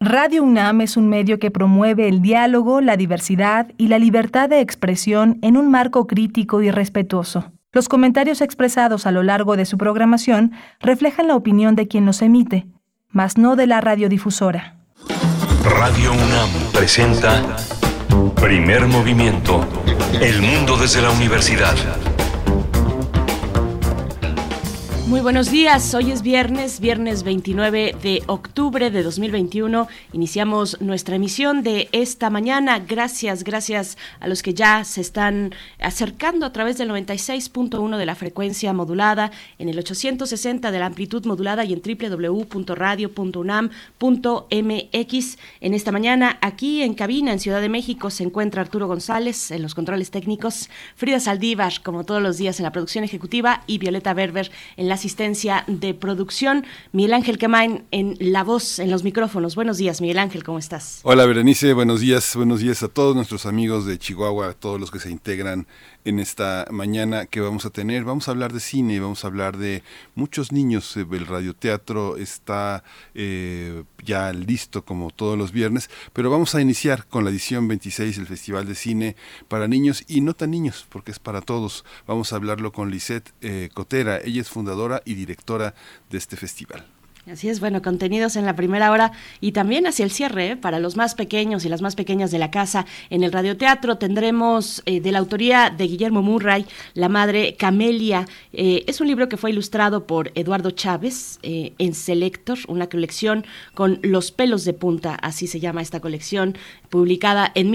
Radio UNAM es un medio que promueve el diálogo, la diversidad y la libertad de expresión en un marco crítico y respetuoso. Los comentarios expresados a lo largo de su programación reflejan la opinión de quien los emite, mas no de la radiodifusora. Radio UNAM presenta Primer Movimiento, El mundo desde la universidad. Muy buenos días, hoy es viernes 29 de octubre de 2021. Iniciamos nuestra emisión de esta mañana. Gracias a los que ya se están acercando a través del 96.1 de la frecuencia modulada, en el 860 de la amplitud modulada y en www.radio.unam.mx. En esta mañana, aquí en cabina, en Ciudad de México, se encuentra Arturo González en los controles técnicos, Frida Saldívar, como todos los días, en la producción ejecutiva, y Violeta Berber en la asistencia de producción. Miguel Ángel Quemain en la voz, en los micrófonos. Buenos días, Miguel Ángel, ¿cómo estás? Hola, Berenice, buenos días a todos nuestros amigos de Chihuahua, a todos los que se integran en esta mañana que vamos a tener. Vamos a hablar de cine, vamos a hablar de muchos niños. El radioteatro está ya listo como todos los viernes, pero vamos a iniciar con la edición 26 del Festival de Cine para Niños y no tan niños, porque es para todos. Vamos a hablarlo con Lisette Cotera. Ella es fundadora y directora de este festival. Así es, bueno, contenidos en la primera hora y también hacia el cierre, para los más pequeños y las más pequeñas de la casa. En el radioteatro tendremos de la autoría de Guillermo Murray, La Madre Camelia. Es un libro que fue ilustrado por Eduardo Chávez en Selector, una colección con los pelos de punta, así se llama esta colección, publicada en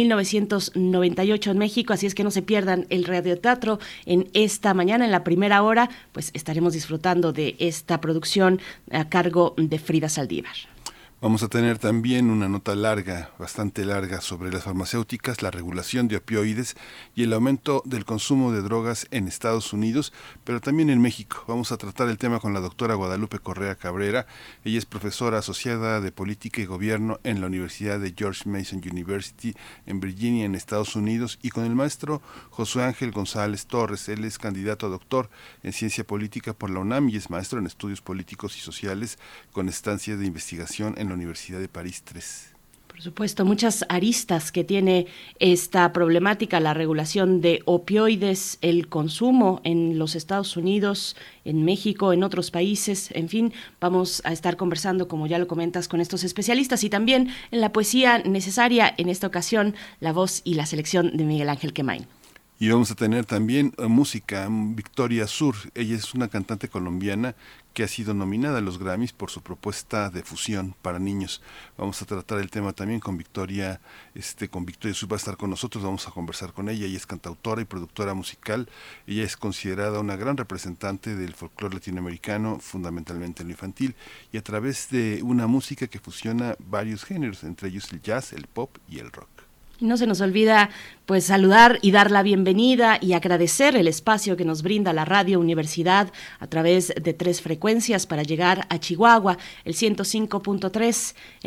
1998 en México. Así es que no se pierdan el radioteatro en esta mañana, en la primera hora, pues estaremos disfrutando de esta producción a cargo de Frida Saldívar. Vamos a tener también una nota larga, bastante larga, sobre las farmacéuticas, la regulación de opioides y el aumento del consumo de drogas en Estados Unidos, pero también en México. Vamos a tratar el tema con la doctora Guadalupe Correa Cabrera. Ella es profesora asociada de Política y Gobierno en la Universidad de George Mason University en Virginia, en Estados Unidos, y con el maestro Josué Ángel González Torres. Él es candidato a doctor en Ciencia Política por la UNAM y es maestro en Estudios Políticos y Sociales con estancia de investigación en la Universidad de París III. Por supuesto, muchas aristas que tiene esta problemática, la regulación de opioides, el consumo en los Estados Unidos, en México, en otros países, en fin, vamos a estar conversando, como ya lo comentas, con estos especialistas y también en la poesía necesaria, en esta ocasión, la voz y la selección de Miguel Ángel Quemain. Y vamos a tener también música, Victoria Sur. Ella es una cantante colombiana que ha sido nominada a los Grammys por su propuesta de fusión para niños. Vamos a tratar el tema también con Victoria Sur, va a estar con nosotros, vamos a conversar con ella. Ella es cantautora y productora musical. Ella es considerada una gran representante del folclore latinoamericano, fundamentalmente en lo infantil, y a través de una música que fusiona varios géneros, entre ellos el jazz, el pop y el rock. No se nos olvida pues saludar y dar la bienvenida y agradecer el espacio que nos brinda la Radio Universidad a través de 3 frecuencias para llegar a Chihuahua, el 105.3, el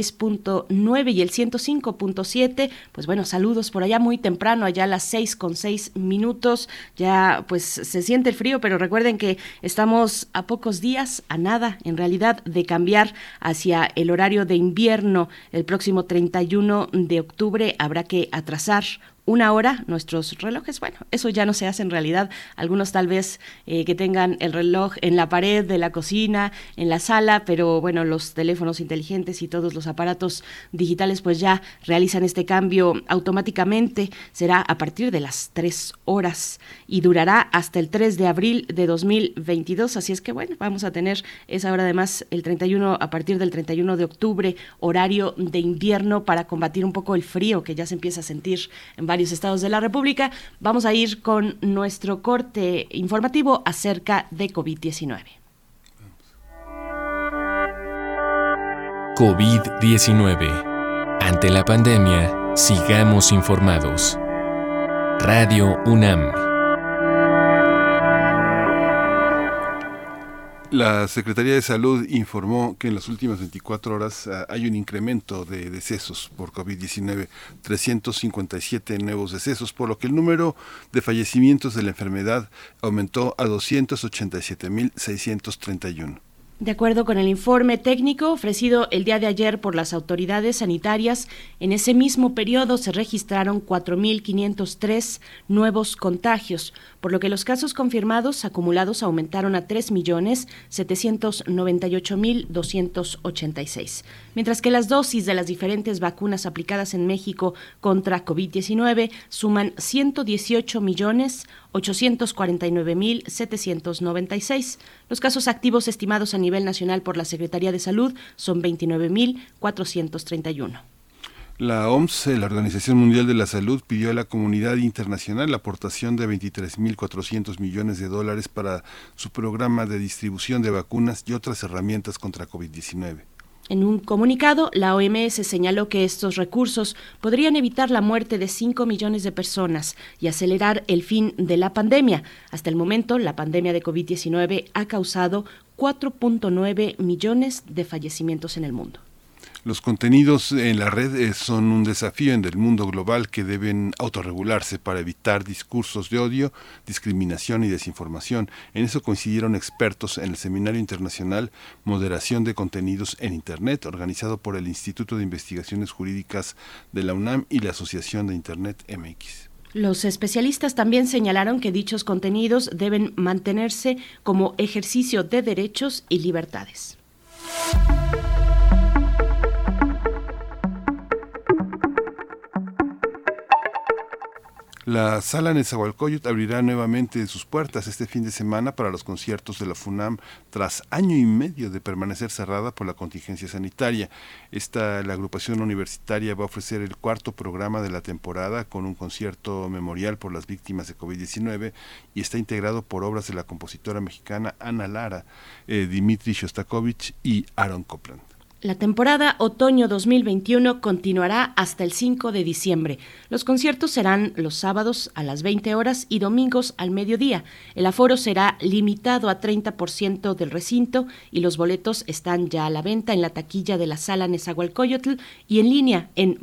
106.9 y el 105.7. Pues bueno, saludos por allá muy temprano, allá a las 6:06. Ya pues se siente el frío, pero recuerden que estamos a pocos días, a nada en realidad, de cambiar hacia el horario de invierno. El próximo 31 de octubre habrá que atrasar 1 hora nuestros relojes. Bueno, eso ya no se hace en realidad. Algunos tal vez que tengan el reloj en la pared de la cocina, en la sala, pero bueno, los teléfonos inteligentes y todos los aparatos digitales pues ya realizan este cambio automáticamente. Será a partir de las 3 horas y durará hasta el 3 de abril de 2022. Así es que bueno, vamos a tener esa hora además el 31, a partir del 31 de octubre, horario de invierno, para combatir un poco el frío que ya se empieza a sentir en varios estados de la República. Vamos a ir con nuestro corte informativo acerca de COVID-19. COVID-19. Ante la pandemia, sigamos informados. Radio UNAM. La Secretaría de Salud informó que en las últimas 24 horas hay un incremento de decesos por COVID-19, 357 nuevos decesos, por lo que el número de fallecimientos de la enfermedad aumentó a 287.631. De acuerdo con el informe técnico ofrecido el día de ayer por las autoridades sanitarias, en ese mismo periodo se registraron 4.503 nuevos contagios, por lo que los casos confirmados acumulados aumentaron a 3.798.286, mientras que las dosis de las diferentes vacunas aplicadas en México contra COVID-19 suman 118.849.796. Los casos activos estimados a nivel nacional por la Secretaría de Salud son 29.431. La OMS, la Organización Mundial de la Salud, pidió a la comunidad internacional la aportación de $23.400 millones para su programa de distribución de vacunas y otras herramientas contra COVID-19. En un comunicado, la OMS señaló que estos recursos podrían evitar la muerte de 5 millones de personas y acelerar el fin de la pandemia. Hasta el momento, la pandemia de COVID-19 ha causado 4.9 millones de fallecimientos en el mundo. Los contenidos en la red son un desafío en el mundo global que deben autorregularse para evitar discursos de odio, discriminación y desinformación. En eso coincidieron expertos en el Seminario Internacional Moderación de Contenidos en Internet, organizado por el Instituto de Investigaciones Jurídicas de la UNAM y la Asociación de Internet MX. Los especialistas también señalaron que dichos contenidos deben mantenerse como ejercicio de derechos y libertades. La Sala Nezahualcóyotl abrirá nuevamente sus puertas este fin de semana para los conciertos de la FUNAM tras año y medio de permanecer cerrada por la contingencia sanitaria. La agrupación universitaria va a ofrecer el cuarto programa de la temporada con un concierto memorial por las víctimas de COVID-19 y está integrado por obras de la compositora mexicana Ana Lara, Dmitri Shostakovich y Aaron Copland. La temporada otoño 2021 continuará hasta el 5 de diciembre. Los conciertos serán los sábados a las 20 horas y domingos al mediodía. El aforo será limitado a 30% del recinto y los boletos están ya a la venta en la taquilla de la Sala Nezahualcóyotl y en línea en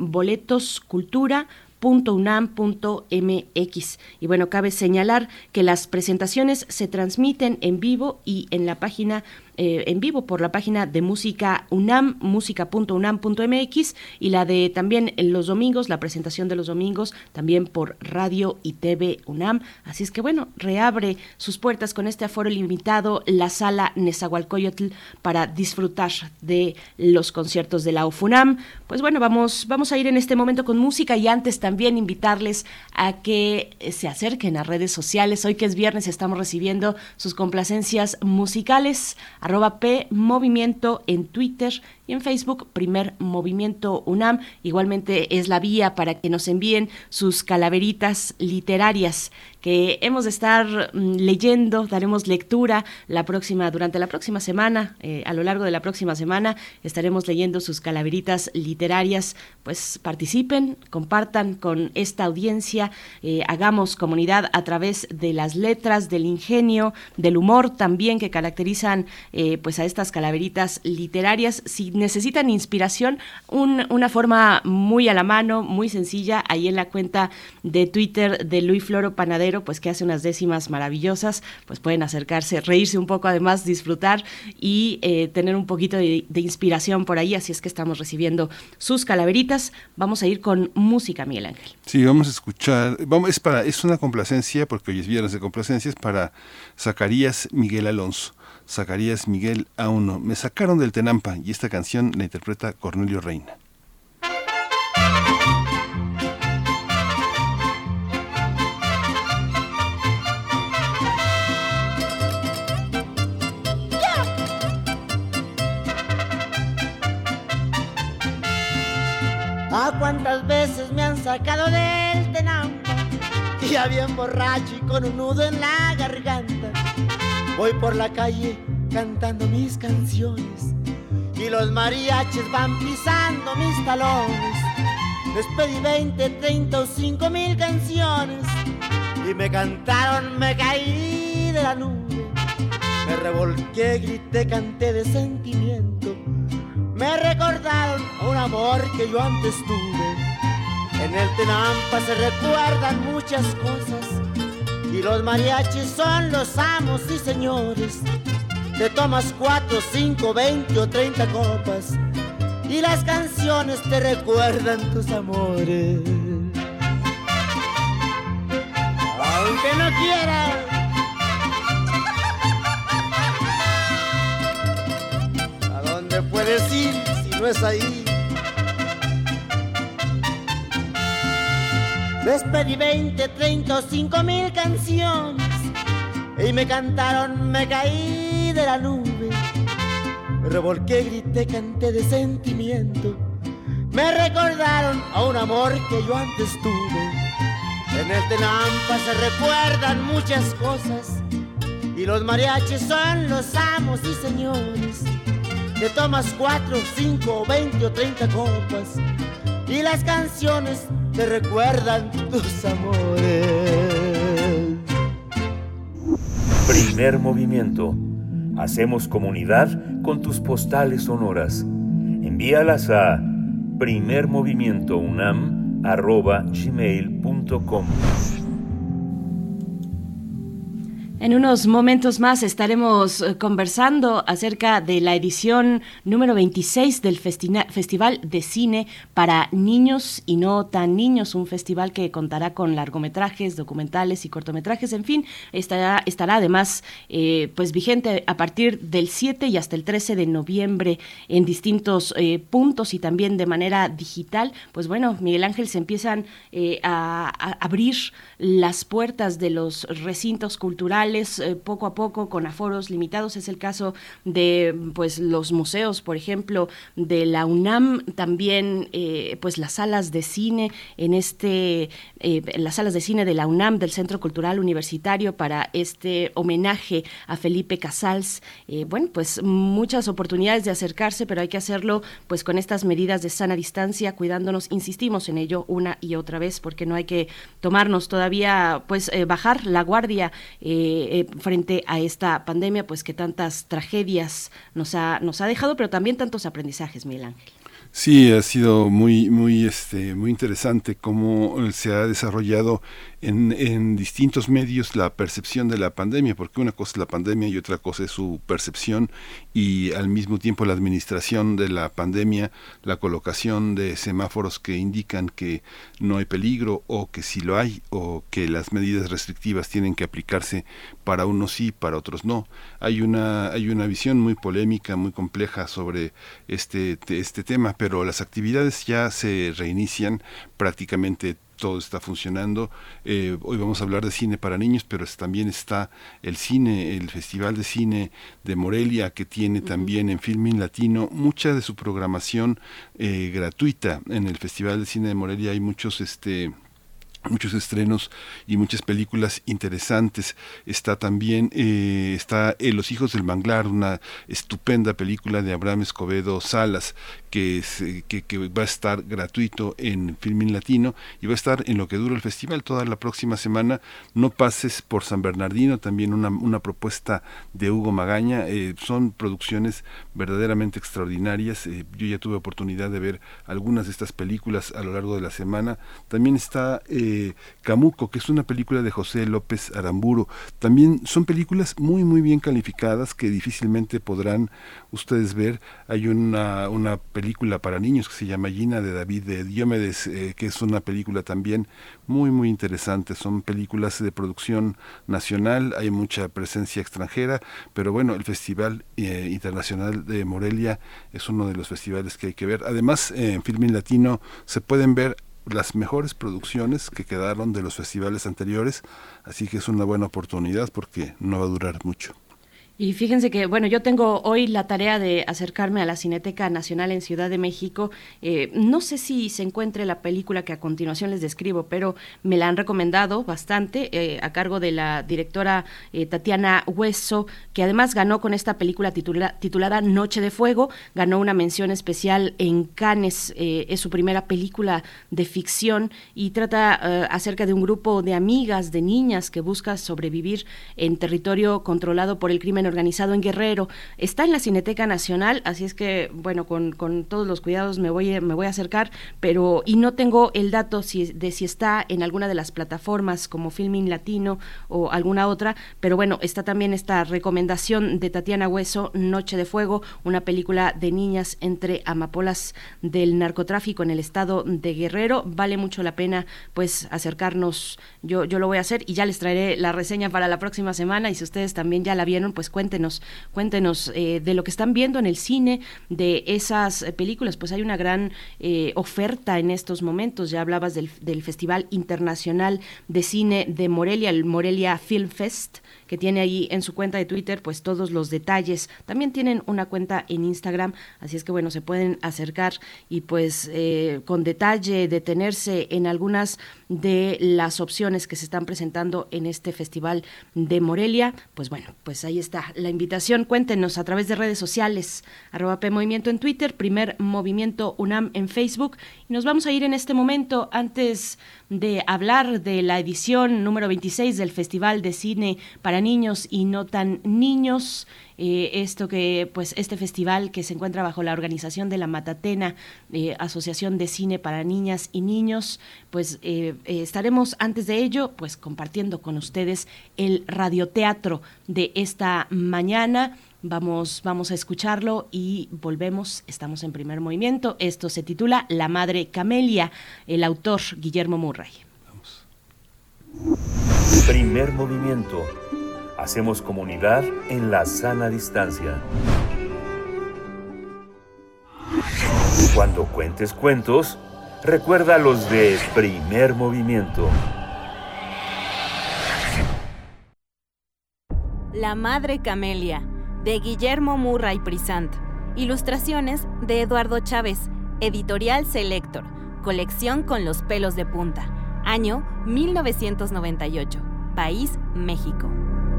boletoscultura.unam.mx. Y bueno, cabe señalar que las presentaciones se transmiten en vivo y en la página en vivo por la página de Música UNAM, música.unam.mx, y la de también en los domingos, la presentación de los domingos, también por Radio y TV UNAM. Así es que bueno, reabre sus puertas con este aforo limitado la Sala Nezahualcóyotl para disfrutar de los conciertos de la UFUNAM. Pues bueno, vamos a ir en este momento con música y antes también invitarles a que se acerquen a redes sociales. Hoy que es viernes estamos recibiendo sus complacencias musicales. @PMovimiento en Twitter y en Facebook, Primer Movimiento UNAM. Igualmente es la vía para que nos envíen sus calaveritas literarias que hemos de estar leyendo. Daremos lectura durante la próxima semana, a lo largo de la próxima semana estaremos leyendo sus calaveritas literarias. Pues participen, compartan con esta audiencia, hagamos comunidad a través de las letras, del ingenio, del humor también que caracterizan pues a estas calaveritas literarias. Si necesitan inspiración, una forma muy a la mano, muy sencilla, ahí en la cuenta de Twitter de Luis Floro Panadero, pues que hace unas décimas maravillosas, pues pueden acercarse, reírse un poco, además disfrutar y tener un poquito de inspiración por ahí. Así es que estamos recibiendo sus calaveritas. Vamos a ir con música, Miguel Ángel. Sí, vamos a escuchar, es una complacencia, porque hoy es viernes de complacencias, para Zacarías Miguel Alonso. Zacarías Miguel A1. Me sacaron del Tenampa, y esta canción la interpreta Cornelio Reina. ¿A cuántas veces me han sacado del Tenampa? Ya bien borracho y con un nudo en la garganta. Voy por la calle cantando mis canciones y los mariachis van pisando mis talones. Les pedí 20, 30 o 5,000 canciones y me cantaron, me caí de la nube. Me revolqué, grité, canté de sentimiento. Me recordaron a un amor que yo antes tuve. En el Tenampa se recuerdan muchas cosas y los mariachis son los amos y señores. te tomas 4, 5, 20 o 30 copas y las canciones te recuerdan tus amores. Aunque no quieras, ¿a dónde puedes ir si no es ahí? Les pedí 20, 30 o 5,000 canciones y me cantaron, me caí de la nube. Me revolqué, grité, canté de sentimiento. Me recordaron a un amor que yo antes tuve. En el Tenampa se recuerdan muchas cosas y los mariachis son los amos y señores. Te tomas 4, 5, 20 o 30 copas y las canciones te recuerdan tus amores. Primer movimiento. Hacemos comunidad con tus postales sonoras. Envíalas a primermovimientounam@gmail.com. En unos momentos más estaremos conversando acerca de la edición número 26 del Festival de Cine para Niños y No Tan Niños, un festival que contará con largometrajes, documentales y cortometrajes, en fin, estará además pues vigente a partir del 7 y hasta el 13 de noviembre en distintos puntos y también de manera digital. Pues bueno, Miguel Ángel, se empiezan a abrir las puertas de los recintos culturales poco a poco con aforos limitados. Es el caso de pues los museos, por ejemplo, de la UNAM, también pues las salas de cine las salas de cine de la UNAM, del Centro Cultural Universitario, para este homenaje a Felipe Casals. Bueno, pues muchas oportunidades de acercarse, pero hay que hacerlo pues con estas medidas de sana distancia, cuidándonos, insistimos en ello una y otra vez, porque no hay que tomarnos todavía pues bajar la guardia frente a esta pandemia, pues que tantas tragedias nos ha dejado, pero también tantos aprendizajes, Miguel Ángel. Sí, ha sido muy interesante cómo se ha desarrollado en distintos medios la percepción de la pandemia, porque una cosa es la pandemia y otra cosa es su percepción, y al mismo tiempo la administración de la pandemia, la colocación de semáforos que indican que no hay peligro o que sí lo hay, o que las medidas restrictivas tienen que aplicarse para unos sí, para otros no. Hay una visión muy polémica, muy compleja sobre este tema, pero las actividades ya se reinician, prácticamente todo está funcionando. Hoy vamos a hablar de cine para niños, pero también está el Festival de Cine de Morelia, que tiene también en Filmin Latino mucha de su programación gratuita. En el Festival de Cine de Morelia hay muchos estrenos y muchas películas interesantes. Está también Los Hijos del Manglar, una estupenda película de Abraham Escobedo Salas, que va a estar gratuito en Filmin Latino y va a estar en lo que dura el festival toda la próxima semana. No pases por San Bernardino, también una propuesta de Hugo Magaña. Son producciones verdaderamente extraordinarias. Yo ya tuve oportunidad de ver algunas de estas películas a lo largo de la semana. También está Camuco, que es una película de José López Aramburu. También son películas muy bien calificadas que difícilmente podrán ustedes ver. Hay una película para niños que se llama Gina, de David de Diomedes, que es una película también muy interesante. Son películas de producción nacional, hay mucha presencia extranjera, pero bueno, el Festival Internacional de Morelia es uno de los festivales que hay que ver. Además, en Filmin Latino se pueden ver las mejores producciones que quedaron de los festivales anteriores, así que es una buena oportunidad porque no va a durar mucho. Y fíjense que, bueno, yo tengo hoy la tarea de acercarme a la Cineteca Nacional en Ciudad de México. No sé si se encuentre la película que a continuación les describo, pero me la han recomendado bastante, a cargo de la directora Tatiana Hueso, que además ganó con esta película titulada Noche de Fuego, ganó una mención especial en Cannes. Es su primera película de ficción y trata acerca de un grupo de amigas, de niñas que busca sobrevivir en territorio controlado por el crimen organizado en Guerrero. Está en la Cineteca Nacional, así es que, bueno, con todos los cuidados me voy a acercar, y no tengo el dato de si está en alguna de las plataformas como Filmin Latino o alguna otra, pero bueno, está también esta recomendación de Tatiana Hueso, Noche de Fuego, una película de niñas entre amapolas del narcotráfico en el estado de Guerrero. Vale mucho la pena pues acercarnos. Yo lo voy a hacer y ya les traeré la reseña para la próxima semana, y si ustedes también ya la vieron, pues cuéntenos de lo que están viendo en el cine, de esas películas. Pues hay una gran oferta en estos momentos. Ya hablabas del Festival Internacional de Cine de Morelia, el Morelia Film Fest, que tiene ahí en su cuenta de Twitter pues todos los detalles. También tienen una cuenta en Instagram, así es que bueno, se pueden acercar y pues con detalle detenerse en algunas de las opciones que se están presentando en este Festival de Morelia. Pues bueno, pues ahí está la invitación. Cuéntenos a través de redes sociales, @PMovimiento en Twitter, Primer Movimiento UNAM en Facebook, y nos vamos a ir en este momento, antes de hablar de la edición número 26 del Festival de Cine para Niños y No Tan Niños. Este festival que se encuentra bajo la organización de la Matatena, Asociación de Cine para Niñas y Niños, pues estaremos antes de ello pues compartiendo con ustedes el radioteatro de esta mañana. Vamos a escucharlo y volvemos. Estamos en Primer Movimiento. Esto se titula La Madre Camelia, el autor Guillermo Murray. Vamos. Primer Movimiento. Hacemos comunidad en la sana distancia. Cuando cuentes cuentos, recuerda los de Primer Movimiento. La Madre Camelia, de Guillermo Murray Prisant. Ilustraciones de Eduardo Chávez. Editorial Selector. Colección con los pelos de punta. Año 1998. País, México.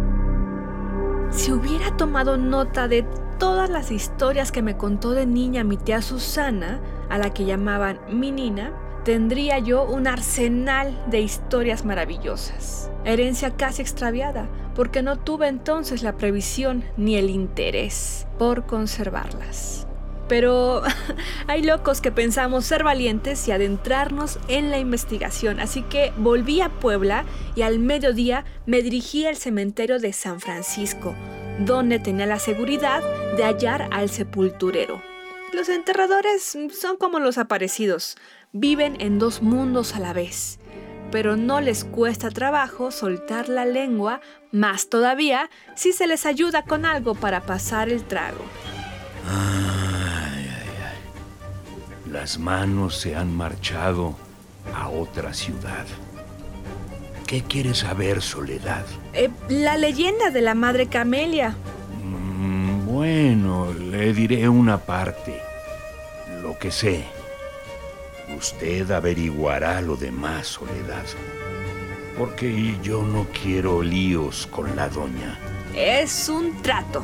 Si hubiera tomado nota de todas las historias que me contó de niña mi tía Susana, a la que llamaban mi Nina, tendría yo un arsenal de historias maravillosas. Herencia casi extraviada, porque no tuve entonces la previsión ni el interés por conservarlas. Pero hay locos que pensamos ser valientes y adentrarnos en la investigación, así que volví a Puebla y al mediodía me dirigí al cementerio de San Francisco, donde tenía la seguridad de hallar al sepulturero. Los enterradores son como los aparecidos, viven en dos mundos a la vez, pero no les cuesta trabajo soltar la lengua, más todavía si se les ayuda con algo para pasar el trago. Las manos se han marchado a otra ciudad. ¿Qué quieres saber, Soledad? La leyenda de la Madre Camelia. Bueno, le diré una parte. Lo que sé. Usted averiguará lo demás, Soledad. Porque yo no quiero líos con la doña. Es un trato.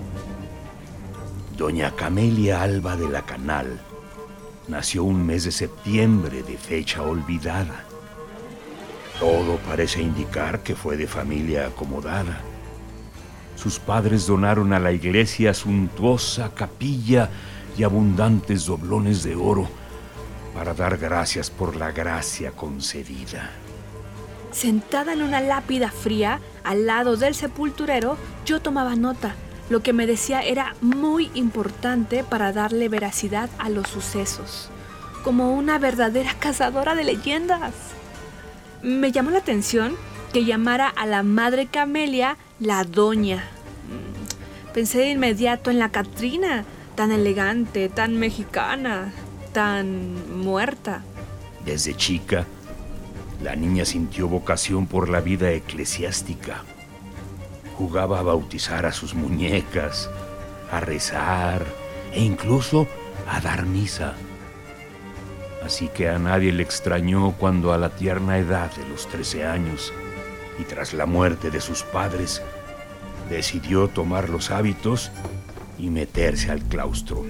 Doña Camelia Alba de la Canal nació un mes de septiembre de fecha olvidada. Todo parece indicar que fue de familia acomodada. Sus padres donaron a la iglesia suntuosa capilla y abundantes doblones de oro para dar gracias por la gracia concedida. Sentada en una lápida fría al lado del sepulturero, yo tomaba nota. Lo que me decía era muy importante para darle veracidad a los sucesos, como una verdadera cazadora de leyendas. Me llamó la atención que llamara a la Madre Camelia la Doña. Pensé de inmediato en la Catrina, tan elegante, tan mexicana, tan muerta. Desde chica, la niña sintió vocación por la vida eclesiástica. Jugaba a bautizar a sus muñecas, a rezar e incluso a dar misa. Así que a nadie le extrañó cuando a la tierna edad de los 13 años y tras la muerte de sus padres, decidió tomar los hábitos y meterse al claustro.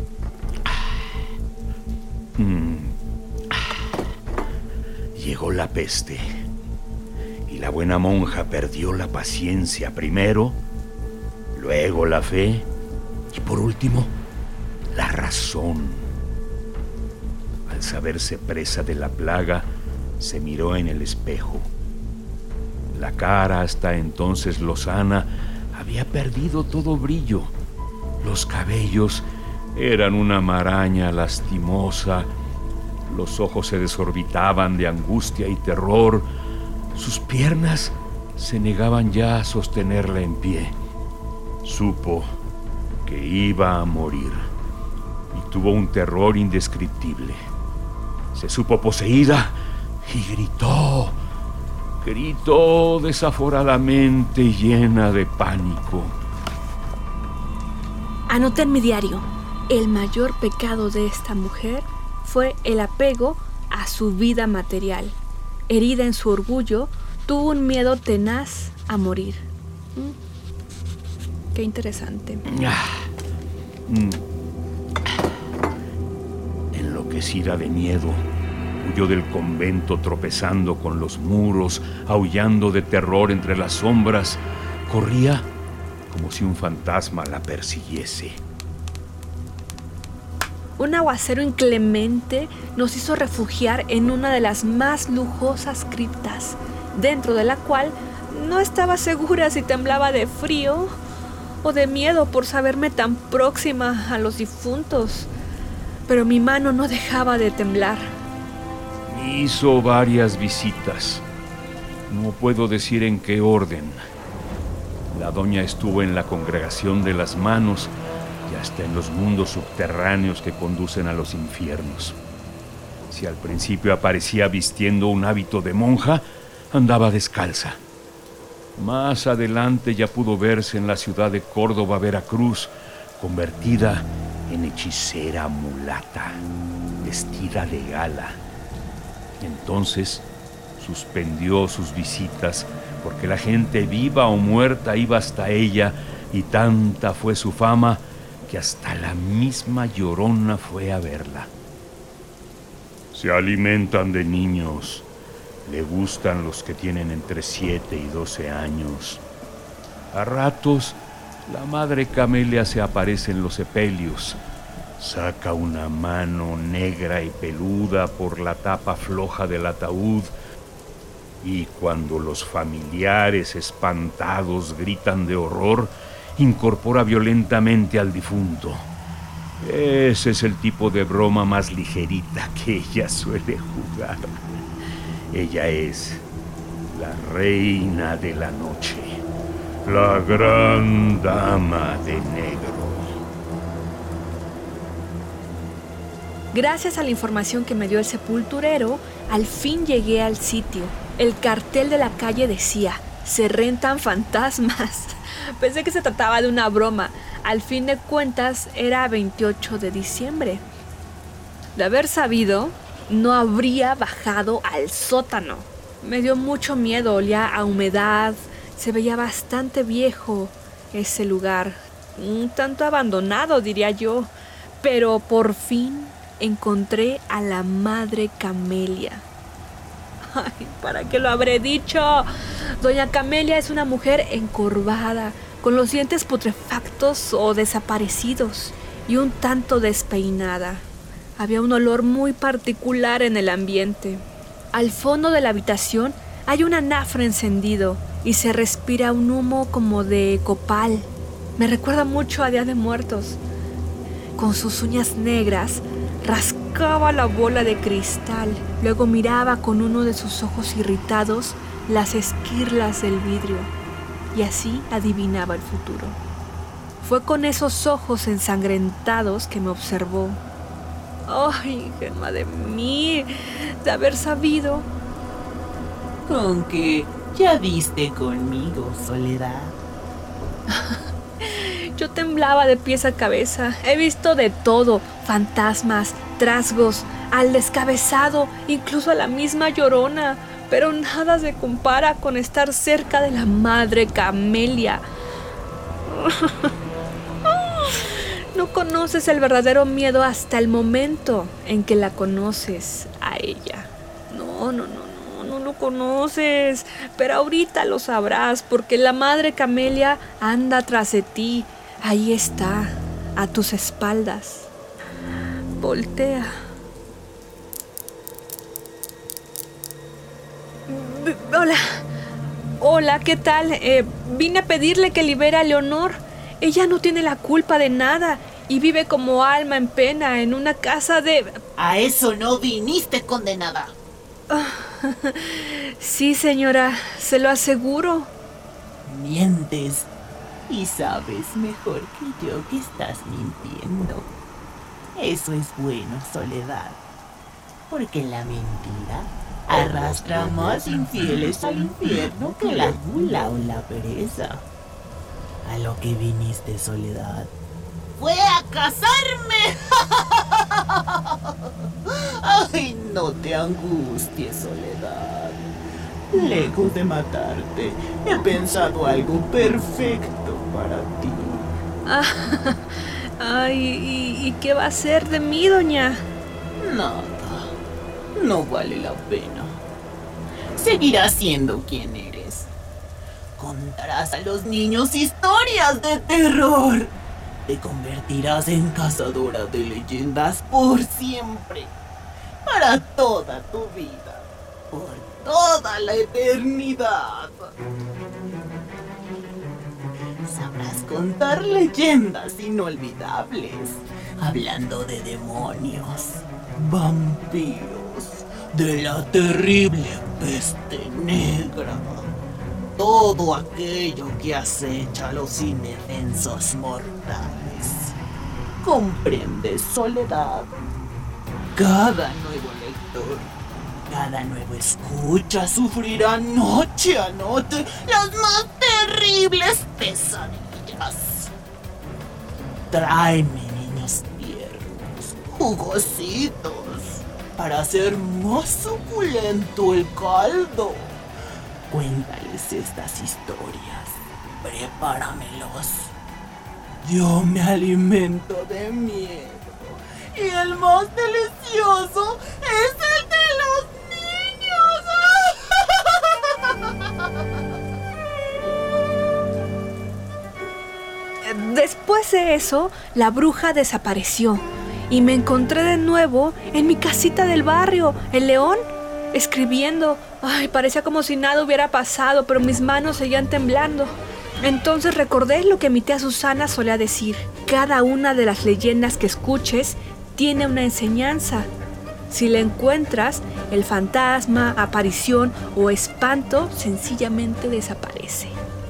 Llegó la peste y la buena monja perdió la paciencia primero, luego la fe y por último la razón. Al saberse presa de la plaga, se miró en el espejo. La cara, hasta entonces lozana, había perdido todo brillo. Los cabellos eran una maraña lastimosa. Los ojos se desorbitaban de angustia y terror. Sus piernas se negaban ya a sostenerla en pie. Supo que iba a morir y tuvo un terror indescriptible. Se supo poseída y gritó desaforadamente, llena de pánico. Anoté en mi diario: el mayor pecado de esta mujer fue el apego a su vida material. Herida en su orgullo, tuvo un miedo tenaz a morir. Qué interesante. Enloquecida de miedo, huyó del convento tropezando con los muros, aullando de terror entre las sombras. Corría como si un fantasma la persiguiese. Un aguacero inclemente nos hizo refugiar en una de las más lujosas criptas, dentro de la cual no estaba segura si temblaba de frío o de miedo por saberme tan próxima a los difuntos. Pero mi mano no dejaba de temblar. Hizo varias visitas. No puedo decir en qué orden. La doña estuvo en la congregación de las manos y hasta en los mundos subterráneos que conducen a los infiernos. Si al principio aparecía vistiendo un hábito de monja, andaba descalza. Más adelante ya pudo verse en la ciudad de Córdoba, Veracruz, convertida en hechicera mulata, vestida de gala. Entonces suspendió sus visitas porque la gente viva o muerta iba hasta ella, y tanta fue su fama que hasta la misma Llorona fue a verla. Se alimentan de niños. Le gustan los que tienen entre 7 y 12 años. A ratos, la madre Camelia se aparece en los sepelios. Saca una mano negra y peluda por la tapa floja del ataúd, y cuando los familiares espantados gritan de horror, incorpora violentamente al difunto. Ese es el tipo de broma más ligerita que ella suele jugar. Ella es la reina de la noche, la gran dama de negro. Gracias a la información que me dio el sepulturero, al fin llegué al sitio. El cartel de la calle decía: se rentan fantasmas. Pensé que se trataba de una broma. Al fin de cuentas, era 28 de diciembre. De haber sabido, no habría bajado al sótano. Me dio mucho miedo, olía a humedad, se veía bastante viejo ese lugar, un tanto abandonado, diría yo. Pero por fin encontré a la madre Camelia. Ay, ¿para qué lo habré dicho? Doña Camelia es una mujer encorvada, con los dientes putrefactos o desaparecidos y un tanto despeinada. Había un olor muy particular en el ambiente. Al fondo de la habitación hay un anafre encendido y se respira un humo como de copal. Me recuerda mucho a Día de Muertos. Con sus uñas negras rascaba la bola de cristal. Luego miraba con uno de sus ojos irritados las esquirlas del vidrio y así adivinaba el futuro. Fue con esos ojos ensangrentados que me observó. ¡Ay, Gemma de mí! De haber sabido. Con que ya viste conmigo, Soledad. Yo temblaba de pies a cabeza. He visto de todo: fantasmas, trasgos, al descabezado, incluso a la misma Llorona. Pero nada se compara con estar cerca de la madre Camelia. No conoces el verdadero miedo hasta el momento en que la conoces a ella. no lo conoces, pero ahorita lo sabrás porque la madre Camelia anda tras de ti. Ahí está, a tus espaldas. Voltea. Hola, ¿qué tal? Vine a pedirle que libere a Leonor. Ella no tiene la culpa de nada y vive como alma en pena en una casa de... A eso no viniste, condenada. Sí, señora, se lo aseguro. Mientes y sabes mejor que yo que estás mintiendo. Eso es bueno, Soledad, porque la mentira arrastra más infieles al infierno que la gula o la pereza. A lo que viniste, Soledad, fue a casarme. Ay, no te angusties, Soledad. Lejos de matarte, he pensado algo perfecto para ti. Ay, ¿y qué va a hacer de mí, doña? Nada, no vale la pena. Seguirás siendo quien eres. Contarás a los niños historias de terror. Te convertirás en cazadora de leyendas por siempre. Para toda tu vida. Por toda la eternidad. Sabrás contar leyendas inolvidables. Hablando de demonios, vampiros, de la terrible peste negra. Todo aquello que acecha a los indefensos mortales. ¿Comprendes, Soledad? Cada nuevo lector, cada nuevo escucha sufrirá noche a noche las más terribles pesadillas. Tráeme niños tiernos, jugositos, para hacer más suculento el caldo. Cuéntales estas historias, prepáramelos. Yo me alimento de miedo y el más delicioso es el de los niños. Después de eso, la bruja desapareció y me encontré de nuevo en mi casita del barrio, el León, escribiendo. Ay, parecía como si nada hubiera pasado, pero mis manos seguían temblando. Entonces recordé lo que mi tía Susana solía decir. Cada una de las leyendas que escuches tiene una enseñanza. Si la encuentras, el fantasma, aparición o espanto sencillamente desaparece.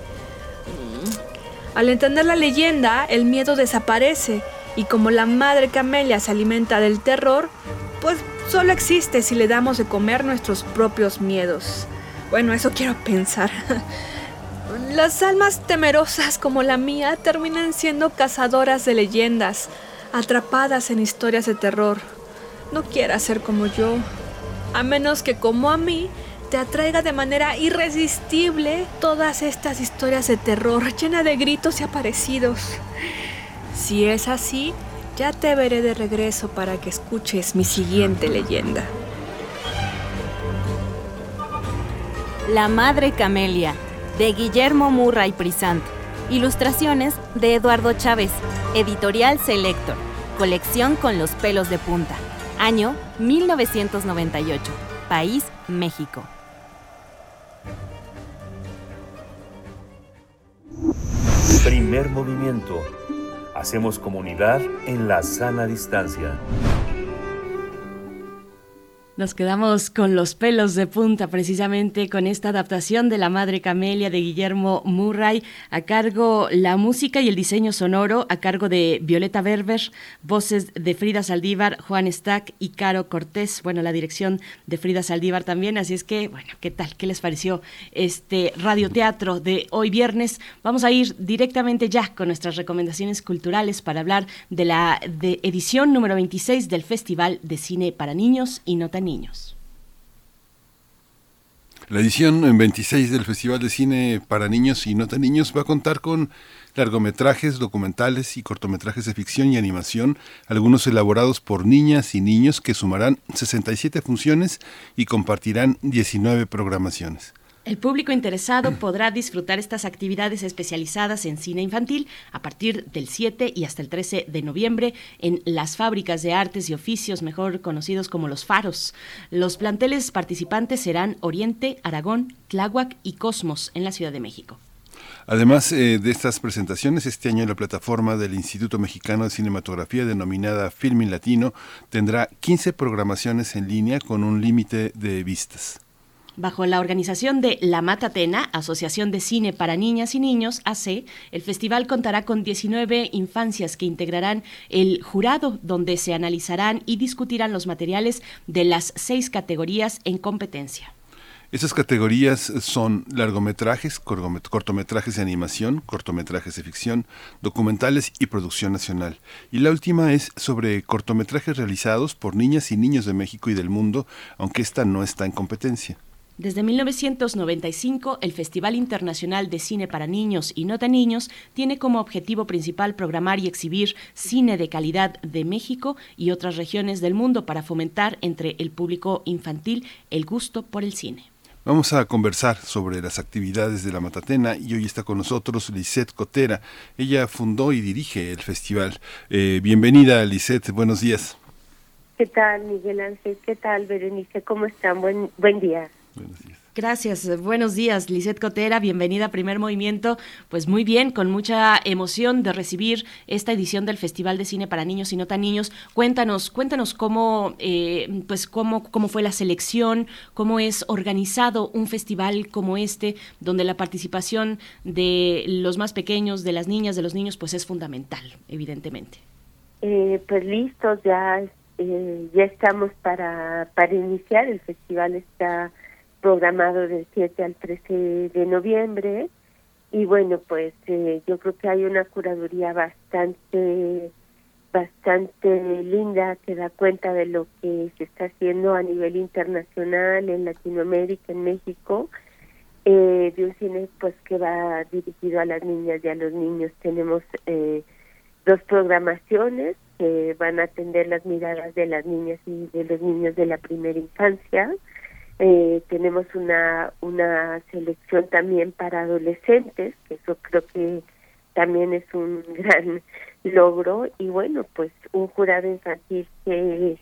Al entender la leyenda, el miedo desaparece y como la madre Camelia se alimenta del terror, pues solo existe si le damos de comer nuestros propios miedos. Bueno, eso quiero pensar. Las almas temerosas como la mía terminan siendo cazadoras de leyendas, atrapadas en historias de terror. No quieras ser como yo, a menos que como a mí te atraiga de manera irresistible todas estas historias de terror llenas de gritos y aparecidos. Si es así, ya te veré de regreso para que escuches mi siguiente leyenda. La Madre Camelia, de Guillermo Murray Prisant. Ilustraciones de Eduardo Chávez. Editorial Selector. Colección con los pelos de punta. Año 1998. País, México. Primer movimiento. Hacemos comunidad en la sana distancia. Nos quedamos con los pelos de punta, precisamente con esta adaptación de La Madre Camelia de Guillermo Murray, a cargo la música y el diseño sonoro, a cargo de Violeta Berber, voces de Frida Saldívar, Juan Stack y Caro Cortés, bueno, la dirección de Frida Saldívar también, así es que, bueno, ¿qué tal? ¿Qué les pareció este radioteatro de hoy viernes? Vamos a ir directamente ya con nuestras recomendaciones culturales para hablar de la edición número 26 del Festival de Cine para Niños y No Tan Niños. La edición 26 del Festival de Cine para Niños y No Tan Niños va a contar con largometrajes, documentales y cortometrajes de ficción y animación, algunos elaborados por niñas y niños que sumarán 67 funciones y compartirán 19 programaciones. El público interesado podrá disfrutar estas actividades especializadas en cine infantil a partir del 7 y hasta el 13 de noviembre en las Fábricas de Artes y Oficios, mejor conocidos como los Faros. Los planteles participantes serán Oriente, Aragón, Tláhuac y Cosmos en la Ciudad de México. Además de estas presentaciones, este año la plataforma del Instituto Mexicano de Cinematografía, denominada Filmin Latino, tendrá 15 programaciones en línea con un límite de vistas. Bajo la organización de La Matatena, Asociación de Cine para Niñas y Niños, AC, el festival contará con 19 infancias que integrarán el jurado, donde se analizarán y discutirán los materiales de las 6 categorías en competencia. Esas categorías son largometrajes, cortometrajes de animación, cortometrajes de ficción, documentales y producción nacional. Y la última es sobre cortometrajes realizados por niñas y niños de México y del mundo, aunque esta no está en competencia. Desde 1995, el Festival Internacional de Cine para Niños y No Tan Niños tiene como objetivo principal programar y exhibir cine de calidad de México y otras regiones del mundo para fomentar entre el público infantil el gusto por el cine. Vamos a conversar sobre las actividades de La Matatena y hoy está con nosotros Lisette Cotera. Ella fundó y dirige el festival. Bienvenida, Lisette, buenos días. ¿Qué tal, Miguel Ángel? ¿Qué tal, Berenice? ¿Cómo están? Buen día. Buenos días. Gracias, buenos días, Lisette Cotera, bienvenida a Primer Movimiento. Pues muy bien, con mucha emoción de recibir esta edición del Festival de Cine para Niños y No Tan Niños. Cuéntanos cómo fue la selección, cómo es organizado un festival como este, donde la participación de los más pequeños, de las niñas, de los niños, pues es fundamental, evidentemente. Pues listos, ya estamos para iniciar. El festival está programado del 7 al 13 de noviembre y bueno, pues yo creo que hay una curaduría bastante linda que da cuenta de lo que se está haciendo a nivel internacional, en Latinoamérica, en México, de un cine pues que va dirigido a las niñas y a los niños. Tenemos 2 programaciones que van a atender las miradas de las niñas y de los niños de la primera infancia. Tenemos una selección también para adolescentes, que eso creo que también es un gran logro, y bueno, pues un jurado infantil que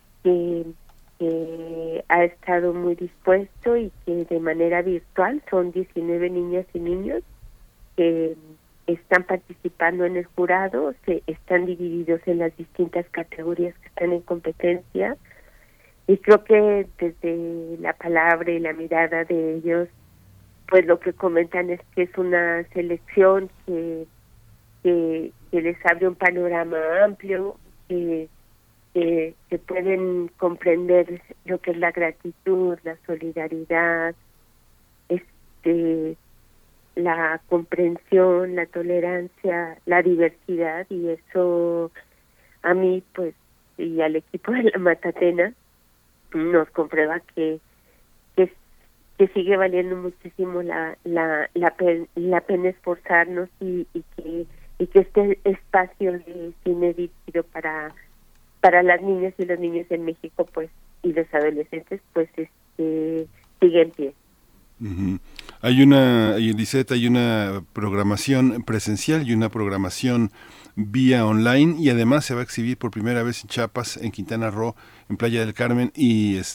ha estado muy dispuesto y que de manera virtual son 19 niñas y niños que están participando en el jurado, están divididos en las distintas categorías que están en competencia. Y creo que desde la palabra y la mirada de ellos, pues lo que comentan es que es una selección que les abre un panorama amplio, que pueden comprender lo que es la gratitud, la solidaridad, la comprensión, la tolerancia, la diversidad, y eso a mí, pues, y al equipo de La Matatena, nos comprueba que sigue valiendo muchísimo la pena esforzarnos y que este espacio de cine dirigido para las niñas y los niños en México, pues, y los adolescentes, pues sigue en pie. Uh-huh. Hay una programación presencial y una programación vía online, y además se va a exhibir por primera vez en Chiapas, en Quintana Roo, en Playa del Carmen, y es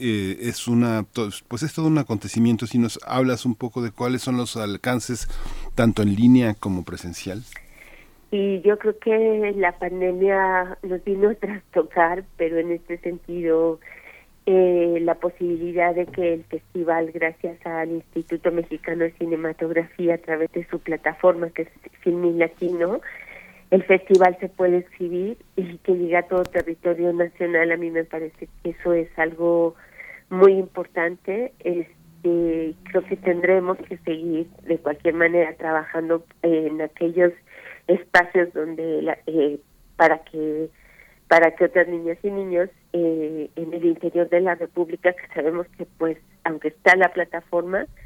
todo un acontecimiento. Si nos hablas un poco de cuáles son los alcances tanto en línea como presencial. Y yo creo que la pandemia nos vino a trastocar, pero en este sentido la posibilidad de que el festival, gracias al Instituto Mexicano de Cinematografía, a través de su plataforma que es Filmin Latino, el festival se puede exhibir y que llegue a todo territorio nacional. A mí me parece que eso es algo muy importante. Creo que tendremos que seguir de cualquier manera trabajando en aquellos espacios donde para que otras niñas y niños en el interior de la República, que sabemos que, pues, aunque está la plataforma,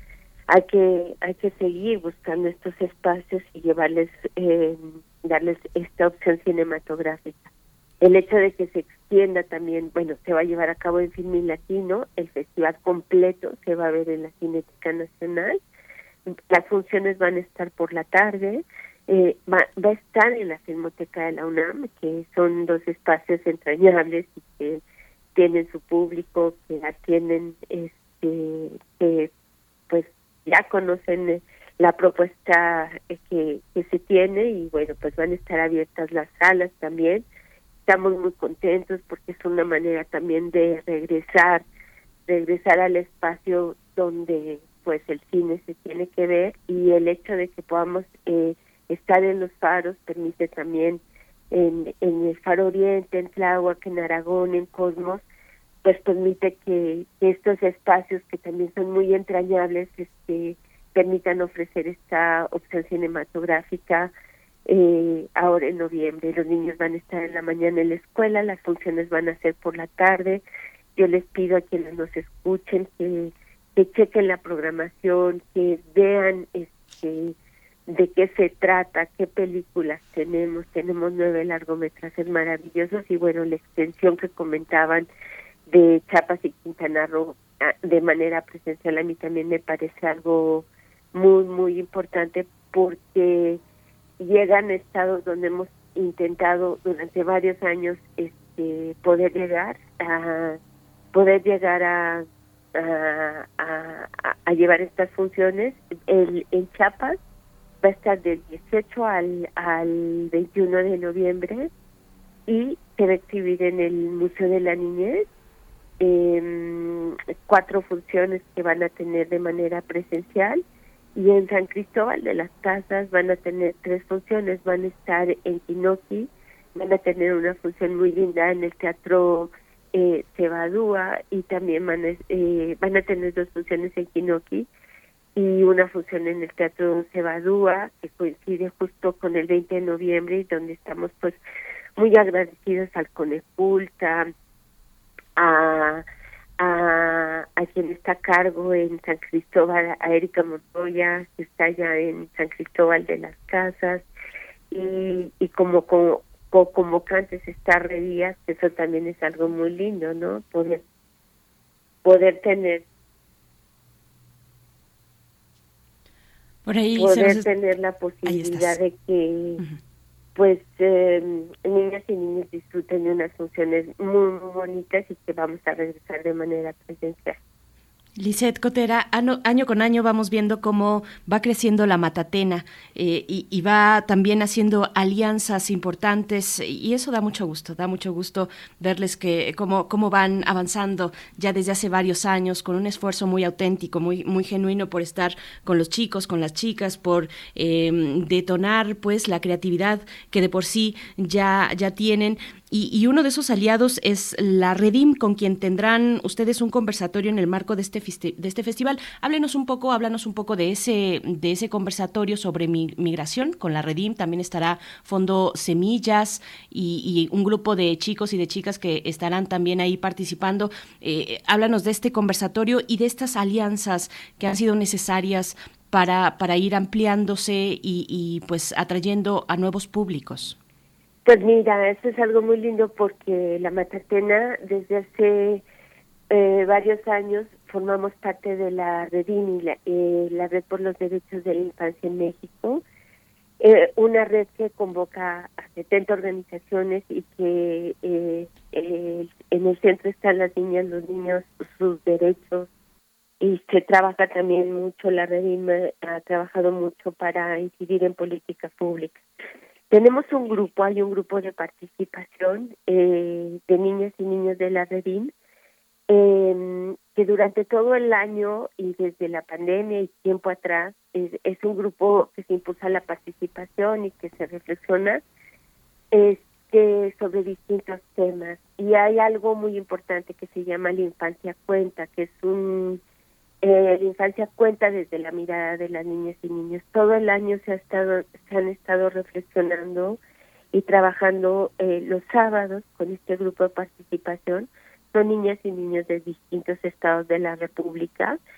hay que seguir buscando estos espacios y darles esta opción cinematográfica. El hecho de que se extienda también, bueno, se va a llevar a cabo en Filmin Latino, el festival completo se va a ver en la Cineteca Nacional, las funciones van a estar por la tarde, va a estar en la Filmoteca de la UNAM, que son dos espacios entrañables y que tienen su público, que atienden, que pues ya conocen la propuesta que se tiene, y bueno, pues van a estar abiertas las salas también. Estamos muy contentos porque es una manera también de regresar al espacio donde pues el cine se tiene que ver, y el hecho de que podamos estar en los faros permite también en el Faro Oriente, en Tláhuac, en Aragón, en Cosmos, pues permite que estos espacios que también son muy entrañables permitan ofrecer esta opción cinematográfica. Ahora en noviembre los niños van a estar en la mañana en la escuela, las funciones van a ser por la tarde. Yo les pido a quienes nos escuchen que chequen la programación, que vean de qué se trata, qué películas tenemos 9 largometrajes maravillosos, y bueno, la extensión que comentaban de Chiapas y Quintana Roo de manera presencial a mí también me parece algo muy, muy importante, porque llegan estados donde hemos intentado durante varios años poder llegar a llevar estas funciones. En Chiapas va a estar del 18 al 21 de noviembre y se va a exhibir en el Museo de la Niñez 4 funciones que van a tener de manera presencial. Y en San Cristóbal de las Casas van a tener 3 funciones, van a estar en Quinoqui, van a tener una función muy linda en el Teatro Cebadúa, y también van a tener 2 funciones en Quinoqui y una función en el Teatro Cebadúa, que coincide justo con el 20 de noviembre, y donde estamos pues muy agradecidos al Conepulta, a quien está a cargo en San Cristóbal, a Erika Montoya, que está allá en San Cristóbal de las Casas, y como convocantes está Redías, que eso también es algo muy lindo, ¿no? Poder tener por ahí tener la posibilidad de que pues niñas y niños disfruten de unas funciones muy, muy bonitas, y que vamos a regresar de manera presencial. Lisette Cotera, año con año vamos viendo cómo va creciendo la Matatena y va también haciendo alianzas importantes, y eso da mucho gusto verles que cómo van avanzando ya desde hace varios años con un esfuerzo muy auténtico, muy, muy genuino por estar con los chicos, con las chicas, por detonar pues la creatividad que de por sí ya tienen. Y uno de esos aliados es la Redim, con quien tendrán ustedes un conversatorio en el marco de este festival. Háblanos un poco de ese conversatorio sobre migración con la Redim. También estará Fondo Semillas y un grupo de chicos y de chicas que estarán también ahí participando. Háblanos de este conversatorio y de estas alianzas que han sido necesarias para ir ampliándose y pues atrayendo a nuevos públicos. Pues mira, eso es algo muy lindo, porque la Matatena desde hace varios años formamos parte de la Redim, la Red por los Derechos de la Infancia en México, una red que convoca a 70 organizaciones y que en el centro están las niñas, los niños, sus derechos, y se trabaja también mucho, la Redim ha trabajado mucho para incidir en políticas públicas. Tenemos hay un grupo de participación de niñas y niños de la Redim, que durante todo el año y desde la pandemia y tiempo atrás es un grupo que se impulsa la participación y que se reflexiona sobre distintos temas. Y hay algo muy importante que se llama La Infancia Cuenta, que es la infancia cuenta desde la mirada de las niñas y niños. Todo el año se han estado reflexionando y trabajando los sábados con este grupo de participación. Son niñas y niños de distintos estados de la República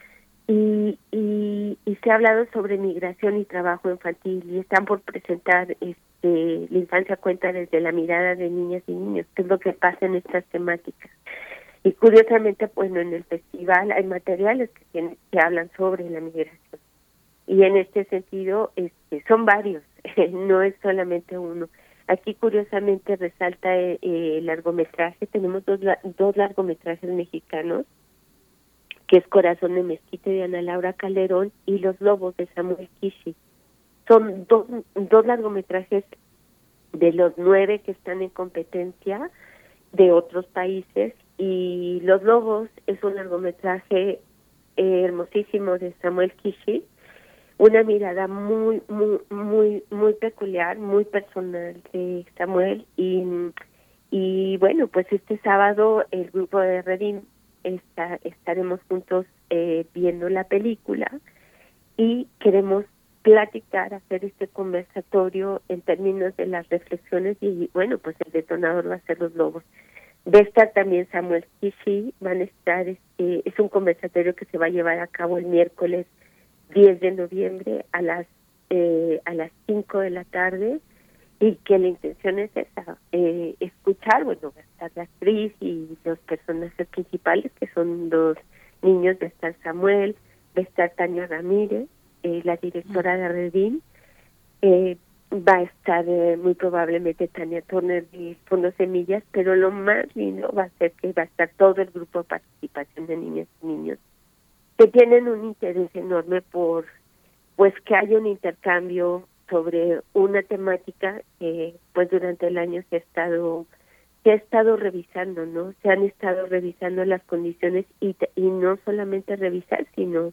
y se ha hablado sobre migración y trabajo infantil, y están por presentar La infancia cuenta desde la mirada de niñas y niños, qué es lo que pasa en estas temáticas. Y curiosamente, bueno, en el festival hay materiales que hablan sobre la migración. Y en este sentido, son varios, no es solamente uno. Aquí curiosamente resalta el largometraje, tenemos dos largometrajes mexicanos, que es Corazón de Mezquite de Ana Laura Calderón y Los Lobos de Samuel Kishi. Son dos largometrajes de los 9 que están en competencia de otros países, y Los Lobos es un largometraje hermosísimo de Samuel Kishi, una mirada muy peculiar, muy personal de Samuel, y bueno, pues este sábado el grupo de Redim estaremos juntos viendo la película, y queremos platicar, hacer este conversatorio en términos de las reflexiones, y bueno, pues el detonador va a ser Los Lobos. Va a estar también Samuel Kishi, van a estar, es un conversatorio que se va a llevar a cabo el miércoles 10 de noviembre a las 5 de la tarde, y que la intención es esa, escuchar, bueno, va a estar la actriz y los personajes principales, que son 2 niños, va a estar Samuel, va a estar Tania Ramírez, la directora de Redim, va a estar muy probablemente Tania Turner de Fondo Semillas, pero lo más lindo va a ser que va a estar todo el grupo de participación de niñas y niños, que tienen un interés enorme por, pues, que haya un intercambio sobre una temática que, pues, durante el año se ha estado revisando, ¿no? Se han estado revisando las condiciones, y no solamente revisar, sino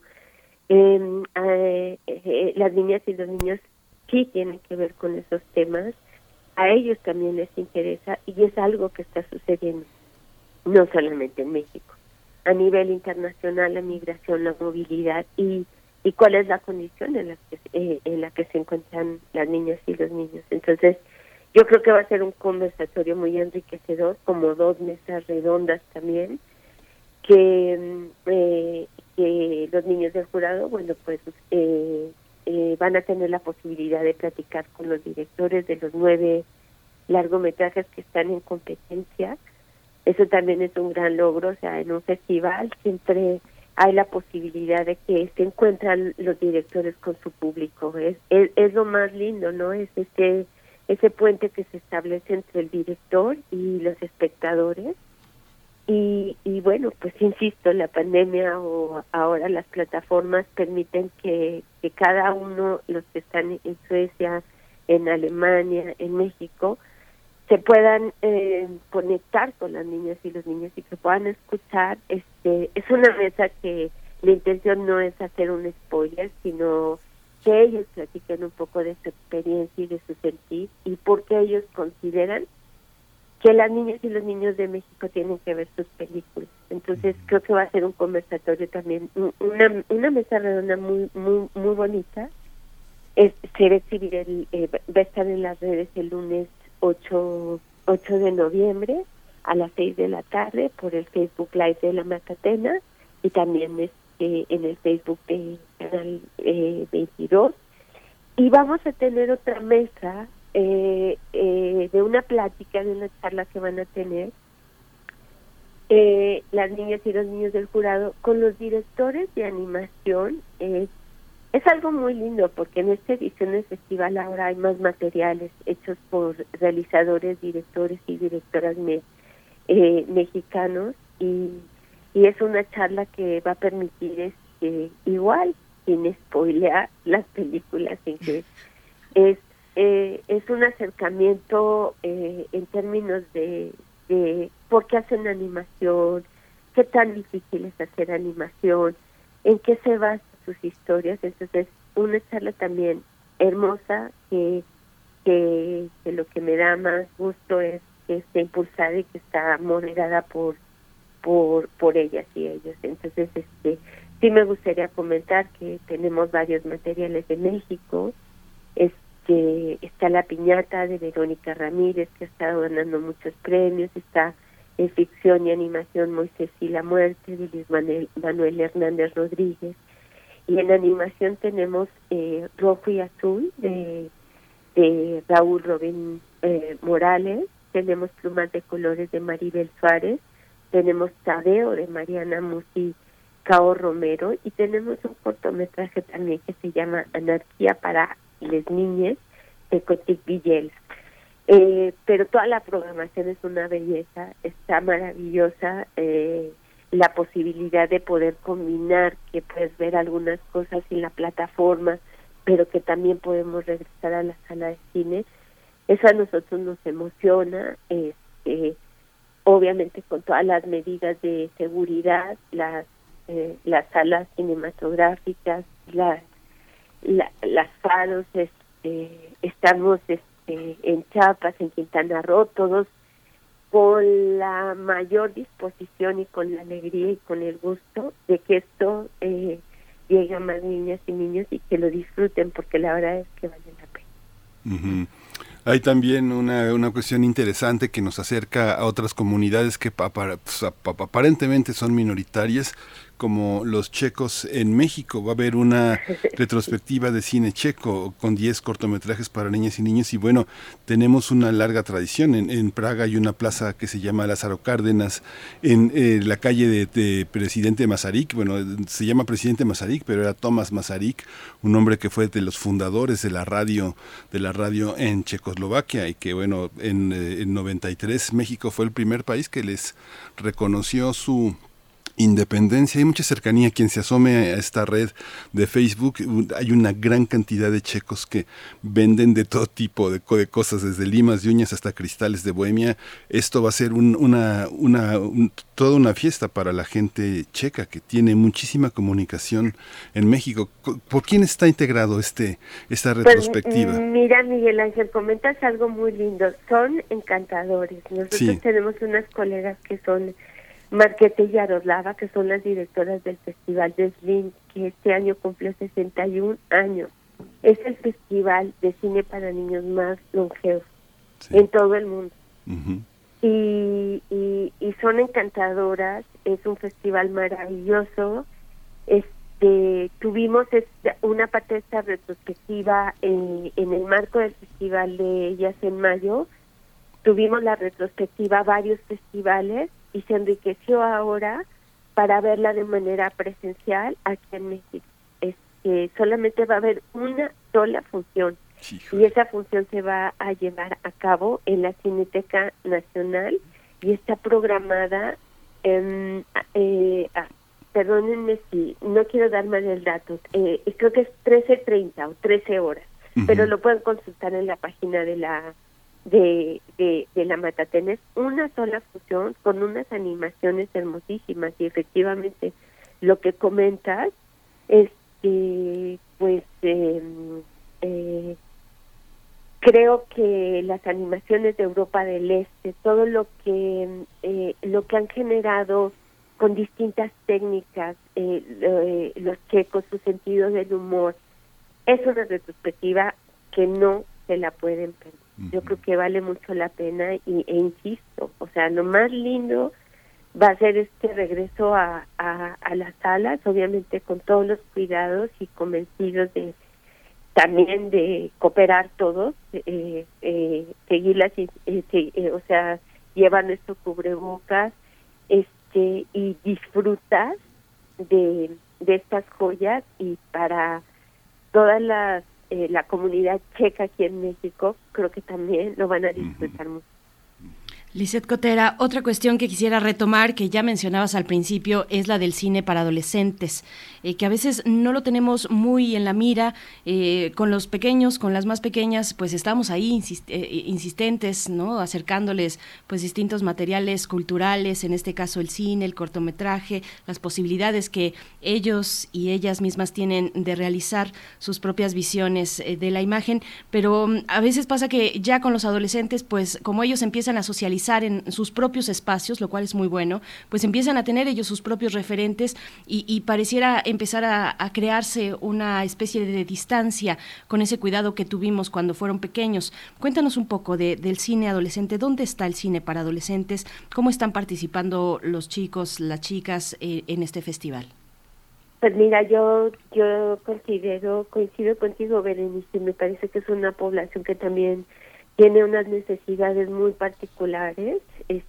las niñas y los niños sí tienen que ver con esos temas, a ellos también les interesa, y es algo que está sucediendo, no solamente en México, a nivel internacional, la migración, la movilidad, y cuál es la condición en la que se encuentran las niñas y los niños. Entonces, yo creo que va a ser un conversatorio muy enriquecedor, como 2 mesas redondas también, que los niños del jurado, bueno, pues van a tener la posibilidad de platicar con los directores de los 9 largometrajes que están en competencia. Eso también es un gran logro, o sea, en un festival siempre hay la posibilidad de que se encuentran los directores con su público. Es lo más lindo, ¿no? Es ese puente que se establece entre el director y los espectadores. Y bueno, pues insisto, la pandemia o ahora las plataformas permiten que cada uno, los que están en Suecia, en Alemania, en México, se puedan conectar con las niñas y los niños, y que puedan escuchar. Es una mesa que la intención no es hacer un spoiler, sino que ellos platiquen un poco de su experiencia y de su sentir, y porque ellos consideran que las niñas y los niños de México tienen que ver sus películas. Entonces creo que va a ser un conversatorio también, una mesa redonda muy bonita. Se va a exhibir, va a estar en las redes el lunes 8 de noviembre a las 6 de la tarde por el Facebook Live de La Macatena, y también en el Facebook de Canal 22. Y vamos a tener otra mesa de una plática, de una charla que van a tener las niñas y los niños del jurado con los directores de animación. Es algo muy lindo, porque en esta edición del festival ahora hay más materiales hechos por realizadores, directores y directoras mexicanos, y es una charla que va a permitir igual, sin spoilear las películas, en que es un acercamiento en términos de por qué hacen animación, qué tan difícil es hacer animación, en qué se basan sus historias. Entonces, una charla también hermosa, que lo que me da más gusto es que esté impulsada y que está moderada por ellas y ellos. Entonces, sí me gustaría comentar que tenemos varios materiales de México. Está La Piñata de Verónica Ramírez, que ha estado ganando muchos premios. Está en ficción y animación Moisés y la Muerte de Luis Manuel Hernández Rodríguez. Y en animación tenemos Rojo y Azul de Raúl Robin Morales, tenemos Plumas de Colores de Maribel Suárez, tenemos Tadeo de Mariana Musi Cao Romero, y tenemos un cortometraje también que se llama Anarquía para les niñes de Cotic Villel. Pero toda la programación es una belleza, está maravillosa, la posibilidad de poder combinar, que puedes ver algunas cosas en la plataforma, pero que también podemos regresar a la sala de cine. Eso a nosotros nos emociona, obviamente con todas las medidas de seguridad, las salas cinematográficas, las faros, estamos en Chiapas, en Quintana Roo, todos con la mayor disposición y con la alegría y con el gusto de que esto llegue a más niñas y niños y que lo disfruten, porque la verdad es que vale la pena. Uh-huh. Hay también una cuestión interesante que nos acerca a otras comunidades que aparentemente son minoritarias, como los checos en México. Va a haber una retrospectiva de cine checo con 10 cortometrajes para niñas y niños, y bueno, tenemos una larga tradición. En Praga hay una plaza que se llama Lázaro Cárdenas, en la calle de Presidente Masaryk, bueno, se llama Presidente Masaryk, pero era Tomás Masaryk, un hombre que fue de los fundadores de la radio en Checoslovaquia, y que bueno, en 93 México fue el primer país que les reconoció su independencia. Hay mucha cercanía. Quien se asome a esta red de Facebook, hay una gran cantidad de checos que venden de todo tipo de cosas, desde limas de uñas hasta cristales de Bohemia. Esto va a ser toda una fiesta para la gente checa, que tiene muchísima comunicación en México. ¿Por quién está integrado esta retrospectiva? Pues, mira, Miguel Ángel, comentas algo muy lindo. Son encantadores. Nosotros tenemos unas colegas que son Marquete y Yaroslava, que son las directoras del Festival de Slim, que este año cumple 61 años. Es el festival de cine para niños más longevo en todo el mundo. Uh-huh. Y son encantadoras, es un festival maravilloso. Tuvimos una parte de esta retrospectiva en el marco del Festival de Ellas en mayo. Tuvimos la retrospectiva varios festivales y se enriqueció ahora para verla de manera presencial aquí en México. Solamente va a haber una sola función, y esa función se va a llevar a cabo en la Cineteca Nacional y está programada, perdónenme si no quiero dar mal el dato, creo que es 13:30 o 13 horas, pero lo pueden consultar en la página de la Matatenés. Una sola función con unas animaciones hermosísimas, y efectivamente lo que comentas es que creo que las animaciones de Europa del Este, todo lo que han generado con distintas técnicas los checos, su sentido del humor, es una retrospectiva que no se la pueden perder. Yo creo que vale mucho la pena e insisto, o sea, lo más lindo va a ser este regreso a las salas, obviamente con todos los cuidados y convencidos también de cooperar todos, seguir o sea, llevar nuestro cubrebocas, y disfrutar de estas joyas, y para todas la comunidad checa aquí en México, creo que también lo van a disfrutar mucho. Lisette Cotera, otra cuestión que quisiera retomar, que ya mencionabas al principio, es la del cine para adolescentes, que a veces no lo tenemos muy en la mira. Con los pequeños, con las más pequeñas, pues estamos ahí insistentes, ¿no? Acercándoles pues distintos materiales culturales, en este caso el cine, el cortometraje, las posibilidades que ellos y ellas mismas tienen de realizar sus propias visiones de la imagen, pero a veces pasa que ya con los adolescentes, pues como ellos empiezan a socializar en sus propios espacios, lo cual es muy bueno, pues empiezan a tener ellos sus propios referentes y pareciera empezar a crearse una especie de distancia con ese cuidado que tuvimos cuando fueron pequeños. Cuéntanos un poco del cine adolescente. ¿Dónde está el cine para adolescentes? ¿Cómo están participando los chicos, las chicas en este festival? Pues mira, yo coincido contigo, Berenice, me parece que es una población que también tiene unas necesidades muy particulares,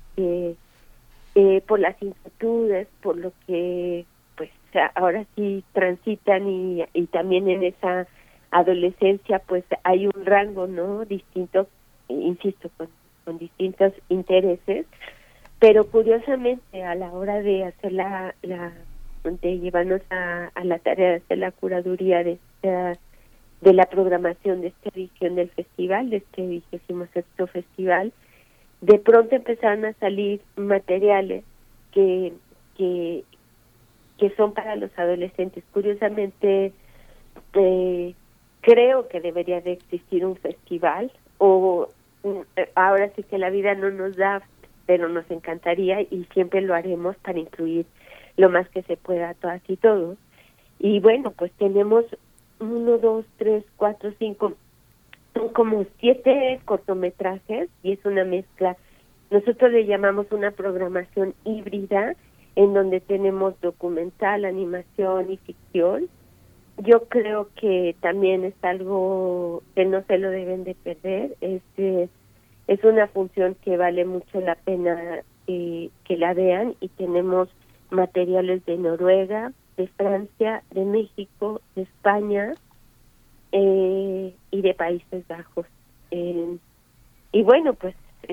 por las inquietudes, por lo que pues ahora sí transitan y también en esa adolescencia pues hay un rango, ¿no? Distinto, insisto, con distintos intereses, pero curiosamente a la hora de hacer de llevarnos a la tarea de hacer la curaduría de la programación de esta edición del festival, de este 26º festival, de pronto empezaron a salir materiales que son para los adolescentes. Curiosamente, creo que debería de existir un festival, o ahora sí que la vida no nos da, pero nos encantaría y siempre lo haremos para incluir lo más que se pueda a todas y todos. Y bueno, pues tenemos 1, 2, 3, 4, 5, son como 7 cortometrajes y es una mezcla. Nosotros le llamamos una programación híbrida en donde tenemos documental, animación y ficción. Yo creo que también es algo que no se lo deben de perder. Es una función que vale mucho la pena que la vean, y tenemos materiales de Noruega, de Francia, de México, de España y de Países Bajos. Y bueno, pues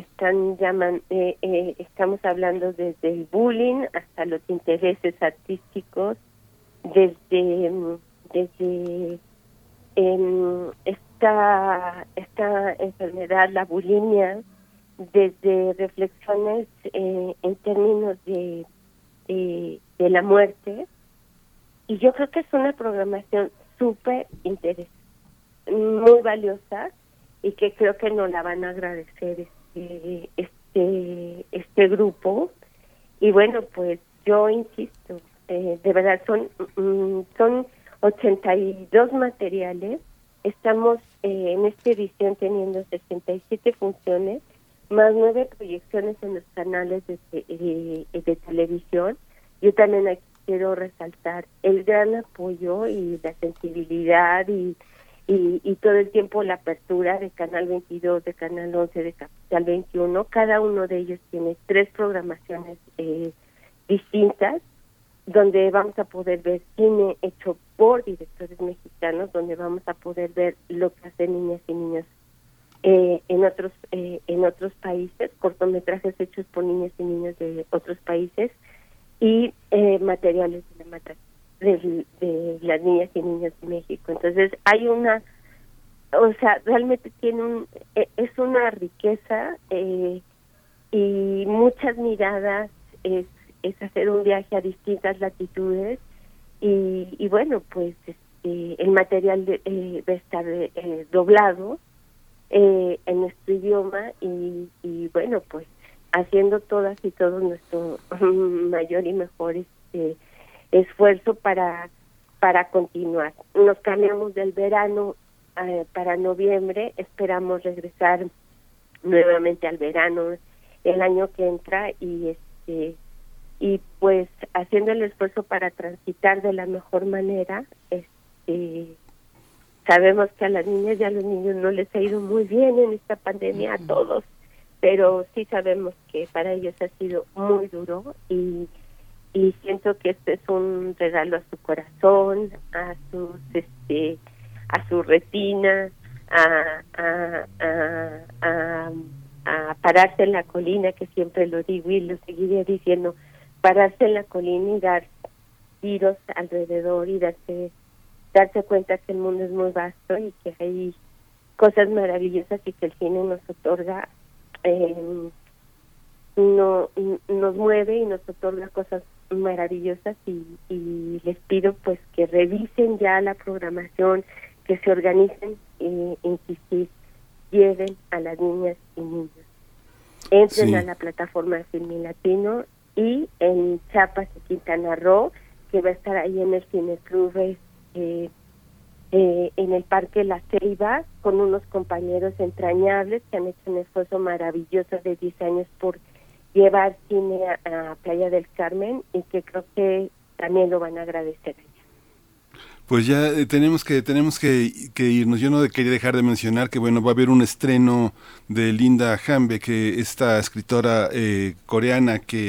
estamos hablando desde el bullying hasta los intereses artísticos, desde esta enfermedad, la bulimia, desde reflexiones en términos de la muerte. Y yo creo que es una programación súper interesante, muy valiosa, y que creo que nos la van a agradecer este grupo. Y bueno, pues yo insisto, de verdad son 82 materiales. Estamos en esta edición teniendo 67 funciones, más 9 proyecciones en los canales de televisión. Yo también aquí quiero resaltar el gran apoyo y la sensibilidad y todo el tiempo la apertura de Canal 22, de Canal 11, de Capital 21. Cada uno de ellos tiene 3 programaciones distintas, donde vamos a poder ver cine hecho por directores mexicanos, donde vamos a poder ver lo que hacen niñas y niños en otros países, cortometrajes hechos por niñas y niños de otros países, y materiales de las niñas y niños de México. Entonces hay realmente es una riqueza y muchas miradas, es hacer un viaje a distintas latitudes, y bueno, pues el material va a estar doblado en nuestro idioma, y bueno, pues haciendo todas y todos nuestro mayor y mejor esfuerzo para continuar. Nos cambiamos del verano para noviembre, esperamos regresar nuevamente al verano el año que entra, y pues haciendo el esfuerzo para transitar de la mejor manera. Sabemos que a las niñas y a los niños no les ha ido muy bien en esta pandemia, a todos, pero sí sabemos que para ellos ha sido muy duro, y siento que este es un regalo a su corazón, a su retina, a pararse en la colina, que siempre lo digo y lo seguiré diciendo, pararse en la colina y dar tiros alrededor y darse cuenta que el mundo es muy vasto y que hay cosas maravillosas, y que el cine nos otorga, nos mueve y nos otorga cosas maravillosas, y les pido pues que revisen ya la programación, que se organicen, insistir, lleven a las niñas y niños, entren a la plataforma de Filmin Latino, y en Chiapas y Quintana Roo, que va a estar ahí en el Cineclub, en el Parque La Ceiba, con unos compañeros entrañables que han hecho un esfuerzo maravilloso de 10 años por llevar cine a Playa del Carmen, y que creo que también lo van a agradecer allá. Pues ya tenemos que irnos. Yo no quería dejar de mencionar que bueno, va a haber un estreno de Linda Hanbe, que esta escritora coreana que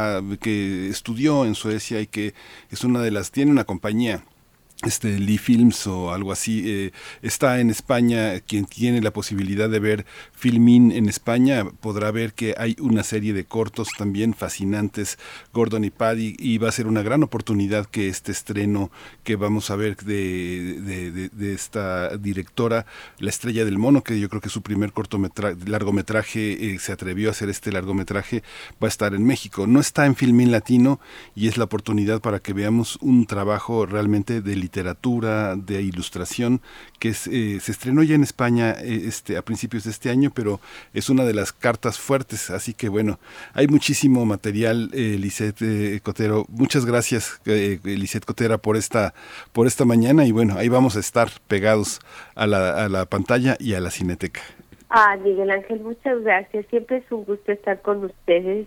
estudió en Suecia y que es tiene una compañía, Lee Films o algo así, está en España. Quien tiene la posibilidad de ver Filmin en España podrá ver que hay una serie de cortos también fascinantes, Gordon y Paddy, y va a ser una gran oportunidad que este estreno que vamos a ver de esta directora, La Estrella del Mono, que yo creo que es su primer largometraje, se atrevió a hacer este largometraje, va a estar en México. No está en Filmin Latino y es la oportunidad para que veamos un trabajo realmente de literatura, de ilustración, que se estrenó ya en España a principios de este año, pero es una de las cartas fuertes, así que bueno, hay muchísimo material. Lisette Cotero, muchas gracias, Lisette Cotera, por esta mañana, y bueno, ahí vamos a estar pegados a la pantalla y a la Cineteca. Miguel Ángel, muchas gracias, siempre es un gusto estar con ustedes.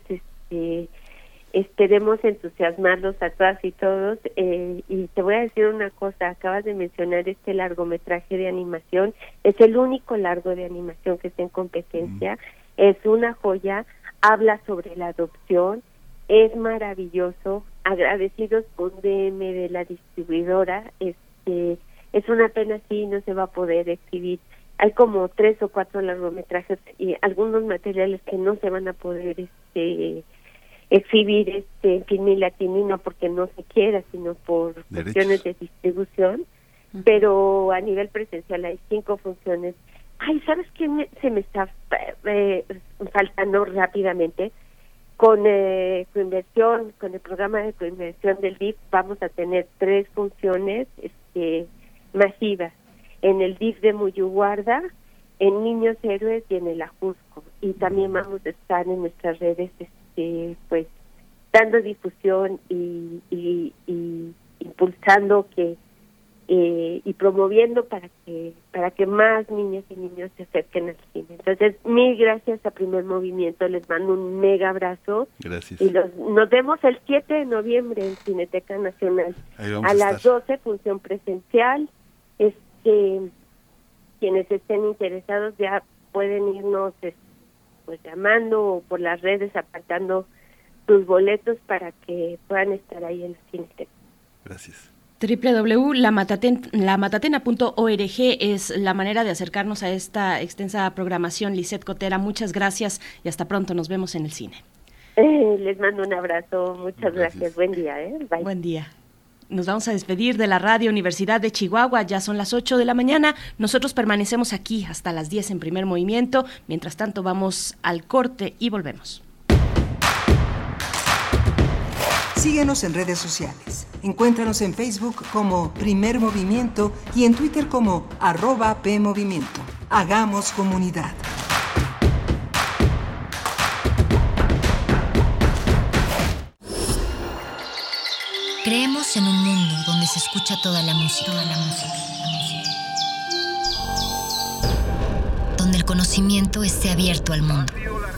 Esperemos entusiasmarlos a todas y todos, y te voy a decir una cosa, acabas de mencionar este largometraje de animación, es el único largo de animación que está en competencia, es una joya, habla sobre la adopción, es maravilloso, agradecidos con DM de la distribuidora, es una pena si no se va a poder exhibir. Hay como 3 o 4 largometrajes y algunos materiales que no se van a poder exhibir en Filmin Latino, y no porque no se quiera, sino por cuestiones de distribución, pero a nivel presencial hay 5 funciones. ¿Sabes qué se me está faltando rápidamente? Con coinversión, con el programa de coinversión del DIF, vamos a tener 3 funciones masivas, en el DIF de Muyuguarda, en Niños Héroes y en el Ajusco, y también vamos a estar en nuestras redes pues dando difusión y impulsando y promoviendo para que más niñas y niños se acerquen al cine. Entonces, mil gracias a Primer Movimiento, les mando un mega abrazo. Gracias. Y nos vemos el 7 de noviembre en Cineteca Nacional a las 12, función presencial. Quienes estén interesados ya pueden irnos pues llamando o por las redes apartando sus boletos para que puedan estar ahí en la Cineteca. Gracias. www.lamatatena.org es la manera de acercarnos a esta extensa programación. Lisette Cotera, muchas gracias y hasta pronto, nos vemos en el cine. Les mando un abrazo, muchas gracias. Buen día. Bye. Buen día. Nos vamos a despedir de la Radio Universidad de Chihuahua, ya son las 8 de la mañana, nosotros permanecemos aquí hasta las 10 en Primer Movimiento, mientras tanto vamos al corte y volvemos. Síguenos en redes sociales, encuéntranos en Facebook como Primer Movimiento y en Twitter como @PMovimiento. Hagamos comunidad. Creemos en un mundo donde se escucha toda la música. Donde el conocimiento esté abierto al mundo.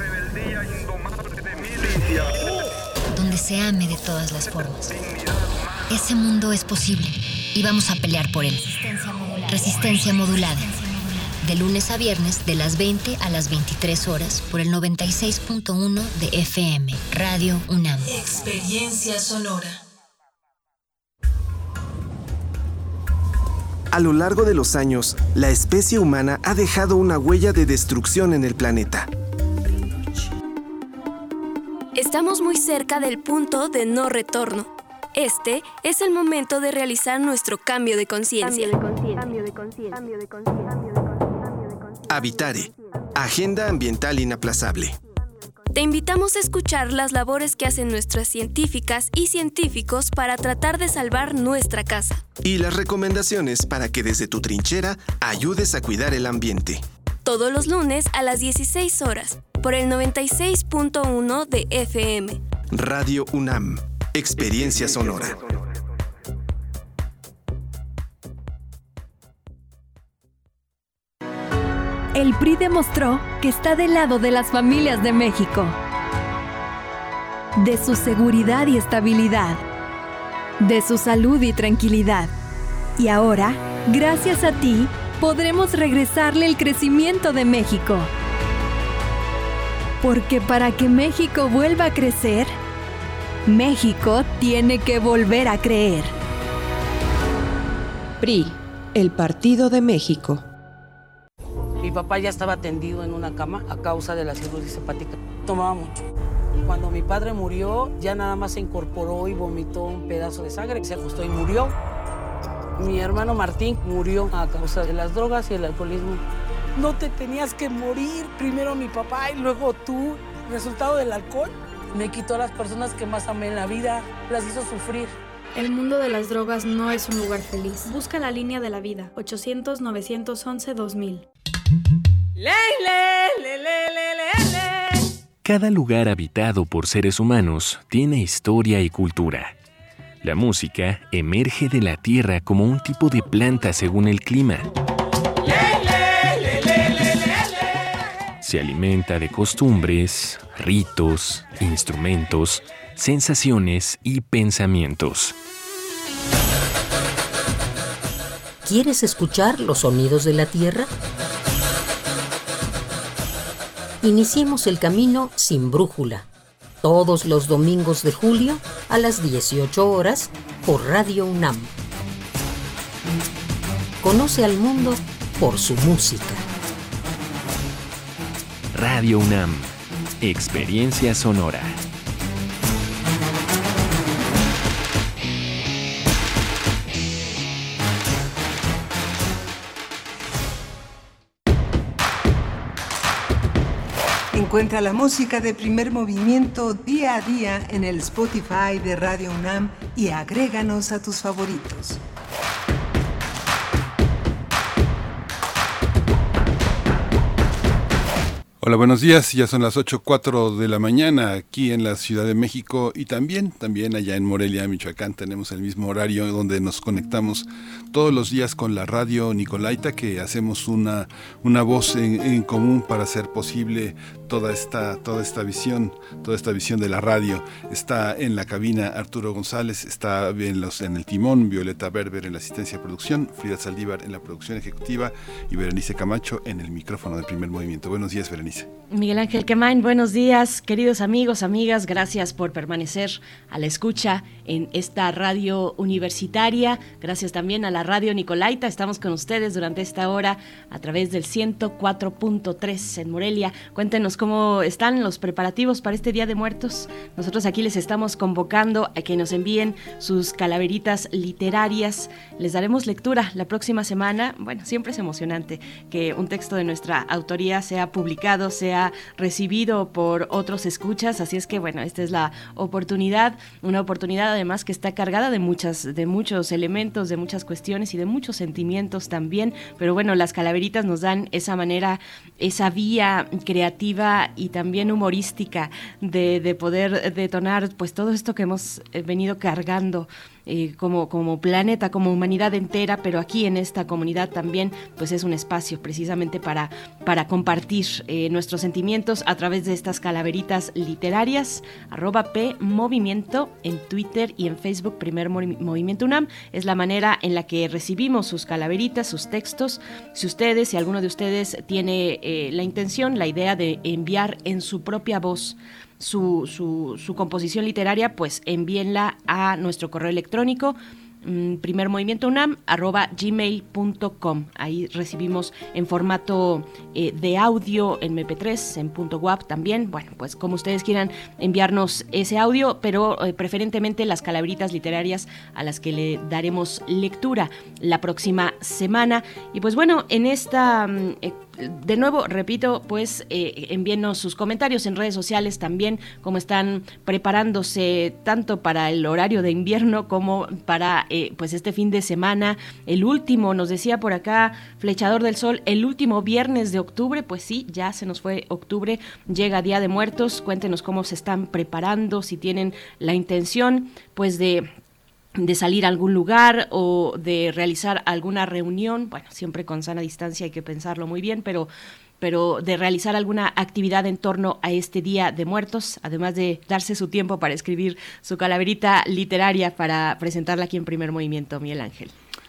Donde se ame de todas las formas. Ese mundo es posible y vamos a pelear por él. Resistencia modulada. De lunes a viernes de las 20 a las 23 horas por el 96.1 de FM. Radio UNAM. Experiencia sonora. A lo largo de los años, la especie humana ha dejado una huella de destrucción en el planeta. Estamos muy cerca del punto de no retorno. Este es el momento de realizar nuestro cambio de conciencia. Habitare, Agenda Ambiental Inaplazable. Te invitamos a escuchar las labores que hacen nuestras científicas y científicos para tratar de salvar nuestra casa. Y las recomendaciones para que desde tu trinchera ayudes a cuidar el ambiente. Todos los lunes a las 16 horas, por el 96.1 de FM. Radio UNAM, Experiencia Sonora. El PRI demostró que está del lado de las familias de México, de su seguridad y estabilidad, de su salud y tranquilidad, Y ahora, gracias a ti, podremos regresarle el crecimiento de México. Porque para que México vuelva a crecer, México tiene que volver a creer. PRI, el Partido de México. Mi papá ya estaba tendido en una cama a causa de la cirrosis hepática. Tomaba mucho. Cuando mi padre murió, ya nada más se incorporó y vomitó un pedazo de sangre, se ajustó y murió. Mi hermano Martín murió a causa de las drogas y el alcoholismo. No te tenías que morir, primero mi papá y luego tú. Resultado del alcohol me quitó a las personas que más amé en la vida, las hizo sufrir. El mundo de las drogas no es un lugar feliz. Busca la línea de la vida, 800-911-2000. Cada lugar habitado por seres humanos tiene historia y cultura. La música emerge de la tierra como un tipo de planta según el clima. Se alimenta de costumbres, ritos, instrumentos, sensaciones y pensamientos. ¿Quieres escuchar los sonidos de la tierra? Iniciemos el camino sin brújula, todos los domingos de julio a las 18 horas por Radio UNAM. Conoce al mundo por su música. Radio UNAM, experiencia sonora. Encuentra la música de Primer Movimiento día a día en el Spotify de Radio UNAM y agréganos a tus favoritos. Hola, buenos días. Ya son las 8:04 de la mañana aquí en la Ciudad de México y también allá en Morelia, Michoacán. Tenemos el mismo horario donde nos conectamos todos los días con la radio Nicolaita, que hacemos una voz en común para hacer posible toda esta visión de la radio. Está en la cabina Arturo González, está en el timón Violeta Berber en la asistencia de producción, Frida Saldívar en la producción ejecutiva y Berenice Camacho en el micrófono del Primer Movimiento. Buenos días, Berenice. Miguel Ángel Quemain, buenos días, queridos amigos, amigas, gracias por permanecer a la escucha en esta radio universitaria, gracias también a la radio Nicolaita, estamos con ustedes durante esta hora a través del 104.3 en Morelia. Cuéntenos cómo están los preparativos para este Día de Muertos. Nosotros aquí les estamos convocando a que nos envíen sus calaveritas literarias, les daremos lectura la próxima semana. Bueno, siempre es emocionante que un texto de nuestra autoría sea publicado, sea recibido por otros escuchas, así es que bueno, esta es la oportunidad, una oportunidad además que está cargada de muchos elementos, de muchas cuestiones y de muchos sentimientos también, pero bueno, las calaveritas nos dan esa manera, esa vía creativa y también humorística de poder detonar pues todo esto que hemos venido cargando como planeta, como humanidad entera, pero aquí en esta comunidad también pues es un espacio precisamente para compartir nuestros sentimientos a través de estas calaveritas literarias. @PMovimiento en Twitter y en Facebook Primer Movimiento UNAM es la manera en la que recibimos sus calaveritas, sus textos. Si alguno de ustedes tiene la intención, la idea de enviar en su propia voz su composición literaria, pues envíenla a nuestro correo electrónico primermovimientounam@gmail.com. Ahí recibimos en formato de audio, en MP3, en .wav también. Bueno, pues como ustedes quieran enviarnos ese audio, pero preferentemente las calaveritas literarias a las que le daremos lectura la próxima semana. Y pues bueno, en esta... de nuevo, repito, pues envíenos sus comentarios en redes sociales también, cómo están preparándose tanto para el horario de invierno como para pues este fin de semana, el último, nos decía por acá Flechador del Sol, el último viernes de octubre. Pues sí, ya se nos fue octubre, llega Día de Muertos. Cuéntenos cómo se están preparando, si tienen la intención pues de salir a algún lugar o de realizar alguna reunión, bueno, siempre con sana distancia, hay que pensarlo muy bien, pero de realizar alguna actividad en torno a este Día de Muertos, además de darse su tiempo para escribir su calaverita literaria para presentarla aquí en Primer Movimiento, Miguel Ángel.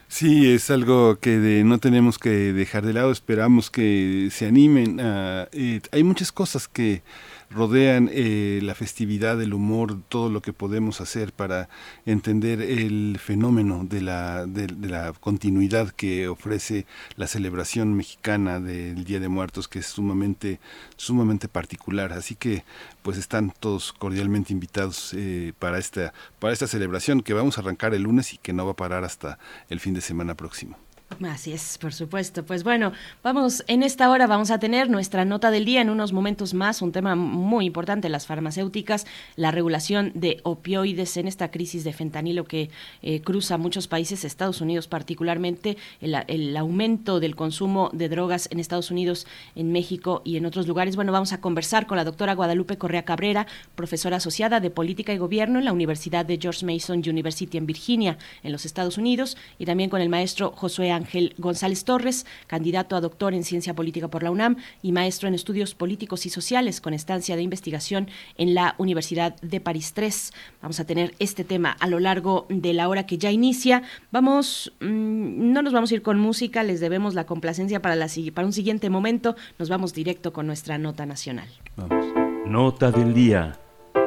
Sí, es algo que no tenemos que dejar de lado. Esperamos que se animen. Hay muchas cosas que rodean la festividad, el humor, todo lo que podemos hacer para entender el fenómeno de la continuidad que ofrece la celebración mexicana del Día de Muertos, que es sumamente particular. Así que pues están todos cordialmente invitados para esta celebración que vamos a arrancar el lunes y que no va a parar hasta el fin de semana próximo. Así es, por supuesto. Pues bueno, en esta hora vamos a tener nuestra nota del día en unos momentos más, un tema muy importante, las farmacéuticas, la regulación de opioides en esta crisis de fentanilo que cruza muchos países, Estados Unidos particularmente, el aumento del consumo de drogas en Estados Unidos, en México y en otros lugares. Bueno, vamos a conversar con la doctora Guadalupe Correa Cabrera, profesora asociada de Política y Gobierno en la Universidad de George Mason University en Virginia, en los Estados Unidos, y también con el maestro Josué Ángel González Torres, candidato a doctor en Ciencia Política por la UNAM y maestro en Estudios Políticos y Sociales con estancia de investigación en la Universidad de París III. Vamos a tener este tema a lo largo de la hora que ya inicia. No nos vamos a ir con música, les debemos la complacencia para un siguiente momento. Nos vamos directo con nuestra nota nacional. Vamos. Nota del día.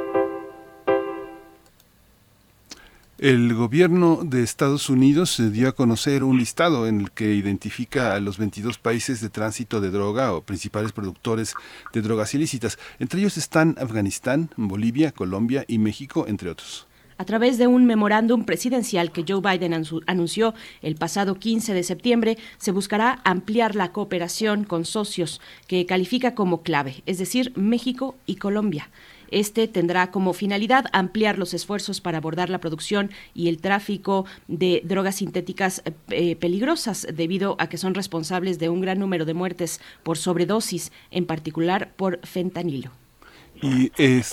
El gobierno de Estados Unidos dio a conocer un listado en el que identifica a los 22 países de tránsito de droga o principales productores de drogas ilícitas. Entre ellos están Afganistán, Bolivia, Colombia y México, entre otros. A través de un memorándum presidencial que Joe Biden anunció el pasado 15 de septiembre, se buscará ampliar la cooperación con socios que califica como clave, es decir, México y Colombia. Este tendrá como finalidad ampliar los esfuerzos para abordar la producción y el tráfico de drogas sintéticas peligrosas, debido a que son responsables de un gran número de muertes por sobredosis, en particular por fentanilo. Y es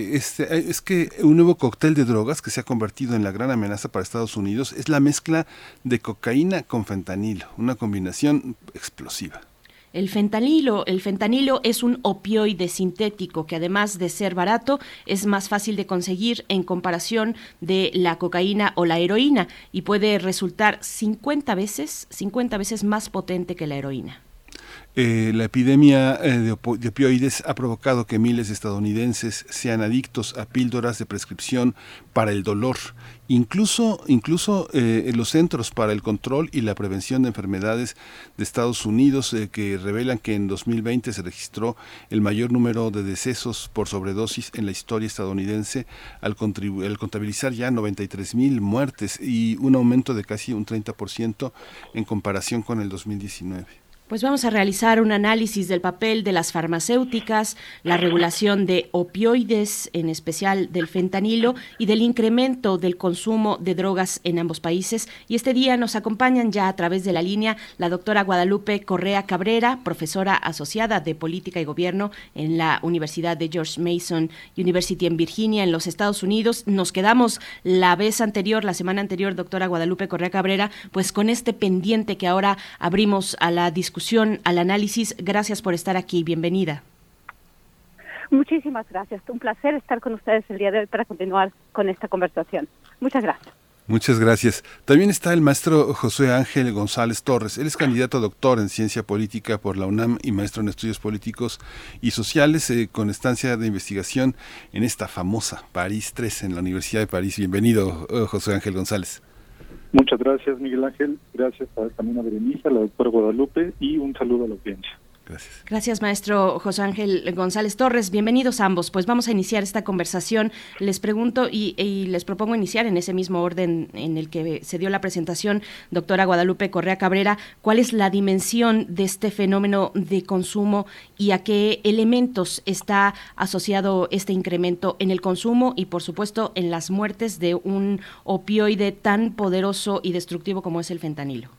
que un nuevo cóctel de drogas que se ha convertido en la gran amenaza para Estados Unidos es la mezcla de cocaína con fentanilo, una combinación explosiva. El fentanilo es un opioide sintético que, además de ser barato, es más fácil de conseguir en comparación de la cocaína o la heroína, y puede resultar 50 veces más potente que la heroína. La epidemia de opioides ha provocado que miles de estadounidenses sean adictos a píldoras de prescripción para el dolor. Incluso los Centros para el Control y la Prevención de Enfermedades de Estados Unidos, que revelan que en 2020 se registró el mayor número de decesos por sobredosis en la historia estadounidense, al contabilizar ya 93,000 muertes y un aumento de casi un 30% en comparación con el 2019. Pues vamos a realizar un análisis del papel de las farmacéuticas, la regulación de opioides, en especial del fentanilo, y del incremento del consumo de drogas en ambos países. Y este día nos acompañan ya a través de la línea la doctora Guadalupe Correa Cabrera, profesora asociada de Política y Gobierno en la Universidad de George Mason University en Virginia, en los Estados Unidos. Nos quedamos la semana anterior, doctora Guadalupe Correa Cabrera, pues con este pendiente que ahora abrimos a la discusión, al análisis. Gracias por estar aquí, bienvenida. Muchísimas gracias, un placer estar con ustedes el día de hoy para continuar con esta conversación. Muchas gracias. Muchas gracias. También está el maestro Josué Ángel González Torres. Él es candidato a doctor en Ciencia Política por la UNAM y maestro en Estudios Políticos y Sociales, con estancia de investigación en esta famosa París III, en la Universidad de París. Bienvenido, Josué Ángel González. Muchas gracias, Miguel Ángel. Gracias también a Berenice, a la doctora Guadalupe, y un saludo a la audiencia. Gracias. Gracias, maestro José Ángel González Torres. Bienvenidos ambos. Pues vamos a iniciar esta conversación. Les pregunto y les propongo iniciar en ese mismo orden en el que se dio la presentación, doctora Guadalupe Correa Cabrera. ¿Cuál es la dimensión de este fenómeno de consumo y a qué elementos está asociado este incremento en el consumo y, por supuesto, en las muertes de un opioide tan poderoso y destructivo como es el fentanilo?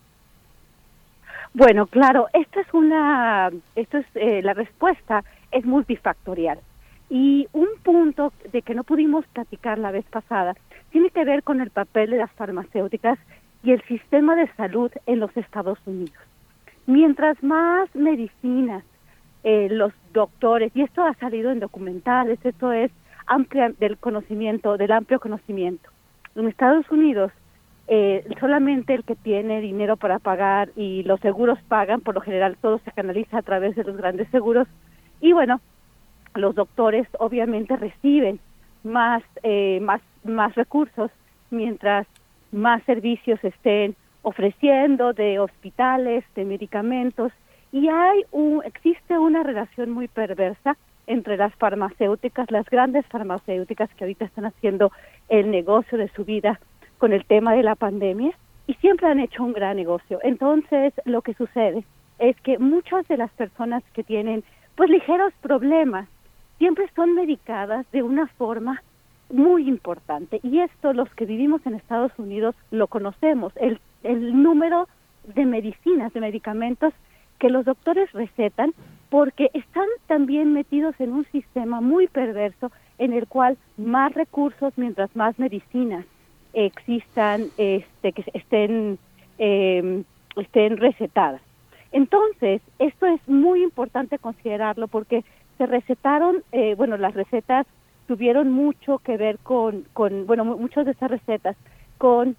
Bueno, claro, la respuesta es multifactorial. Y un punto de que no pudimos platicar la vez pasada tiene que ver con el papel de las farmacéuticas y el sistema de salud en los Estados Unidos. Mientras más medicinas los doctores, y esto ha salido en documentales, esto es del amplio conocimiento. En Estados Unidos, solamente el que tiene dinero para pagar y los seguros pagan, por lo general todo se canaliza a través de los grandes seguros, y bueno, los doctores obviamente reciben más recursos mientras más servicios estén ofreciendo de hospitales, de medicamentos, y existe una relación muy perversa entre las farmacéuticas, las grandes farmacéuticas que ahorita están haciendo el negocio de su vida con el tema de la pandemia, y siempre han hecho un gran negocio. Entonces, lo que sucede es que muchas de las personas que tienen pues ligeros problemas siempre son medicadas de una forma muy importante, y esto los que vivimos en Estados Unidos lo conocemos, el número de medicinas, de medicamentos que los doctores recetan, porque están también metidos en un sistema muy perverso en el cual más recursos, mientras más medicinas existan, que estén recetadas. Entonces, esto es muy importante considerarlo porque se recetaron, las recetas tuvieron mucho que ver con muchas de estas recetas con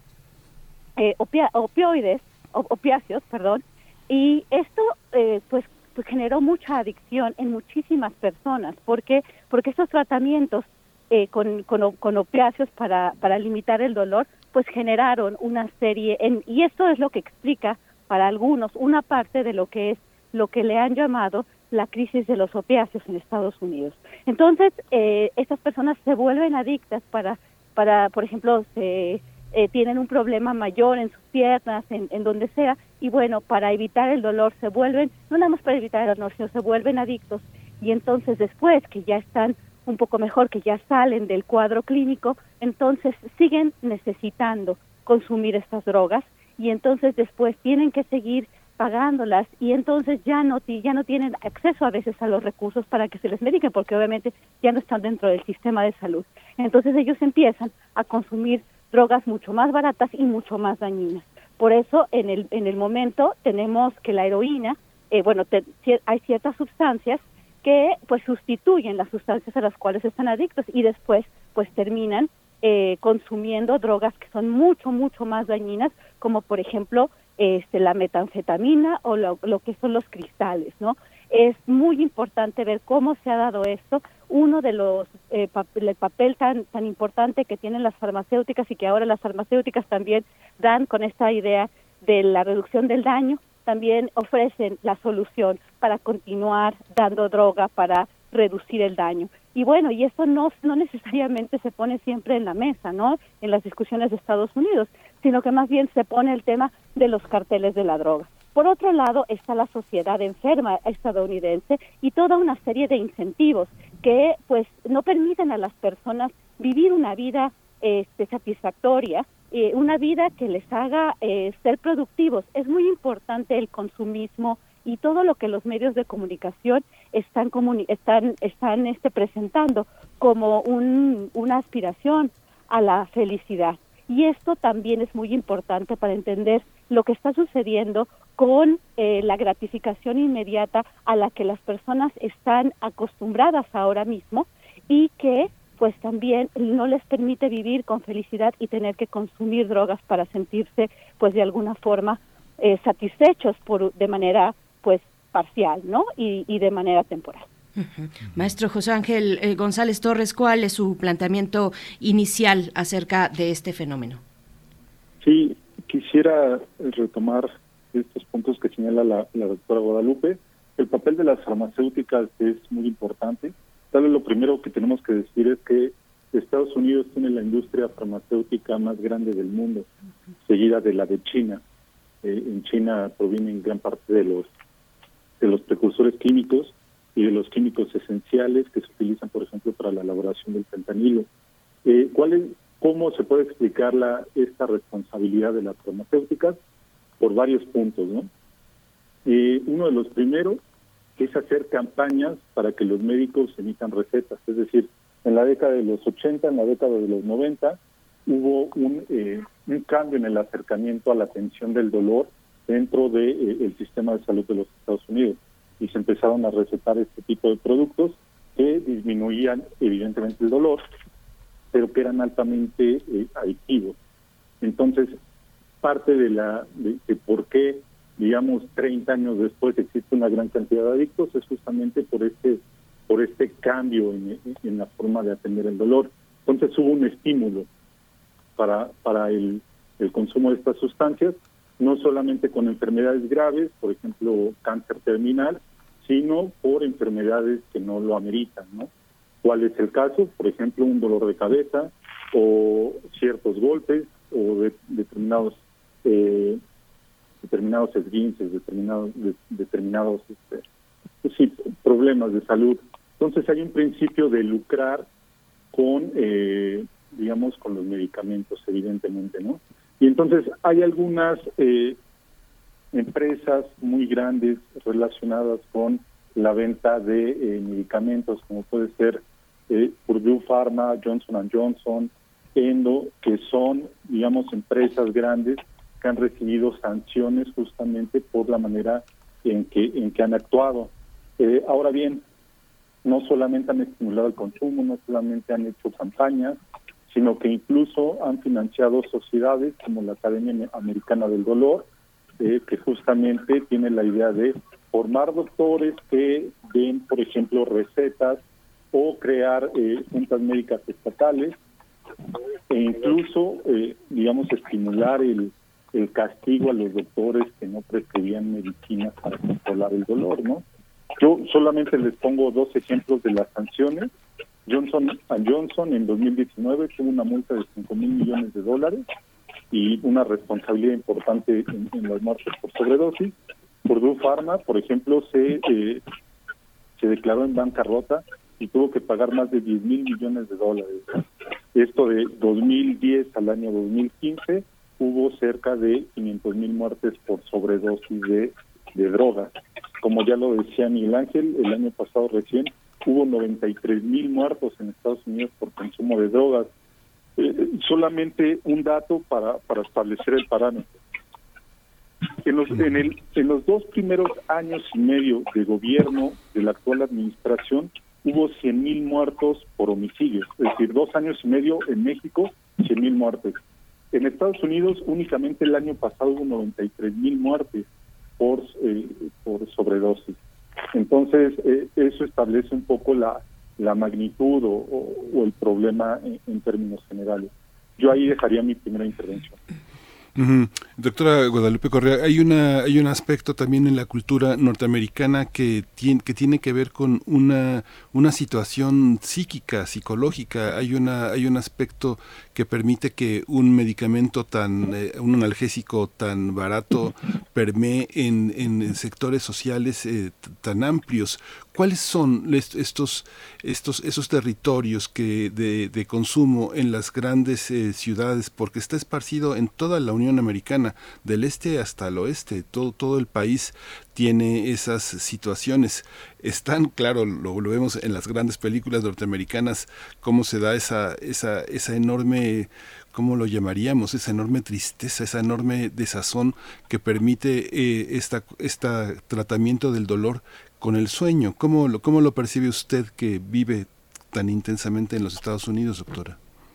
opiáceos, y esto pues generó mucha adicción en muchísimas personas. ¿Por qué? Porque estos tratamientos con opiáceos para limitar el dolor, pues generaron una serie, y esto es lo que explica para algunos una parte de lo que le han llamado la crisis de los opiáceos en Estados Unidos. Entonces, estas personas se vuelven adictas para por ejemplo, tienen un problema mayor en sus piernas, en donde sea, y bueno, para evitar el dolor se vuelven, no nada más para evitar el dolor, sino se vuelven adictos, y entonces después que ya están un poco mejor, que ya salen del cuadro clínico, entonces siguen necesitando consumir estas drogas, y entonces después tienen que seguir pagándolas, y entonces ya no tienen acceso a veces a los recursos para que se les mediquen, porque obviamente ya no están dentro del sistema de salud. Entonces ellos empiezan a consumir drogas mucho más baratas y mucho más dañinas. Por eso en el momento tenemos que la heroína, hay ciertas sustancias que pues sustituyen las sustancias a las cuales están adictos, y después pues terminan consumiendo drogas que son mucho más dañinas, como por ejemplo la metanfetamina o lo que son los cristales, ¿no? Es muy importante ver cómo se ha dado esto. Uno de los el papel tan importante que tienen las farmacéuticas, y que ahora las farmacéuticas también dan con esta idea de la reducción del daño, también ofrecen la solución para continuar dando droga para reducir el daño. Y bueno, y eso no necesariamente se pone siempre en la mesa, ¿no?, en las discusiones de Estados Unidos, sino que más bien se pone el tema de los carteles de la droga. Por otro lado está la sociedad enferma estadounidense y toda una serie de incentivos que pues no permiten a las personas vivir una vida satisfactoria, una vida que les haga ser productivos. Es muy importante el consumismo y todo lo que los medios de comunicación están presentando como una aspiración a la felicidad. Y esto también es muy importante para entender lo que está sucediendo con la gratificación inmediata a la que las personas están acostumbradas ahora mismo, y que pues también no les permite vivir con felicidad y tener que consumir drogas para sentirse pues de alguna forma satisfechos de manera pues parcial, ¿no? Y de manera temporal. Uh-huh. Maestro José Ángel González Torres, ¿cuál es su planteamiento inicial acerca de este fenómeno? Sí, quisiera retomar estos puntos que señala la doctora Guadalupe. El papel de las farmacéuticas es muy importante. Tal vez lo primero que tenemos que decir es que Estados Unidos tiene la industria farmacéutica más grande del mundo, seguida de la de China. En China provienen gran parte de los precursores químicos y de los químicos esenciales que se utilizan, por ejemplo, para la elaboración del fentanilo. ¿Cómo se puede explicar esta responsabilidad de las farmacéuticas? Por varios puntos, ¿no? Uno de los primeros es hacer campañas para que los médicos emitan recetas. Es decir, en la década de los 80, en la década de los 90, hubo un cambio en el acercamiento a la atención del dolor dentro del sistema de salud de los Estados Unidos, y se empezaron a recetar este tipo de productos que disminuían evidentemente el dolor, pero que eran altamente adictivos. Entonces, parte de por qué, digamos, 30 años después existe una gran cantidad de adictos, es justamente por este cambio en la forma de atender el dolor. Entonces hubo un estímulo para el consumo de estas sustancias, no solamente con enfermedades graves, por ejemplo, cáncer terminal, sino por enfermedades que no lo ameritan, ¿no? ¿Cuál es el caso? Por ejemplo, un dolor de cabeza o ciertos golpes o determinados esguinces, determinados problemas de salud. Entonces hay un principio de lucrar con, digamos, con los medicamentos, evidentemente, ¿no? Y entonces hay algunas empresas muy grandes relacionadas con la venta de medicamentos, como puede ser Purdue Pharma, Johnson & Johnson, Endo, que son, digamos, empresas grandes que han recibido sanciones justamente por la manera en que han actuado. Ahora bien, no solamente han estimulado el consumo, no solamente han hecho campañas, sino que incluso han financiado sociedades como la Academia Americana del Dolor, que justamente tiene la idea de formar doctores que den, por ejemplo, recetas o crear juntas médicas estatales e incluso, digamos, estimular el castigo a los doctores que no prescribían medicinas para controlar el dolor, ¿no? Yo solamente les pongo 2 ejemplos de las sanciones. Johnson & Johnson en 2019 tuvo una multa de $5,000 millones y una responsabilidad importante en las muertes por sobredosis. Purdue Pharma, por ejemplo, se declaró en bancarrota y tuvo que pagar más de $10,000 millones. Esto de 2010 al año 2015 hubo cerca de 500,000 muertes por sobredosis de drogas. Como ya lo decía Miguel Ángel, el año pasado recién hubo 93,000 muertos en Estados Unidos por consumo de drogas. Solamente un dato para establecer el parámetro. En los 2 primeros años y medio de gobierno de la actual administración hubo 100,000 muertos por homicidios, es decir, 2 años y medio en México, 100,000 muertes. En Estados Unidos únicamente el año pasado hubo 93,000 muertes por sobredosis. Entonces, eso establece un poco la magnitud o el problema en términos generales. Yo ahí dejaría mi primera intervención. Doctora Guadalupe Correa, hay un aspecto también en la cultura norteamericana que tiene que ver con una situación psíquica, psicológica. Hay un aspecto que permite que un medicamento un analgésico tan barato permee en sectores sociales tan amplios. ¿Cuáles son esos territorios de consumo en las grandes ciudades? Porque está esparcido en toda la Unión Americana, del este hasta el oeste. Todo el país tiene esas situaciones. Están, claro, lo vemos en las grandes películas norteamericanas, cómo se da esa enorme, ¿cómo lo llamaríamos? Esa enorme tristeza, esa enorme desazón que permite este tratamiento del dolor con el sueño. ¿Cómo lo percibe usted que vive tan intensamente en los Estados Unidos, doctora?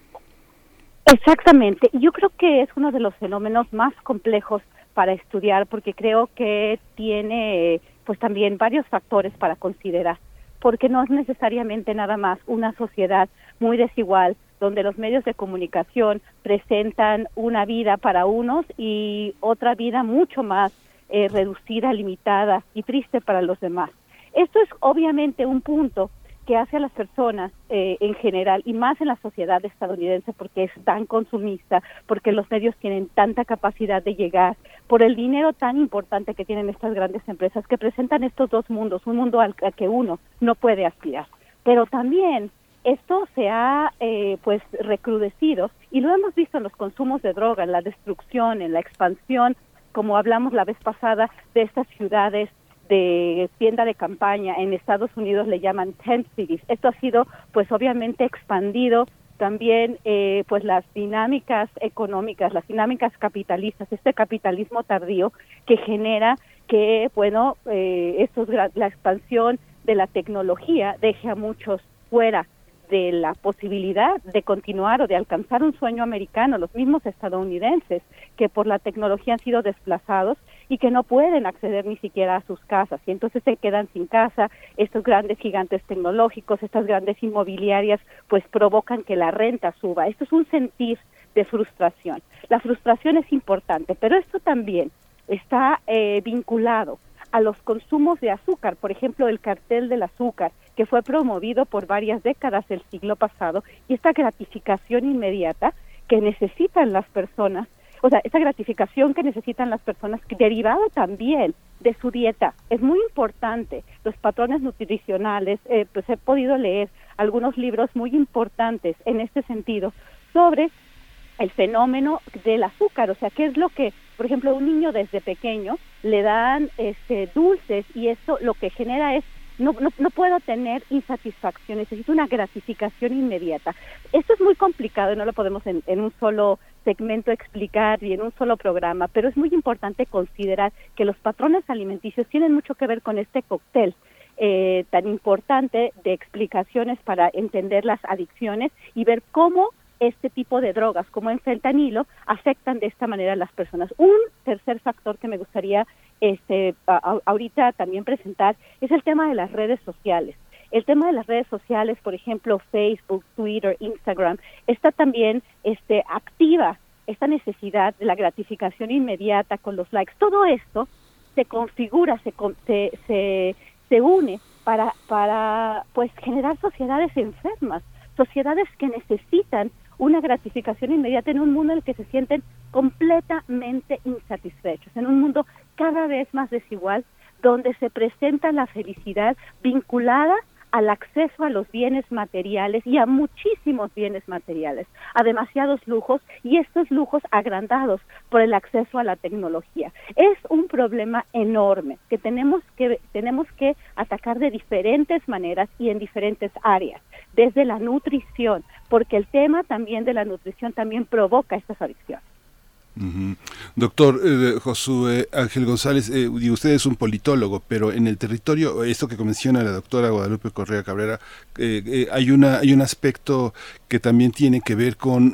Exactamente. Yo creo que es uno de los fenómenos más complejos para estudiar, porque creo que tiene pues también varios factores para considerar, porque no es necesariamente nada más una sociedad muy desigual, donde los medios de comunicación presentan una vida para unos y otra vida mucho más reducida, limitada y triste para los demás. Esto es obviamente un punto que hace a las personas en general, y más en la sociedad estadounidense, porque es tan consumista, porque los medios tienen tanta capacidad de llegar, por el dinero tan importante que tienen estas grandes empresas, que presentan estos dos mundos, un mundo al que uno no puede aspirar. Pero también esto se ha pues recrudecido, y lo hemos visto en los consumos de droga, en la destrucción, en la expansión, como hablamos la vez pasada, de estas ciudades de tienda de campaña. En Estados Unidos le llaman tent cities. Esto ha sido pues obviamente expandido también pues las dinámicas económicas, las dinámicas capitalistas, este capitalismo tardío que genera que bueno la expansión de la tecnología deje a muchos fuera de la posibilidad de continuar o de alcanzar un sueño americano, los mismos estadounidenses que por la tecnología han sido desplazados y que no pueden acceder ni siquiera a sus casas, y entonces se quedan sin casa. Estos grandes gigantes tecnológicos, estas grandes inmobiliarias, pues provocan que la renta suba. Esto es un sentir de frustración. La frustración es importante, pero esto también está vinculado a los consumos de azúcar, por ejemplo, el cartel del azúcar, que fue promovido por varias décadas del siglo pasado, y esta gratificación inmediata que necesitan las personas, o sea, esa gratificación que necesitan las personas, derivado también de su dieta, es muy importante. Los patrones nutricionales, pues he podido leer algunos libros muy importantes en este sentido sobre el fenómeno del azúcar, o sea, qué es lo que, por ejemplo, a un niño desde pequeño le dan dulces, y eso lo que genera es no puedo tener insatisfacción, necesito una gratificación inmediata. Esto es muy complicado y no lo podemos en un solo segmento explicar y en un solo programa, pero es muy importante considerar que los patrones alimenticios tienen mucho que ver con este cóctel tan importante de explicaciones para entender las adicciones y ver cómo este tipo de drogas, como el fentanilo, afectan de esta manera a las personas. Un tercer factor que me gustaría ahorita también presentar es el tema de las redes sociales. El tema de las redes sociales, por ejemplo, Facebook, Twitter, Instagram, está también activa esta necesidad de la gratificación inmediata con los likes. Todo esto se configura, se une para pues generar sociedades enfermas, sociedades que necesitan una gratificación inmediata en un mundo en el que se sienten completamente insatisfechos, en un mundo cada vez más desigual, donde se presenta la felicidad vinculada al acceso a los bienes materiales y a muchísimos bienes materiales, a demasiados lujos, y estos lujos agrandados por el acceso a la tecnología. Es un problema enorme que tenemos que atacar de diferentes maneras y en diferentes áreas, desde la nutrición, porque el tema también de la nutrición también provoca estas adicciones. Uh-huh. Doctor Josué Ángel González, usted es un politólogo, pero en el territorio, esto que menciona la doctora Guadalupe Correa Cabrera, hay un aspecto que también tiene que ver con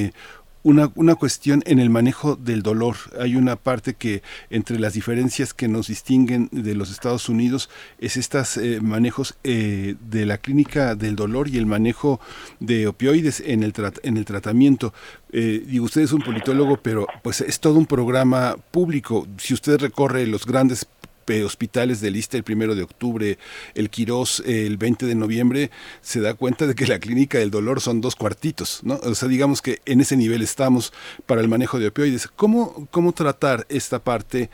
una cuestión en el manejo del dolor. Hay una parte que entre las diferencias que nos distinguen de los Estados Unidos es estos manejos de la clínica del dolor y el manejo de opioides en el tratamiento. Usted es un politólogo, pero pues es todo un programa público. Si usted recorre los grandes hospitales del ISSSTE el 1 de octubre, el Quirós el 20 de noviembre, se da cuenta de que la clínica del dolor son 2 cuartitos, ¿no? O sea, digamos que en ese nivel estamos para el manejo de opioides. ¿Cómo tratar esta parte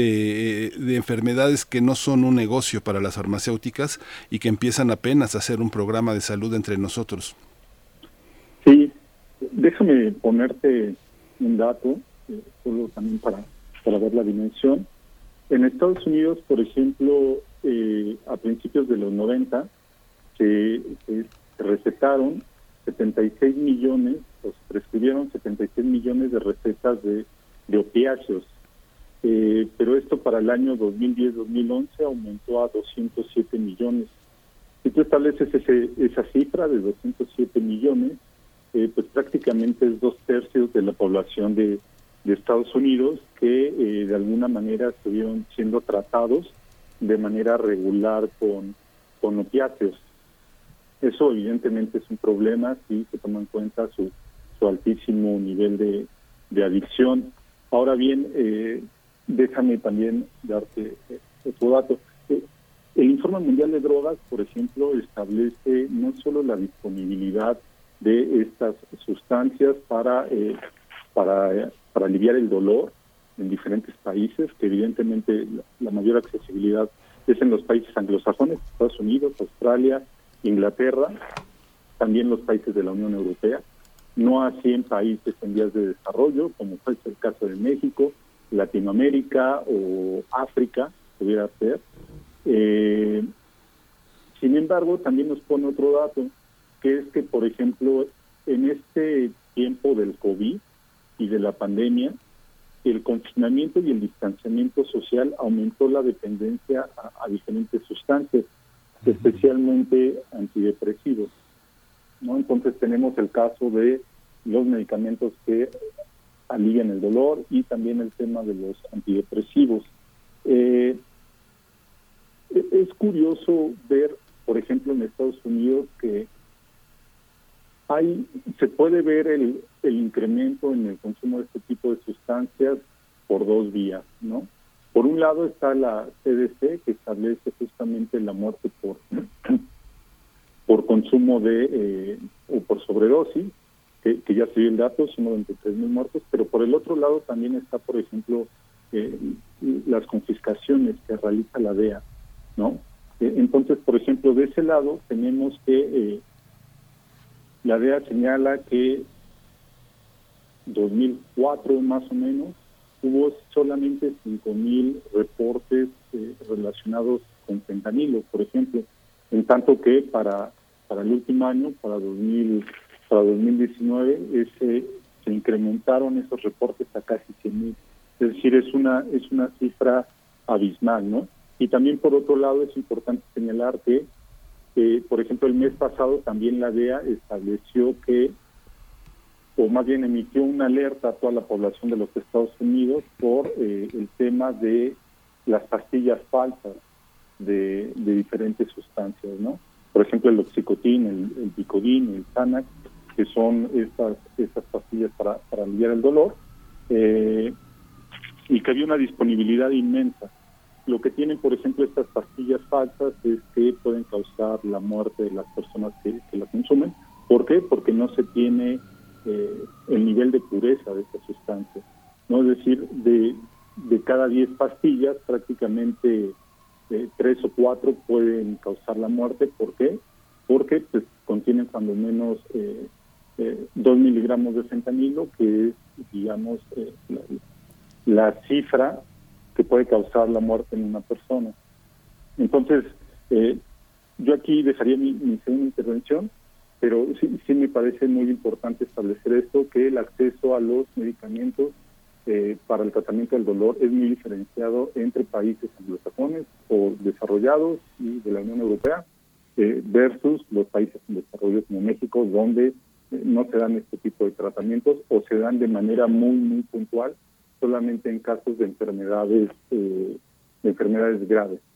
de enfermedades que no son un negocio para las farmacéuticas y que empiezan apenas a ser un programa de salud entre nosotros? Sí, déjame ponerte un dato, solo también para ver la dimensión. En Estados Unidos, por ejemplo, a principios de los 90, se recetaron 76 millones, o se prescribieron 76 millones de recetas de opiáceos. Pero esto para el año 2010-2011 aumentó a 207 millones. Si tú estableces esa cifra de 207 millones, pues prácticamente es 2/3 de la población de Estados Unidos que de alguna manera estuvieron siendo tratados de manera regular con opiáceos. Eso evidentemente es un problema si se toma en cuenta su altísimo nivel de adicción. Ahora bien, déjame también darte otro dato. El Informe Mundial de Drogas, por ejemplo, establece no solo la disponibilidad de estas sustancias para aliviar el dolor en diferentes países, que evidentemente la mayor accesibilidad es en los países anglosajones, Estados Unidos, Australia, Inglaterra, también los países de la Unión Europea, no así en países en vías de desarrollo, como fue el caso de México, Latinoamérica o África, pudiera ser. Sin embargo, también nos pone otro dato, que es que, por ejemplo, en este tiempo del COVID y de la pandemia, el confinamiento y el distanciamiento social aumentó la dependencia a diferentes sustancias, especialmente antidepresivos. ¿no? Entonces tenemos el caso de los medicamentos que alivian el dolor y también el tema de los antidepresivos. Es curioso ver, por ejemplo, en Estados Unidos que se puede ver el incremento en el consumo de este tipo de sustancias por dos vías, ¿no? Por un lado está la CDC, que establece justamente la muerte por consumo o por sobredosis, que ya se dio el dato, son 93,000 muertos, pero por el otro lado también está, por ejemplo, las confiscaciones que realiza la DEA, ¿no? Entonces, por ejemplo, de ese lado tenemos que la DEA señala que 2004 más o menos hubo solamente 5,000 reportes relacionados con fentanilo, por ejemplo, en tanto que para el último año, para 2019, se incrementaron esos reportes a casi 100,000. Es decir, es una cifra abismal, ¿no? Y también, por otro lado, es importante señalar que, por ejemplo, el mes pasado también la DEA estableció o más bien emitió una alerta a toda la población de los Estados Unidos por el tema de las pastillas falsas de diferentes sustancias, ¿no? Por ejemplo, el oxicotin, el Vicodin, el Xanax, que son estas pastillas para aliviar el dolor, y que había una disponibilidad inmensa. Lo que tienen, por ejemplo, estas pastillas falsas es que pueden causar la muerte de las personas que la consumen. ¿Por qué? Porque no se tiene el nivel de pureza de esta sustancia, ¿no? Es decir, de cada 10 pastillas, prácticamente 3 o 4 pueden causar la muerte. ¿Por qué? Porque pues, contienen cuando menos 2 miligramos de fentanilo, que es, digamos, la cifra que puede causar la muerte en una persona. Entonces, yo aquí dejaría mi segunda intervención, pero sí me parece muy importante establecer esto, que el acceso a los medicamentos para el tratamiento del dolor es muy diferenciado entre países anglosajones o desarrollados y de la Unión Europea versus los países en desarrollo como México, donde no se dan este tipo de tratamientos o se dan de manera muy, muy puntual, solamente en casos de enfermedades graves.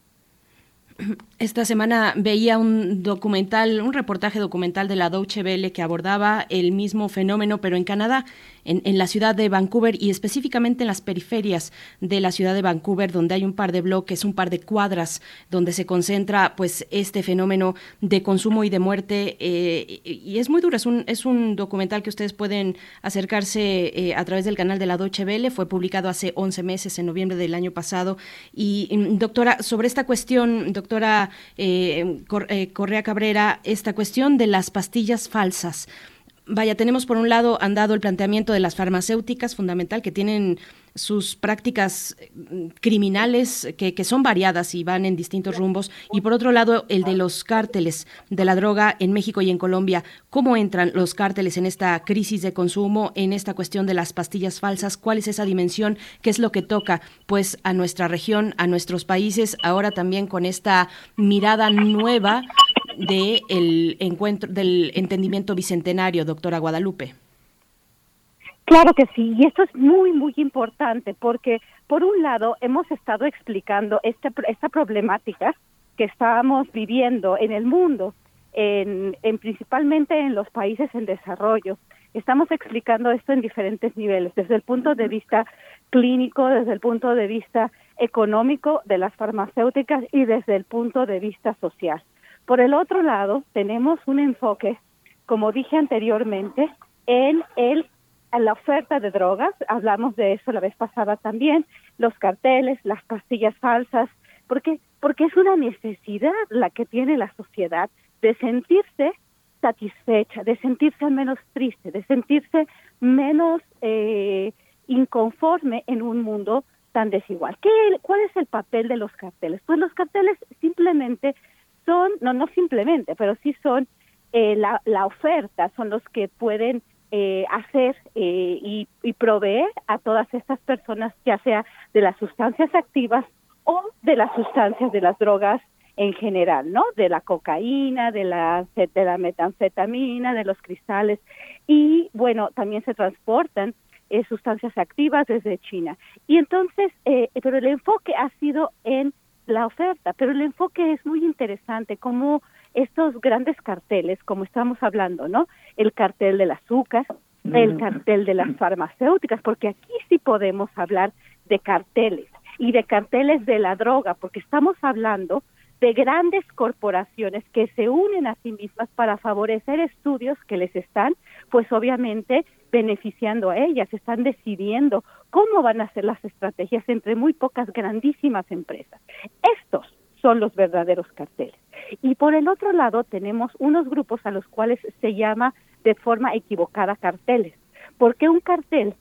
Esta semana veía un reportaje documental de la Deutsche Welle que abordaba el mismo fenómeno, pero en Canadá, en la ciudad de Vancouver y específicamente en las periferias de la ciudad de Vancouver, donde hay un par de bloques, un par de cuadras, donde se concentra pues este fenómeno de consumo y de muerte, y es muy duro. Es un documental que ustedes pueden acercarse a través del canal de la Deutsche Welle. Fue publicado hace 11 meses, en noviembre del año pasado. Y doctora, sobre esta cuestión, doctora Correa Cabrera, esta cuestión de las pastillas falsas. Vaya, tenemos por un lado andado el planteamiento de las farmacéuticas, fundamental, que tienen sus prácticas criminales que son variadas y van en distintos rumbos, y por otro lado el de los cárteles de la droga en México y en Colombia. ¿Cómo entran los cárteles en esta crisis de consumo, en esta cuestión de las pastillas falsas? ¿Cuál es esa dimensión? ¿Qué es lo que toca pues a nuestra región, a nuestros países, ahora también con esta mirada nueva del entendimiento bicentenario, doctora Guadalupe? Claro que sí, y esto es muy, muy importante porque, por un lado, hemos estado explicando esta problemática que estábamos viviendo en el mundo, principalmente en los países en desarrollo. Estamos explicando esto en diferentes niveles, desde el punto de vista clínico, desde el punto de vista económico de las farmacéuticas y desde el punto de vista social. Por el otro lado, tenemos un enfoque, como dije anteriormente, en la oferta de drogas. Hablamos de eso la vez pasada también, los carteles, las pastillas falsas, porque es una necesidad la que tiene la sociedad de sentirse satisfecha, de sentirse menos triste, de sentirse menos inconforme en un mundo tan desigual. ¿Cuál es el papel de los carteles? Pues los carteles simplemente son, no simplemente, pero sí son la oferta, son los que pueden hacer y proveer a todas estas personas, ya sea de las sustancias activas o de las sustancias de las drogas en general, ¿no? De la cocaína, de la metanfetamina, de los cristales, y bueno, también se transportan sustancias activas desde China. Y entonces, pero el enfoque ha sido en la oferta, pero el enfoque es muy interesante, como estos grandes carteles, como estamos hablando, ¿no? El cartel del azúcar, el cartel de las farmacéuticas, porque aquí sí podemos hablar de carteles, y de carteles de la droga, porque estamos hablando de grandes corporaciones que se unen a sí mismas para favorecer estudios que les están, pues obviamente, beneficiando a ellas, están decidiendo cómo van a ser las estrategias entre muy pocas grandísimas empresas. Estos son los verdaderos carteles. Y por el otro lado tenemos unos grupos a los cuales se llama de forma equivocada carteles, porque un cartel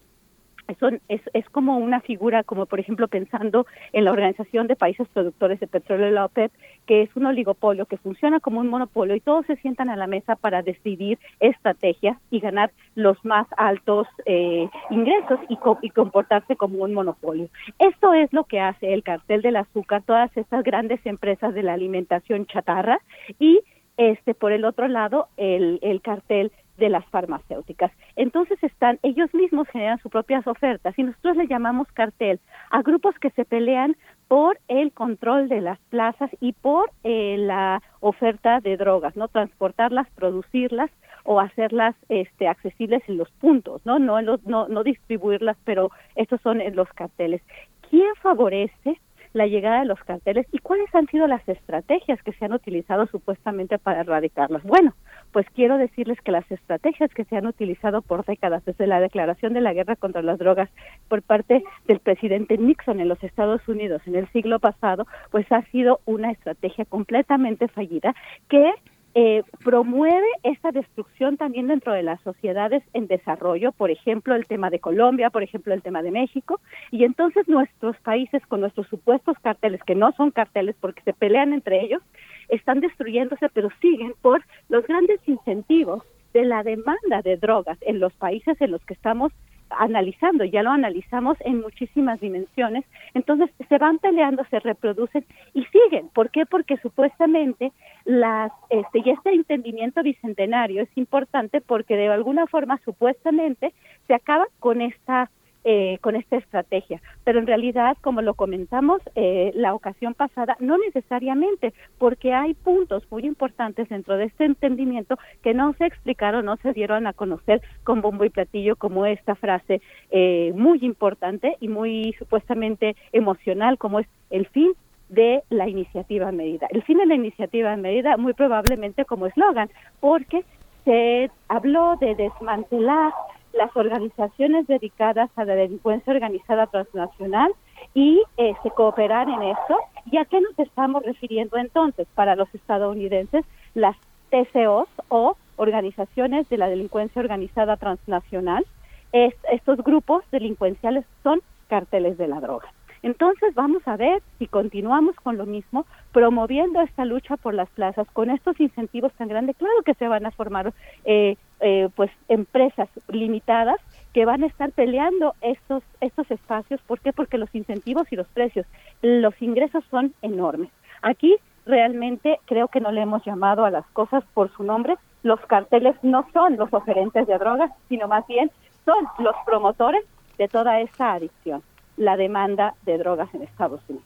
es como una figura, como por ejemplo pensando en la Organización de Países Productores de Petróleo, la OPEP, que es un oligopolio que funciona como un monopolio y todos se sientan a la mesa para decidir estrategias y ganar los más altos ingresos y comportarse como un monopolio. Esto es lo que hace el cartel del azúcar, todas estas grandes empresas de la alimentación chatarra, y por el otro lado el cartel de las farmacéuticas. Entonces ellos mismos generan sus propias ofertas y nosotros le llamamos cartel a grupos que se pelean por el control de las plazas y por la oferta de drogas, ¿no? Transportarlas, producirlas o hacerlas accesibles en los puntos, ¿no? No distribuirlas, pero estos son los carteles. ¿Quién favorece la llegada de los carteles y cuáles han sido las estrategias que se han utilizado supuestamente para erradicarlos? Bueno, pues quiero decirles que las estrategias que se han utilizado por décadas desde la declaración de la guerra contra las drogas por parte del presidente Nixon en los Estados Unidos en el siglo pasado, pues ha sido una estrategia completamente fallida que promueve esta destrucción también dentro de las sociedades en desarrollo, por ejemplo el tema de Colombia, por ejemplo el tema de México, y entonces nuestros países con nuestros supuestos carteles, que no son carteles porque se pelean entre ellos, están destruyéndose, pero siguen por los grandes incentivos de la demanda de drogas en los países en los que estamos analizando, ya lo analizamos en muchísimas dimensiones. Entonces se van peleando, se reproducen y siguen. ¿Por qué? Porque supuestamente y este entendimiento bicentenario es importante porque de alguna forma supuestamente se acaba con esta estrategia, pero en realidad, como lo comentamos la ocasión pasada, no necesariamente, porque hay puntos muy importantes dentro de este entendimiento que no se explicaron, no se dieron a conocer con bombo y platillo, como esta frase muy importante y muy supuestamente emocional, como es el fin de la iniciativa a medida. El fin de la iniciativa a medida muy probablemente como eslogan, porque se habló de desmantelar las organizaciones dedicadas a la delincuencia organizada transnacional y cooperar en eso. ¿Y a qué nos estamos refiriendo entonces? Para los estadounidenses, las TCOs o organizaciones de la delincuencia organizada transnacional, estos grupos delincuenciales son carteles de la droga. Entonces vamos a ver si continuamos con lo mismo, promoviendo esta lucha por las plazas, con estos incentivos tan grandes. Claro que se van a formar pues empresas limitadas que van a estar peleando estos espacios. ¿Por qué? Porque los incentivos y los precios, los ingresos son enormes. Aquí realmente creo que no le hemos llamado a las cosas por su nombre. Los carteles no son los oferentes de drogas, sino más bien son los promotores de toda esta adicción, la demanda de drogas en Estados Unidos.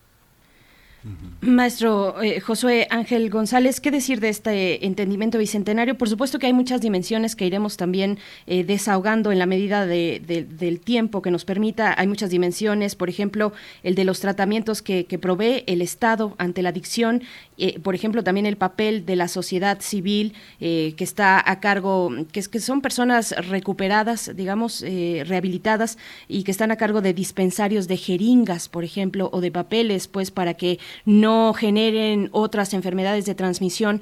Maestro Josué Ángel González, ¿qué decir de este entendimiento bicentenario? Por supuesto que hay muchas dimensiones que iremos también desahogando en la medida del tiempo que nos permita. Hay muchas dimensiones, por ejemplo, el de los tratamientos que provee el Estado ante la adicción, por ejemplo, también el papel de la sociedad civil que está a cargo, que son personas recuperadas, digamos, rehabilitadas y que están a cargo de dispensarios de jeringas, por ejemplo, o de papeles, pues, para que no generen otras enfermedades de transmisión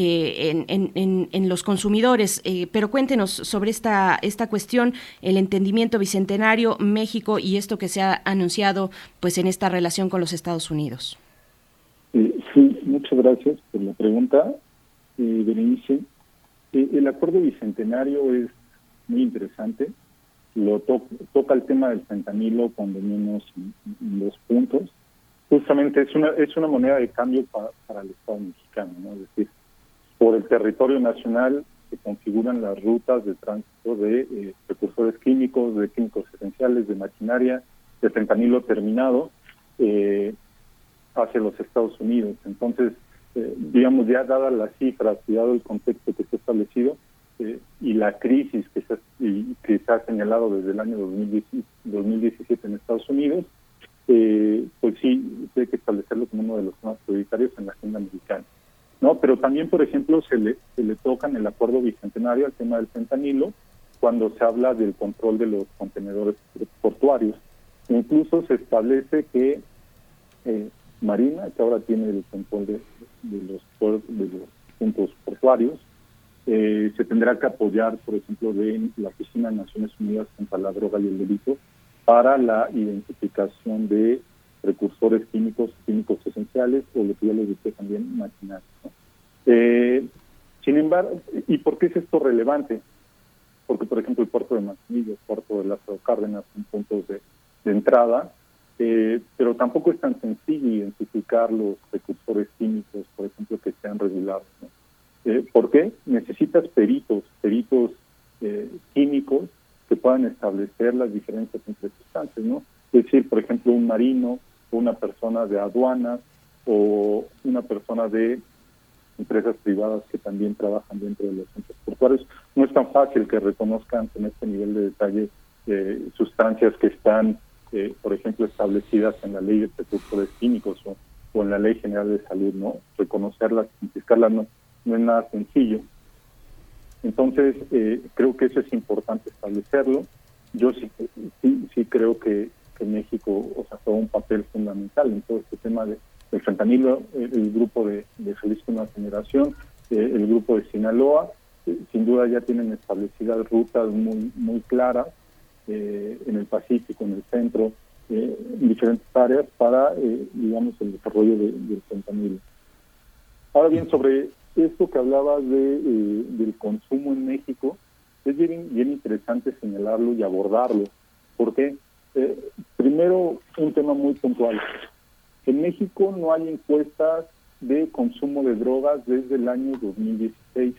en los consumidores. Pero cuéntenos sobre esta cuestión, el entendimiento bicentenario, México y esto que se ha anunciado pues en esta relación con los Estados Unidos. Sí, muchas gracias por la pregunta, Berenice. El acuerdo bicentenario es muy interesante. Toca el tema del fentanilo, cuando menos en 2 puntos. justamente es una moneda de cambio para el Estado mexicano, ¿no? Es decir, por el territorio nacional se configuran las rutas de tránsito de precursores químicos, de químicos esenciales, de maquinaria, de fentanilo terminado hacia los Estados Unidos. Entonces, digamos, ya dadas las cifras y dado el contexto que se ha establecido y la crisis que se ha señalado desde el año 2017 en Estados Unidos, pues sí, hay que establecerlo como uno de los temas prioritarios en la agenda americana, ¿no? Pero también, por ejemplo, se le toca en el acuerdo bicentenario al tema del fentanilo cuando se habla del control de los contenedores portuarios. Incluso se establece que Marina, que ahora tiene el control de los puntos portuarios, se tendrá que apoyar, por ejemplo, de la Oficina de Naciones Unidas contra la Droga y el Delito para la identificación de precursores químicos esenciales, o lo que ya les dije también, maquinaria, ¿no? Sin embargo, ¿y por qué es esto relevante? Porque, por ejemplo, el puerto de Manzanillo, el puerto de Lázaro Cárdenas son puntos de entrada, pero tampoco es tan sencillo identificar los precursores químicos, por ejemplo, que sean regulados, ¿no? ¿Por qué? Necesitas peritos químicos que puedan establecer las diferencias entre sustancias, ¿no? Es decir, por ejemplo, un marino, o una persona de aduanas, o una persona de empresas privadas que también trabajan dentro de los centros portuarios. No es tan fácil que reconozcan con este nivel de detalle sustancias que están, por ejemplo, establecidas en la ley de precursores químicos o en la ley general de salud, ¿no? Reconocerlas, identificarlas no es nada sencillo. Entonces, creo que eso es importante establecerlo. Yo sí creo que México, juega un papel fundamental en todo este tema del fentanilo, el grupo de Jalisco Nueva Generación, el grupo de Sinaloa, sin duda ya tienen establecidas rutas muy claras en el Pacífico, en el centro, en diferentes áreas para, digamos, el desarrollo del fentanilo. Ahora bien, sobre esto que hablabas del consumo en México, es bien interesante señalarlo y abordarlo, porque primero, un tema muy puntual. En México no hay encuestas de consumo de drogas desde el año 2016.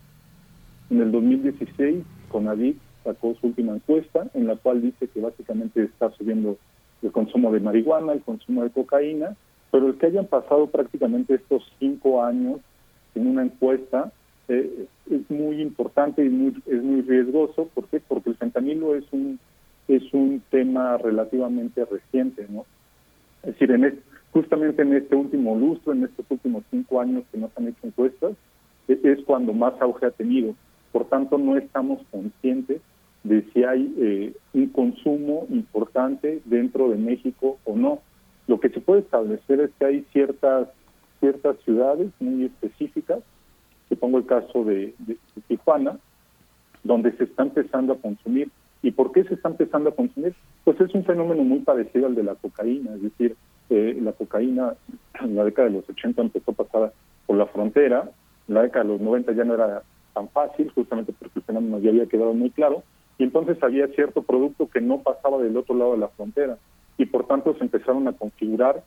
En el 2016, CONADIC sacó su última encuesta, en la cual dice que básicamente está subiendo el consumo de marihuana, el consumo de cocaína, pero el que hayan pasado prácticamente estos 5 años en una encuesta es muy importante y es muy riesgoso. ¿Por qué? Porque el fentanilo es un tema relativamente reciente, ¿no? Es decir, justamente en este último lustro, en estos últimos 5 años que no se han hecho encuestas, es cuando más auge ha tenido. Por tanto, no estamos conscientes de si hay un consumo importante dentro de México o no. Lo que se puede establecer es que hay ciertas ciudades muy específicas, te pongo el caso de Tijuana, donde se está empezando a consumir. ¿Y por qué se está empezando a consumir? Pues es un fenómeno muy parecido al de la cocaína, es decir, la cocaína en la década de los 80 empezó a pasar por la frontera, en la década de los 90 ya no era tan fácil, justamente porque el fenómeno ya había quedado muy claro, y entonces había cierto producto que no pasaba del otro lado de la frontera, y por tanto se empezaron a configurar,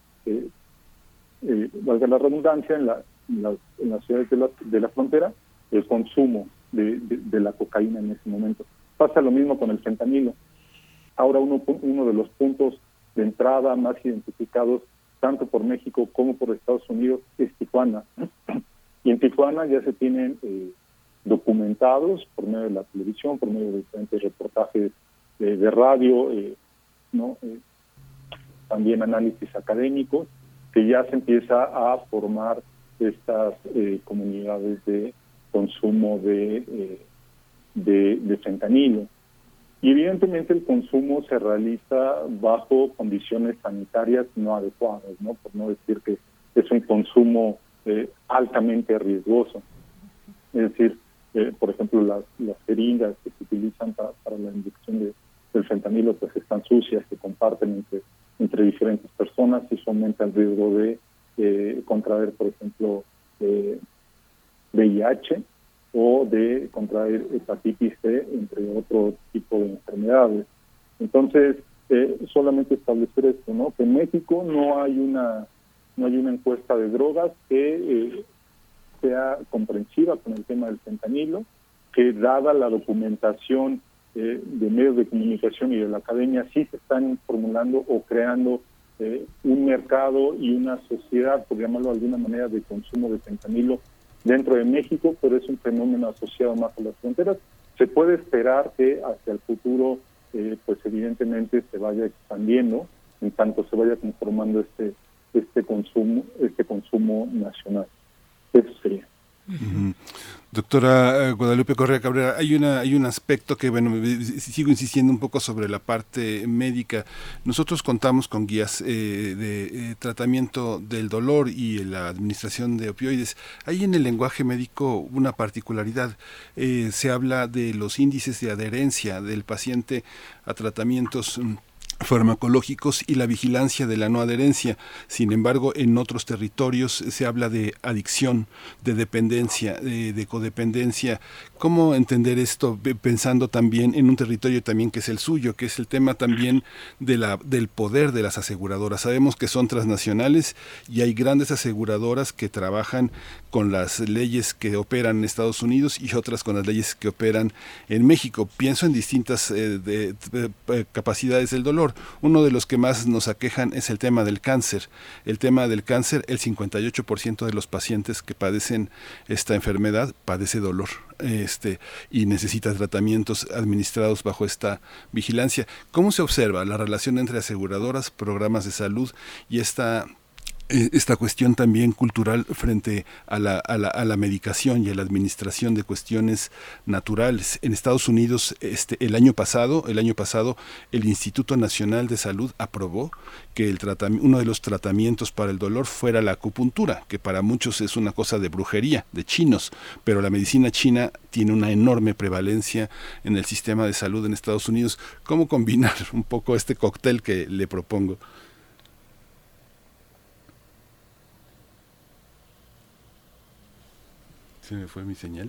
valga la redundancia, en las ciudades de la frontera, el consumo de la cocaína en ese momento. Pasa lo mismo con el fentanilo. Ahora uno de los puntos de entrada más identificados tanto por México como por Estados Unidos es Tijuana. Y en Tijuana ya se tienen documentados por medio de la televisión, por medio de diferentes reportajes de radio, también análisis académicos, que ya se empieza a formar estas comunidades de consumo de fentanilo. Y evidentemente el consumo se realiza bajo condiciones sanitarias no adecuadas, ¿no? Por no decir que es un consumo altamente riesgoso. Es decir, por ejemplo, las jeringas que se utilizan para la inyección del fentanilo pues están sucias, se comparten entre diferentes personas, y eso aumenta el riesgo de contraer, por ejemplo, VIH o de contraer hepatitis C, entre otro tipo de enfermedades. Entonces, solamente establecer esto, ¿no? Que en México no hay una encuesta de drogas que sea comprensiva con el tema del fentanilo, que dada la documentación de medios de comunicación y de la academia, sí se están formulando o creando un mercado y una sociedad, por llamarlo de alguna manera, de consumo de fentanilo dentro de México, pero es un fenómeno asociado más a las fronteras. Se puede esperar que hacia el futuro, pues evidentemente se vaya expandiendo, en tanto se vaya conformando este consumo nacional. Eso sería. Uh-huh. Doctora Guadalupe Correa Cabrera, hay un aspecto que, bueno, sigo insistiendo un poco sobre la parte médica. Nosotros contamos con guías de tratamiento del dolor y la administración de opioides. Hay en el lenguaje médico una particularidad. Se habla de los índices de adherencia del paciente a tratamientos farmacológicos y la vigilancia de la no adherencia. Sin embargo, en otros territorios se habla de adicción, de dependencia, de codependencia. ¿Cómo entender esto pensando también en un territorio también que es el suyo, que es el tema también del poder de las aseguradoras? Sabemos que son transnacionales y hay grandes aseguradoras que trabajan con las leyes que operan en Estados Unidos y otras con las leyes que operan en México. Pienso en distintas capacidades del dolor. Uno de los que más nos aquejan es el tema del cáncer. El tema del cáncer, el 58% de los pacientes que padecen esta enfermedad padece dolor y necesita tratamientos administrados bajo esta vigilancia. ¿Cómo se observa la relación entre aseguradoras, programas de salud y esta cuestión también cultural frente a la medicación y a la administración de cuestiones naturales? En Estados Unidos, el año pasado, el Instituto Nacional de Salud aprobó que uno de los tratamientos para el dolor fuera la acupuntura, que para muchos es una cosa de brujería, de chinos, pero la medicina china tiene una enorme prevalencia en el sistema de salud en Estados Unidos. ¿Cómo combinar un poco este cóctel que le propongo? ¿Se me fue mi señal?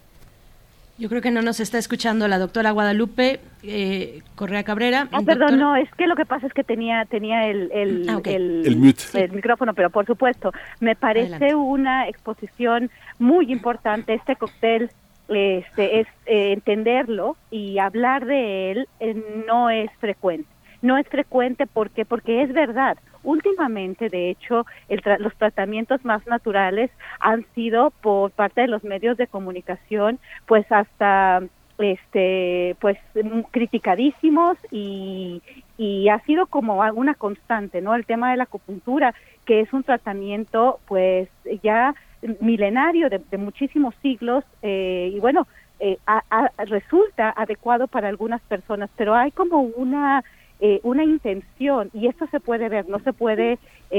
Yo creo que no nos está escuchando la doctora Guadalupe Correa Cabrera. Perdón, no, es que lo que pasa es que tenía el mute. El micrófono, pero por supuesto, me parece Adelante. Una exposición muy importante. Este cóctel es entenderlo y hablar de él no es frecuente. No es frecuente porque es verdad. Últimamente, de hecho, los tratamientos más naturales han sido por parte de los medios de comunicación, pues hasta pues criticadísimos y ha sido como una constante, ¿no? El tema de la acupuntura, que es un tratamiento pues ya milenario de muchísimos siglos y bueno, resulta adecuado para algunas personas, pero hay como una intención, y esto se puede ver, no se puede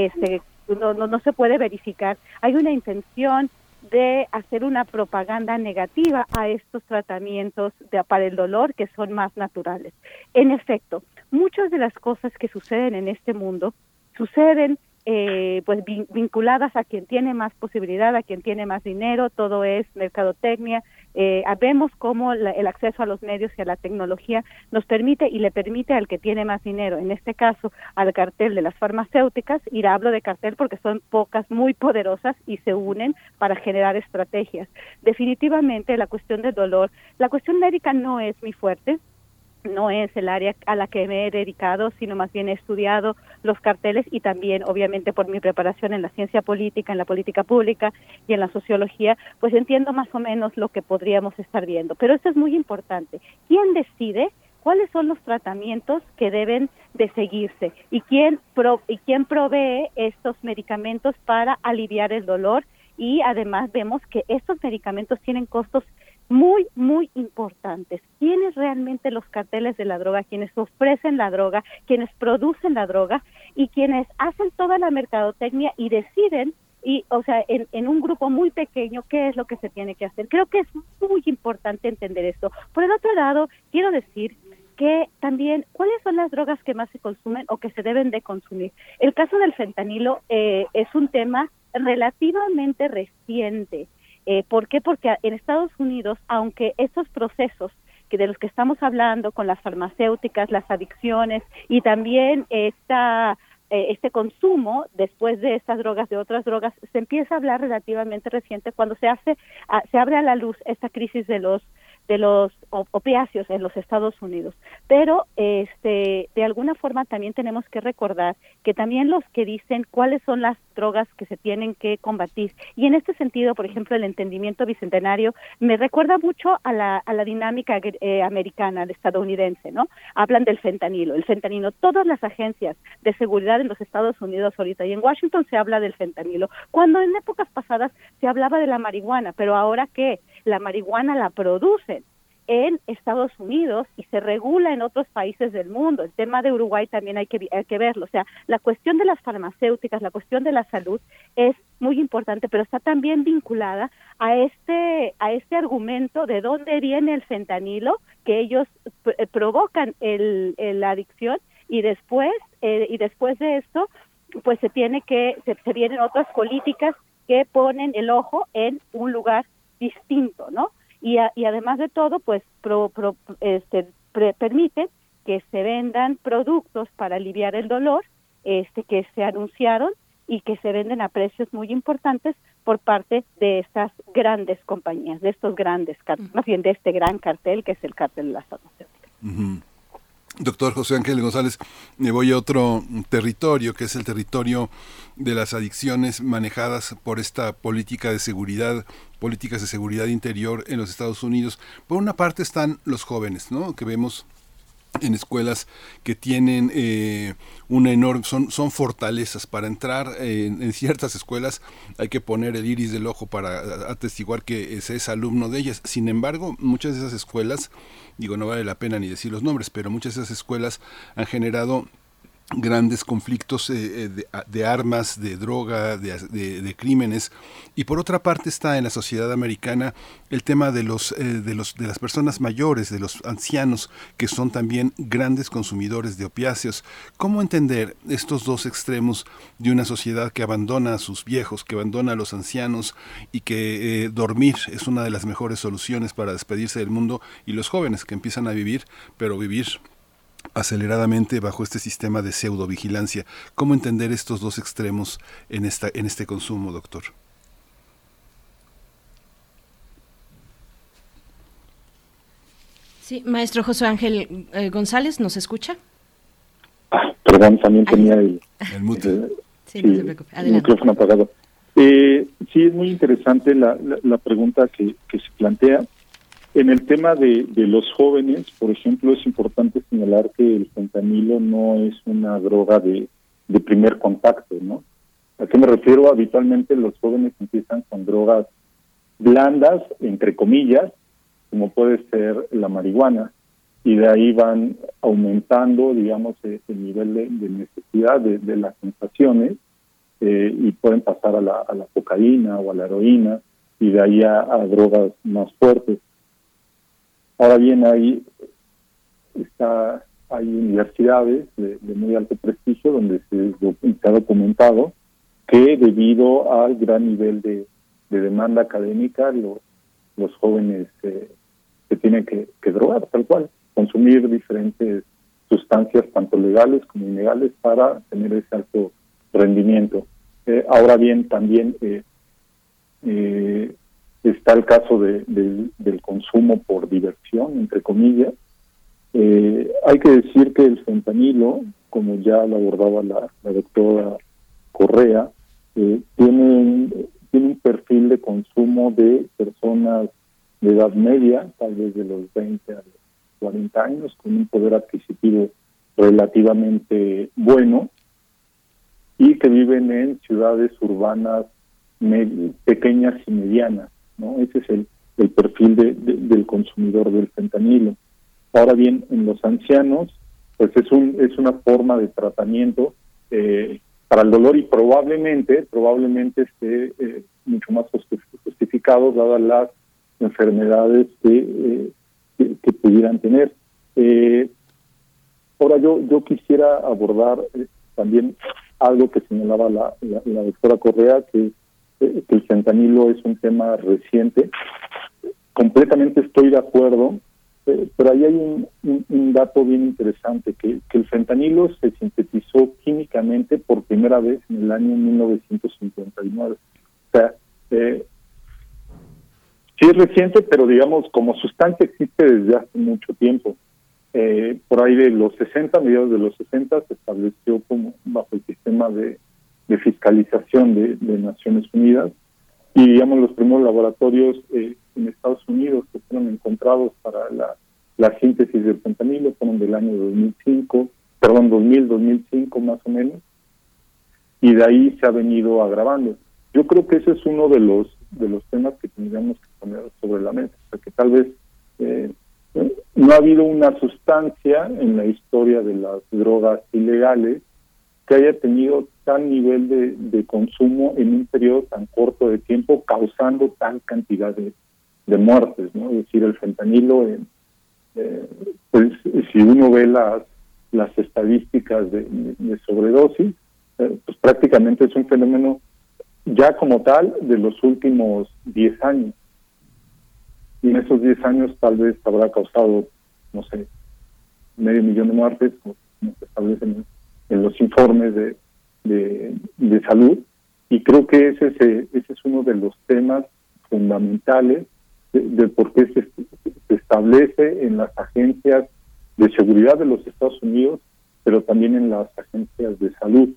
no se puede verificar. Hay una intención de hacer una propaganda negativa a estos tratamientos para el dolor que son más naturales. En efecto, muchas de las cosas que suceden en este mundo suceden pues vinculadas a quien tiene más posibilidad, a quien tiene más dinero. Todo es mercadotecnia. Vemos cómo el acceso a los medios y a la tecnología nos permite y le permite al que tiene más dinero, en este caso al cartel de las farmacéuticas, y hablo de cartel porque son pocas, muy poderosas, y se unen para generar estrategias. Definitivamente la cuestión del dolor, la cuestión médica no es mi fuerte, no es el área a la que me he dedicado, sino más bien he estudiado los carteles y también, obviamente, por mi preparación en la ciencia política, en la política pública y en la sociología, pues entiendo más o menos lo que podríamos estar viendo. Pero esto es muy importante. ¿Quién decide cuáles son los tratamientos que deben de seguirse? ¿Y quién provee estos medicamentos para aliviar el dolor? Y además vemos que estos medicamentos tienen costos muy, muy importantes. ¿Quiénes realmente los carteles de la droga? Quienes ofrecen la droga, quienes producen la droga y quienes hacen toda la mercadotecnia y deciden, en un grupo muy pequeño, qué es lo que se tiene que hacer. Creo que es muy importante entender esto. Por el otro lado, quiero decir que también, ¿cuáles son las drogas que más se consumen o que se deben de consumir? El caso del fentanilo es un tema relativamente reciente. ¿Por qué? Porque en Estados Unidos, aunque estos procesos los que estamos hablando con las farmacéuticas, las adicciones y también este consumo después de estas drogas, de otras drogas, se empieza a hablar relativamente reciente cuando se abre a la luz esta crisis de los opiáceos en los Estados Unidos. Pero de alguna forma también tenemos que recordar que también los que dicen cuáles son las drogas que se tienen que combatir. Y en este sentido, por ejemplo, el entendimiento bicentenario me recuerda mucho a la dinámica americana, estadounidense, ¿no? Hablan del fentanilo. El fentanilo, todas las agencias de seguridad en los Estados Unidos ahorita y en Washington se habla del fentanilo, cuando en épocas pasadas se hablaba de la marihuana, pero ahora ¿qué? La marihuana la producen en Estados Unidos y se regula en otros países del mundo. El tema de Uruguay también hay que verlo. O sea, la cuestión de las farmacéuticas, la cuestión de la salud es muy importante, pero está también vinculada a este argumento de dónde viene el fentanilo, que ellos provocan la adicción y después de esto, pues se vienen otras políticas que ponen el ojo en un lugar distinto, ¿no? Y además de todo, pues permite que se vendan productos para aliviar el dolor, que se anunciaron y que se venden a precios muy importantes por parte de estas grandes compañías, de estos grandes, más bien de este gran cartel que es el cartel de las farmacéuticas. Uh-huh. Doctor José Ángel González, me voy a otro territorio, que es el territorio de las adicciones manejadas por esta políticas de seguridad interior en los Estados Unidos. Por una parte están los jóvenes, ¿no?, que vemos en escuelas que tienen una enorme, son fortalezas. Para entrar en ciertas escuelas hay que poner el iris del ojo para atestiguar que se es alumno de ellas. Sin embargo, muchas de esas escuelas, no vale la pena ni decir los nombres, pero muchas de esas escuelas han generado grandes conflictos de armas, de droga, de crímenes. Y por otra parte está en la sociedad americana el tema de las personas mayores, de los ancianos, que son también grandes consumidores de opiáceos. ¿Cómo entender estos dos extremos de una sociedad que abandona a sus viejos, que abandona a los ancianos, y que dormir es una de las mejores soluciones para despedirse del mundo, y los jóvenes que empiezan a vivir, pero vivir aceleradamente bajo este sistema de pseudovigilancia? ¿Cómo entender estos dos extremos en este consumo, doctor? Sí, maestro José Ángel González, ¿nos escucha? Perdón, también tenía el mute. Sí, no se preocupe. Adelante. El micrófono apagado. Sí, es muy interesante la pregunta que se plantea. En el tema de los jóvenes, por ejemplo, es importante señalar que el fentanilo no es una droga de primer contacto, ¿no? ¿A qué me refiero? Habitualmente los jóvenes empiezan con drogas blandas, entre comillas, como puede ser la marihuana, y de ahí van aumentando, digamos, el nivel de necesidad de las sensaciones, y pueden pasar a la cocaína o a la heroína, y de ahí a drogas más fuertes. Ahora bien, hay universidades de muy alto prestigio donde se ha documentado que debido al gran nivel de demanda académica, los jóvenes se tienen que drogar, tal cual, consumir diferentes sustancias, tanto legales como ilegales, para tener ese alto rendimiento. Ahora bien, también está el caso del consumo por diversión, entre comillas. Hay que decir que el fentanilo, como ya lo abordaba la doctora Correa, tiene un perfil de consumo de personas de edad media, tal vez de los 20 a los 40 años, con un poder adquisitivo relativamente bueno, y que viven en ciudades urbanas pequeñas y medianas, ¿no? Ese es el perfil del consumidor del fentanilo. Ahora bien, en los ancianos, pues es una forma de tratamiento para el dolor, y probablemente esté mucho más justificado dadas las enfermedades que pudieran tener. Ahora yo quisiera abordar también algo que señalaba la doctora Correa, que el fentanilo es un tema reciente. Completamente estoy de acuerdo pero ahí hay un dato bien interesante, que el fentanilo se sintetizó químicamente por primera vez en el año 1959. O sea, sí es reciente, pero digamos, como sustancia existe desde hace mucho tiempo. Por ahí de los 60, mediados de los 60, se estableció como bajo el sistema de fiscalización de Naciones Unidas, y digamos los primeros laboratorios en Estados Unidos que fueron encontrados para la síntesis del fentanilo fueron del año 2005 más o menos, y de ahí se ha venido agravando. Yo creo que ese es uno de los temas que tendríamos que poner sobre la mesa, o sea, que tal vez no ha habido una sustancia en la historia de las drogas ilegales que haya tenido tal nivel de consumo en un periodo tan corto de tiempo, causando tal cantidad de muertes, ¿no? Es decir, el fentanilo, pues si uno ve las estadísticas de sobredosis, pues prácticamente es un fenómeno ya como tal de los últimos 10 años. Y en esos 10 años tal vez habrá causado, no sé, 500,000 de muertes, como se establecen en los informes de salud, y creo que ese es uno de los temas fundamentales de por qué se establece en las agencias de seguridad de los Estados Unidos, pero también en las agencias de salud.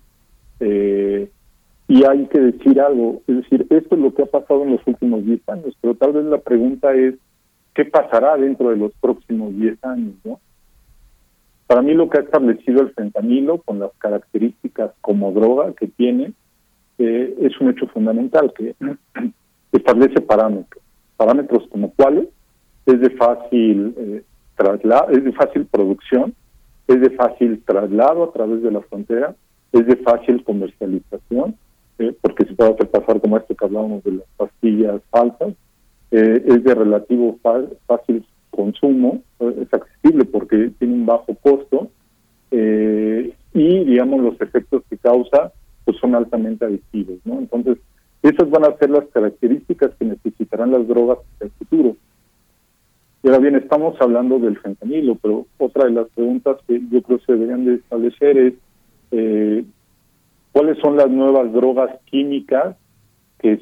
Y hay que decir algo, es decir, esto es lo que ha pasado en los últimos 10 años, pero tal vez la pregunta es, ¿qué pasará dentro de los próximos 10 años, no? Para mí lo que ha establecido el fentanilo, con las características como droga que tiene, es un hecho fundamental, que establece parámetros como cuáles: es de fácil traslado, es de fácil producción, es de fácil traslado a través de la frontera, es de fácil comercialización, porque se puede hacer pasar como esto que hablábamos de las pastillas falsas, es de relativo fácil consumo, es accesible porque tiene un bajo costo, y digamos los efectos que causa pues son altamente adictivos, ¿no? Entonces esas van a ser las características que necesitarán las drogas en el futuro. Y ahora bien, estamos hablando del fentanilo, pero otra de las preguntas que yo creo se deberían de establecer es ¿cuáles son las nuevas drogas químicas que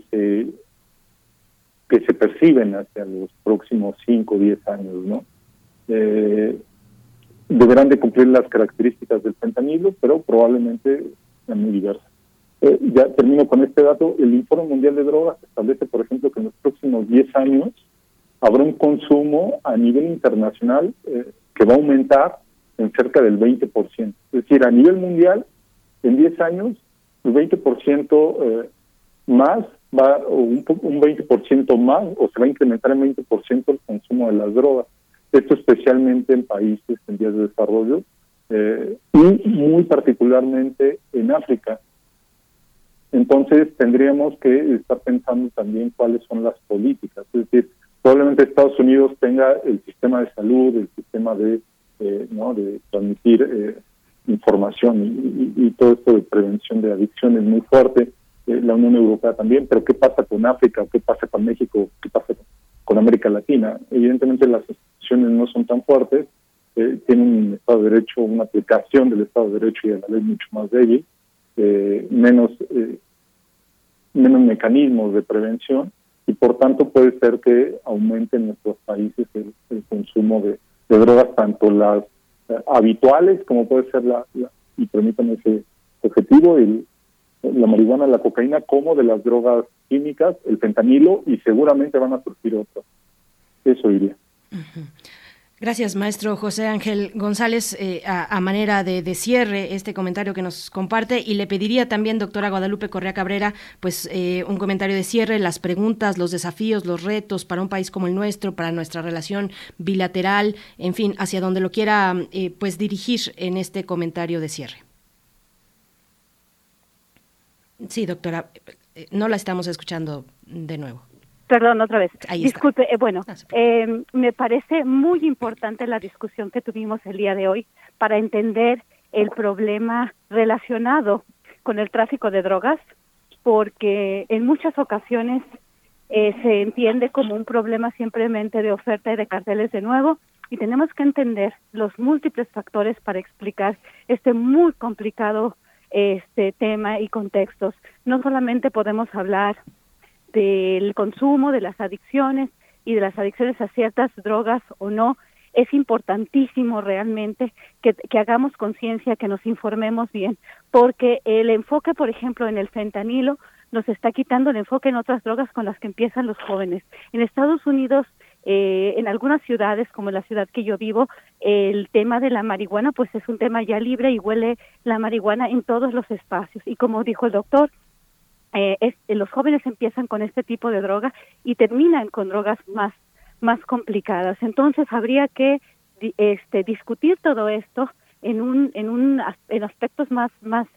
se perciben hacia los próximos 5 o 10 años, ¿no? Deberán de cumplir las características del fentanilo, pero probablemente sean muy diversas. Ya termino con este dato. El Informe Mundial de Drogas establece, por ejemplo, que en los próximos 10 años habrá un consumo a nivel internacional que va a aumentar en cerca del 20%. Es decir, a nivel mundial, en 10 años, el 20% más un 20% más, o se va a incrementar en 20% el consumo de las drogas. Esto especialmente en países en vías de desarrollo, y muy particularmente en África. Entonces tendríamos que estar pensando también cuáles son las políticas. Es decir, probablemente Estados Unidos tenga el sistema de salud, el sistema de transmitir información y todo esto de prevención de adicciones muy fuerte, la Unión Europea también, pero ¿qué pasa con África? ¿Qué pasa con México? ¿Qué pasa con América Latina? Evidentemente las instituciones no son tan fuertes, tienen un Estado de Derecho, una aplicación del Estado de Derecho y de la ley mucho más débil, menos mecanismos de prevención, y por tanto puede ser que aumente en nuestros países el consumo de drogas, tanto las habituales, como puede ser y permítanme ese objetivo, la marihuana, la cocaína, como de las drogas químicas, el fentanilo, y seguramente van a surgir otras. Eso diría. Uh-huh. Gracias, maestro José Ángel González. A manera de cierre, este comentario que nos comparte, y le pediría también, doctora Guadalupe Correa Cabrera, pues un comentario de cierre, las preguntas, los desafíos, los retos para un país como el nuestro, para nuestra relación bilateral, en fin, hacia donde lo quiera pues dirigir en este comentario de cierre. Sí, doctora, no la estamos escuchando de nuevo. Perdón, otra vez. Ahí Disculpe, me parece muy importante la discusión que tuvimos el día de hoy para entender el problema relacionado con el tráfico de drogas, porque en muchas ocasiones se entiende como un problema simplemente de oferta y de carteles de nuevo, y tenemos que entender los múltiples factores para explicar este muy complicado tema y contextos. No solamente podemos hablar del consumo, de las adicciones y de las adicciones a ciertas drogas o no. Es importantísimo realmente que hagamos conciencia, que nos informemos bien, porque el enfoque, por ejemplo, en el fentanilo nos está quitando el enfoque en otras drogas con las que empiezan los jóvenes. En Estados Unidos, en algunas ciudades, como en la ciudad que yo vivo, el tema de la marihuana pues es un tema ya libre y huele la marihuana en todos los espacios. Y como dijo el doctor, los jóvenes empiezan con este tipo de droga y terminan con drogas más complicadas. Entonces habría que discutir todo esto en aspectos más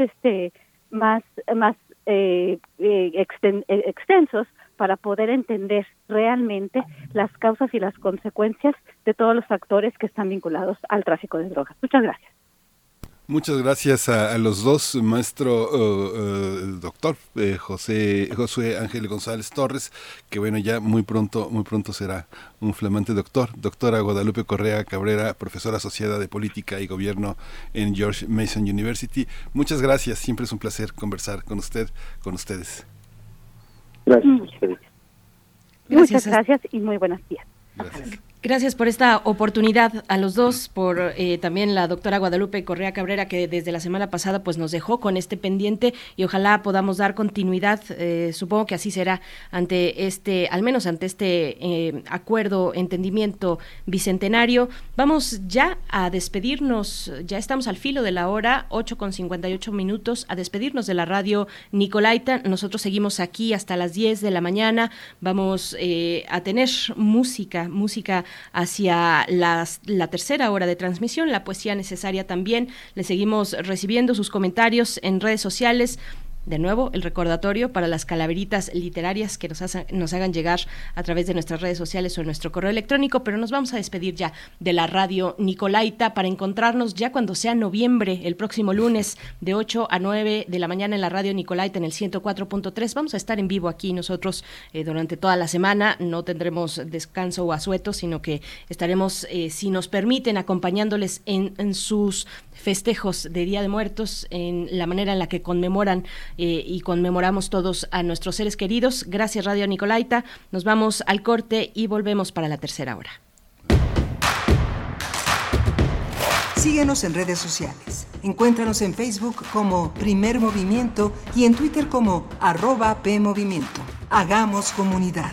extensos para poder entender realmente las causas y las consecuencias de todos los factores que están vinculados al tráfico de drogas. Muchas gracias. Muchas gracias a los dos, maestro doctor Josué Ángel González Torres, que bueno, ya muy pronto será un flamante doctor. Doctora Guadalupe Correa Cabrera, profesora asociada de Política y Gobierno en George Mason University. Muchas gracias, siempre es un placer conversar con ustedes. Gracias. Muchas gracias y muy buenos días. Gracias por esta oportunidad a los dos, por también la doctora Guadalupe Correa Cabrera, que desde la semana pasada pues nos dejó con este pendiente y ojalá podamos dar continuidad. Supongo que así será al menos ante este acuerdo, entendimiento bicentenario. Vamos ya a despedirnos, ya estamos al filo de la hora, 8:58, a despedirnos de la radio Nicolaita. Nosotros seguimos aquí hasta las 10 de la mañana, vamos a tener música hacia la tercera hora de transmisión, la poesía necesaria también. Le seguimos recibiendo sus comentarios en redes sociales. De nuevo, el recordatorio para las calaveritas literarias que nos hagan llegar a través de nuestras redes sociales o en nuestro correo electrónico, pero nos vamos a despedir ya de la radio Nicolaita para encontrarnos ya cuando sea noviembre, el próximo lunes, de 8 a 9 de la mañana en la radio Nicolaita en el 104.3. Vamos a estar en vivo aquí nosotros durante toda la semana, no tendremos descanso o asueto, sino que estaremos, si nos permiten, acompañándoles en sus festejos de Día de Muertos, en la manera en la que conmemoran y conmemoramos todos a nuestros seres queridos. Gracias, Radio Nicolaita. Nos vamos al corte y volvemos para la tercera hora. Síguenos en redes sociales. Encuéntranos en Facebook como Primer Movimiento y en Twitter como @PMovimiento. Hagamos comunidad.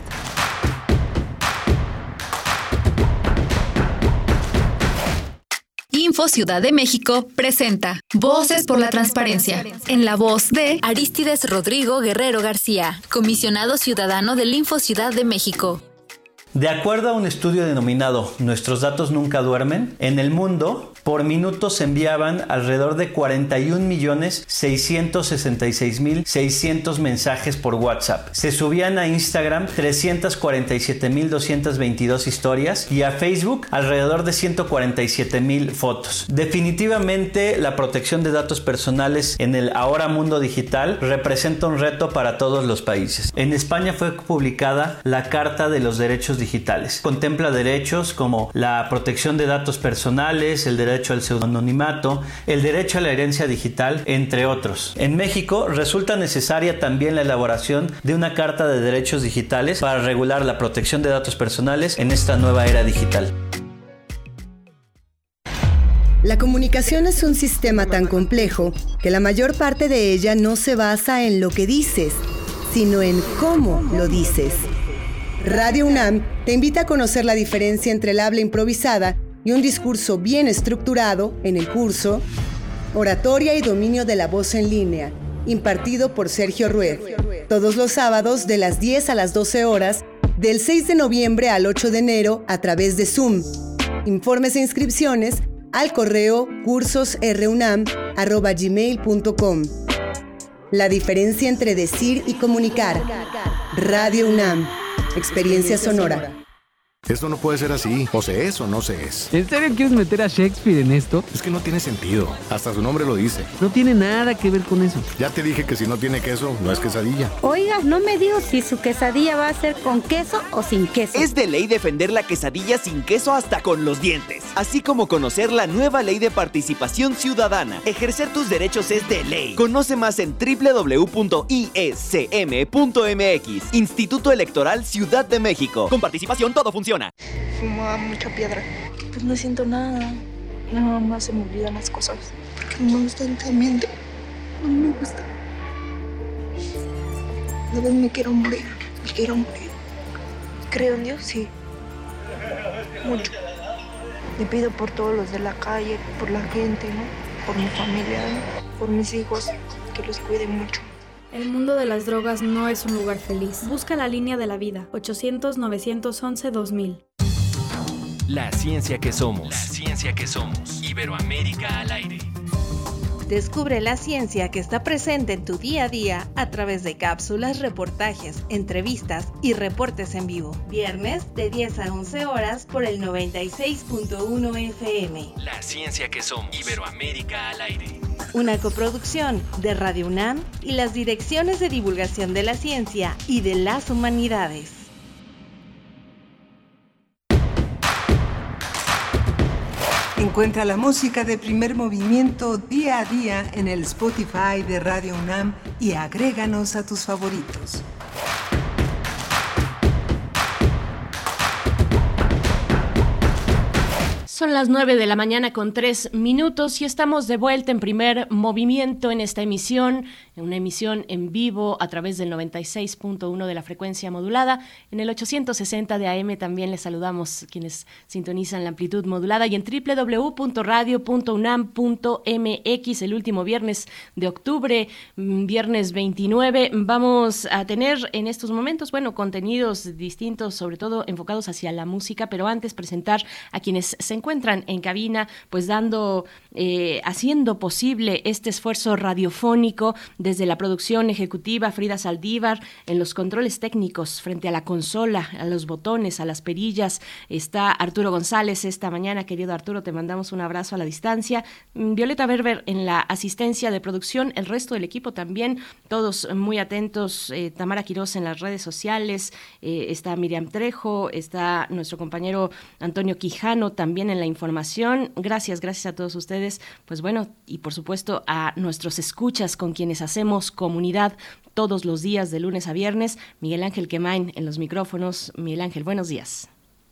Info Ciudad de México presenta Voces por la Transparencia, en la voz de Arístides Rodrigo Guerrero García, comisionado ciudadano del Info Ciudad de México. De acuerdo a un estudio denominado Nuestros datos nunca duermen, en el mundo, por minuto se enviaban alrededor de 41.666.600 mensajes por WhatsApp. Se subían a Instagram 347.222 historias y a Facebook alrededor de 147.000 fotos. Definitivamente, la protección de datos personales en el ahora mundo digital representa un reto para todos los países. En España fue publicada la Carta de los Derechos Digitales. Contempla derechos como la protección de datos personales, el derecho al pseudonimimato, el derecho a la herencia digital, entre otros. En México resulta necesaria también la elaboración de una Carta de Derechos Digitales para regular la protección de datos personales en esta nueva era digital. La comunicación es un sistema tan complejo que la mayor parte de ella no se basa en lo que dices, sino en cómo lo dices. Radio UNAM te invita a conocer la diferencia entre el habla improvisada y un discurso bien estructurado en el curso Oratoria y Dominio de la Voz en Línea, impartido por Sergio Rued, todos los sábados de las 10 a las 12 horas, del 6 de noviembre al 8 de enero a través de Zoom. Informes e inscripciones al correo cursosrunam@gmail.com. La diferencia entre decir y comunicar. Radio UNAM. Experiencia sonora. Esto no puede ser así. O se es o no se es. ¿En serio quieres meter a Shakespeare en esto? Es que no tiene sentido. Hasta su nombre lo dice. No tiene nada que ver con eso. Ya te dije que si no tiene queso, no es quesadilla. Oiga, no me dijo si su quesadilla va a ser con queso o sin queso. Es de ley defender la quesadilla sin queso hasta con los dientes. Así como conocer la nueva ley de participación ciudadana. Ejercer tus derechos es de ley. Conoce más en www.iscm.mx. Instituto Electoral Ciudad de México. Con participación todo funciona. Fumaba mucha piedra. Pues no siento nada. Nada más se me olvidan las cosas. Porque no me gusta el ambiente. No me gusta. A veces me quiero morir. Me quiero morir. Creo en Dios, sí. Mucho. Le pido por todos los de la calle, por la gente, ¿no? Por mi familia, ¿no? Por mis hijos, que los cuide mucho. El mundo de las drogas no es un lugar feliz. Busca la línea de la vida. 800-911-2000. La ciencia que somos. La ciencia que somos. Iberoamérica al aire. Descubre la ciencia que está presente en tu día a día a través de cápsulas, reportajes, entrevistas y reportes en vivo. Viernes de 10 a 11 horas por el 96.1 FM. La ciencia que somos. Iberoamérica al aire. Una coproducción de Radio UNAM y las Direcciones de Divulgación de la Ciencia y de las Humanidades. Encuentra la música de Primer Movimiento día a día en el Spotify de Radio UNAM y agréganos a tus favoritos. Son las 9 de la mañana con 3 minutos y estamos de vuelta en Primer Movimiento en esta emisión, en una emisión en vivo a través del 96.1 de la frecuencia modulada. En el 860 de AM también les saludamos quienes sintonizan la amplitud modulada y en www.radio.unam.mx el último viernes de octubre, viernes 29. Vamos a tener en estos momentos, contenidos distintos, sobre todo enfocados hacia la música, pero antes presentar a quienes se encuentran en cabina, pues haciendo posible este esfuerzo radiofónico desde la producción ejecutiva, Frida Saldívar, en los controles técnicos frente a la consola, a los botones, a las perillas, está Arturo González esta mañana. Querido Arturo, te mandamos un abrazo a la distancia. Violeta Berber en la asistencia de producción, el resto del equipo también, todos muy atentos, Tamara Quirós en las redes sociales, está Miriam Trejo, está nuestro compañero Antonio Quijano también en la información. Gracias a todos ustedes, y por supuesto a nuestros escuchas con quienes hacemos comunidad todos los días de lunes a viernes. Miguel Ángel Quemain en los micrófonos. Miguel Ángel, buenos días.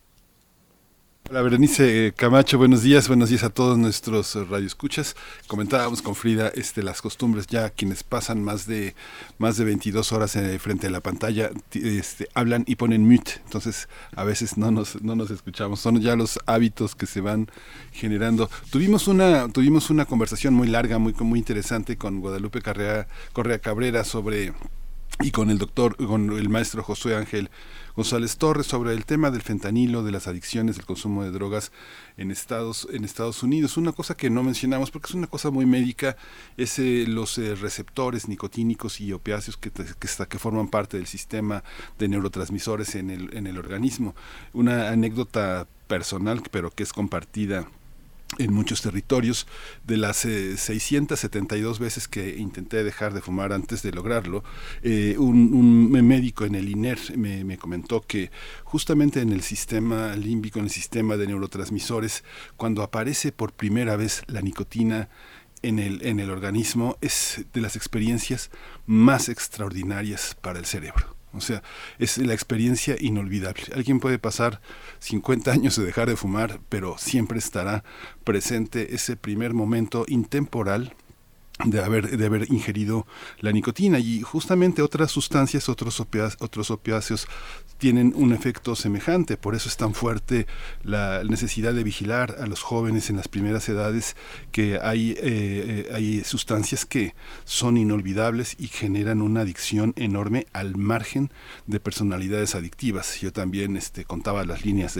Hola Berenice Camacho, buenos días a todos nuestros radioescuchas. Comentábamos con Frida las costumbres, ya quienes pasan más de 22 horas frente a la pantalla hablan y ponen mute, entonces a veces no nos escuchamos, son ya los hábitos que se van generando. Tuvimos una conversación muy larga, muy interesante con Guadalupe Correa Cabrera y con el maestro Josué Ángel González Torres sobre el tema del fentanilo, de las adicciones, del consumo de drogas en Estados Unidos. Una cosa que no mencionamos porque es una cosa muy médica es los receptores nicotínicos y opiáceos que forman parte del sistema de neurotransmisores en el organismo. Una anécdota personal, pero que es compartida en muchos territorios. De las 672 veces que intenté dejar de fumar antes de lograrlo, un médico en el INER me comentó que justamente en el sistema límbico, en el sistema de neurotransmisores, cuando aparece por primera vez la nicotina en el organismo, es de las experiencias más extraordinarias para el cerebro. O sea, es la experiencia inolvidable. Alguien puede pasar 50 años de dejar de fumar, pero siempre estará presente ese primer momento intemporal de haber ingerido la nicotina. Y justamente otras sustancias, otros opiáceos tienen un efecto semejante. Por eso es tan fuerte la necesidad de vigilar a los jóvenes en las primeras edades, que hay sustancias que son inolvidables y generan una adicción enorme al margen de personalidades adictivas. Yo también contaba las líneas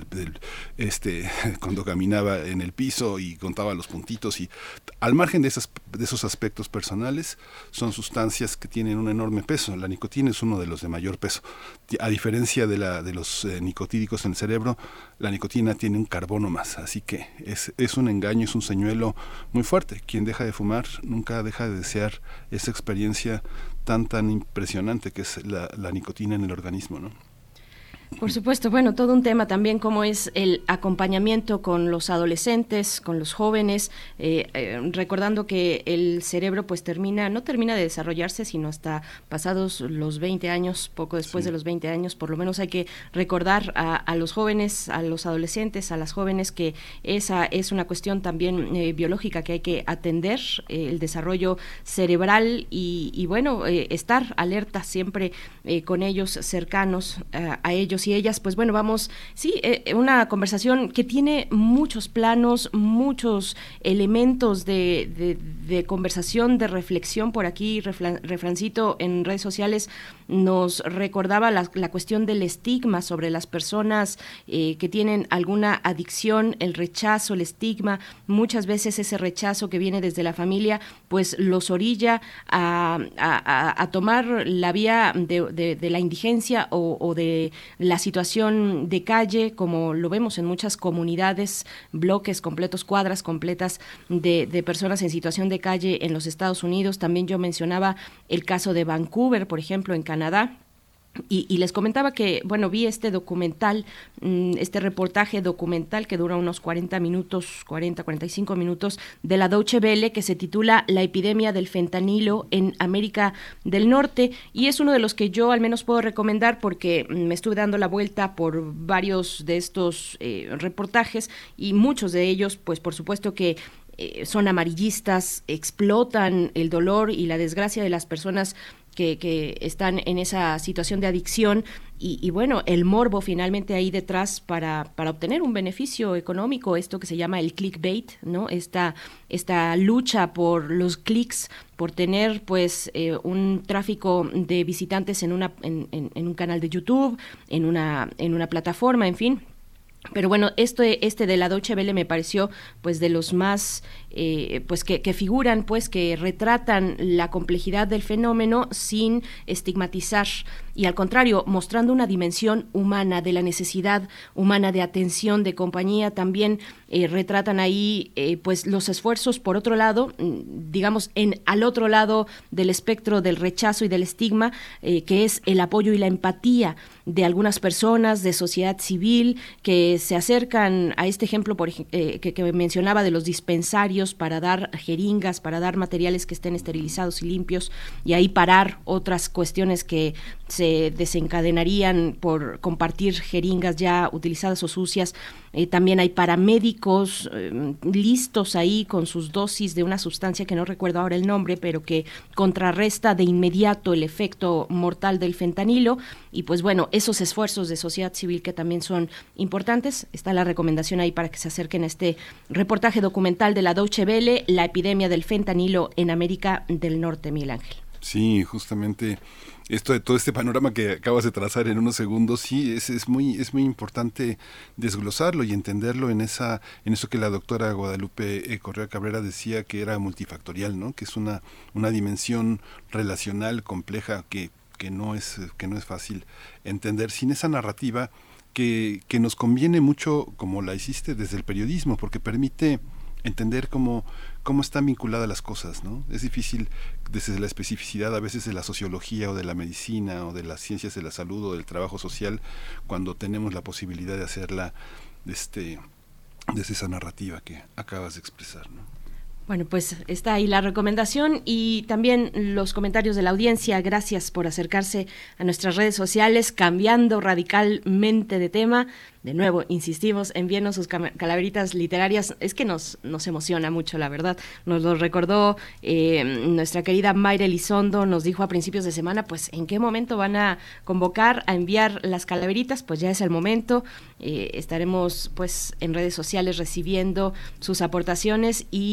cuando caminaba en el piso y contaba los puntitos, y al margen de esas esos aspectos personales, son sustancias que tienen un enorme peso. La nicotina es uno de los de mayor peso. A diferencia de los nicotídicos en el cerebro, la nicotina tiene un carbono más, así que es un engaño, es un señuelo muy fuerte. Quien deja de fumar nunca deja de desear esa experiencia tan impresionante que es la nicotina en el organismo, ¿no? Por supuesto, bueno, todo un tema también como es el acompañamiento con los adolescentes, con los jóvenes, recordando que el cerebro pues no termina de desarrollarse sino hasta pasados los 20 años, poco después de los 20 años, por lo menos hay que recordar a los jóvenes, a los adolescentes, a las jóvenes que esa es una cuestión también biológica que hay que atender, el desarrollo cerebral y bueno, estar alerta siempre con ellos, cercanos a ellos y ellas, pues bueno, vamos, una conversación que tiene muchos planos, muchos elementos de conversación, de reflexión. Por aquí, Refrancito en redes sociales nos recordaba la cuestión del estigma sobre las personas que tienen alguna adicción, el rechazo, el estigma, muchas veces ese rechazo que viene desde la familia, pues los orilla a tomar la vía de la indigencia o de la situación de calle, como lo vemos en muchas comunidades, bloques completos, cuadras completas de personas en situación de calle en los Estados Unidos. También yo mencionaba el caso de Vancouver, por ejemplo, en Canadá. Y les comentaba que, bueno, vi este documental, este reportaje documental que dura unos 45 minutos de la Deutsche Welle, que se titula La epidemia del fentanilo en América del Norte, y es uno de los que yo al menos puedo recomendar porque me estuve dando la vuelta por varios de estos reportajes y muchos de ellos, pues por supuesto que son amarillistas, explotan el dolor y la desgracia de las personas que están en esa situación de adicción y bueno, el morbo finalmente ahí detrás para obtener un beneficio económico, esto que se llama el clickbait, ¿no? Esta lucha por los clics, por tener pues un tráfico de visitantes en un canal de YouTube, en una plataforma, en fin. Pero bueno, este de la Deutsche Welle me pareció pues de los más pues que figuran, pues que retratan la complejidad del fenómeno sin estigmatizar y al contrario, mostrando una dimensión humana de la necesidad humana de atención, de compañía. También retratan ahí pues los esfuerzos por otro lado, digamos al otro lado del espectro del rechazo y del estigma, que es el apoyo y la empatía de algunas personas de sociedad civil que se acercan a este ejemplo que mencionaba de los dispensarios para dar jeringas, para dar materiales que estén esterilizados y limpios y ahí parar otras cuestiones que se desencadenarían por compartir jeringas ya utilizadas o sucias. También hay paramédicos listos ahí con sus dosis de una sustancia que no recuerdo ahora el nombre, pero que contrarresta de inmediato el efecto mortal del fentanilo. Y pues bueno, esos esfuerzos de sociedad civil que también son importantes. Está la recomendación ahí para que se acerquen a este reportaje documental de la Deutsche Welle, La epidemia del fentanilo en América del Norte, Miguel Ángel. Sí, justamente todo este panorama que acabas de trazar en unos segundos, sí, es muy importante desglosarlo y entenderlo en eso que la doctora Guadalupe Correa Cabrera decía que era multifactorial, ¿no? Que es una dimensión relacional compleja que no es fácil entender sin esa narrativa que nos conviene mucho, como la hiciste desde el periodismo, porque permite entender cómo están vinculadas las cosas, ¿no? Es difícil desde la especificidad a veces de la sociología o de la medicina o de las ciencias de la salud o del trabajo social cuando tenemos la posibilidad de hacerla desde esa narrativa que acabas de expresar, ¿no? Bueno, pues está ahí la recomendación y también los comentarios de la audiencia. Gracias por acercarse a nuestras redes sociales, cambiando radicalmente de tema. De nuevo, insistimos, envíenos sus calaveritas literarias. Es que nos emociona mucho, la verdad. Nos lo recordó nuestra querida Mayra Elizondo, nos dijo a principios de semana, pues, ¿en qué momento van a convocar a enviar las calaveritas? Pues ya es el momento. Estaremos, pues, en redes sociales recibiendo sus aportaciones y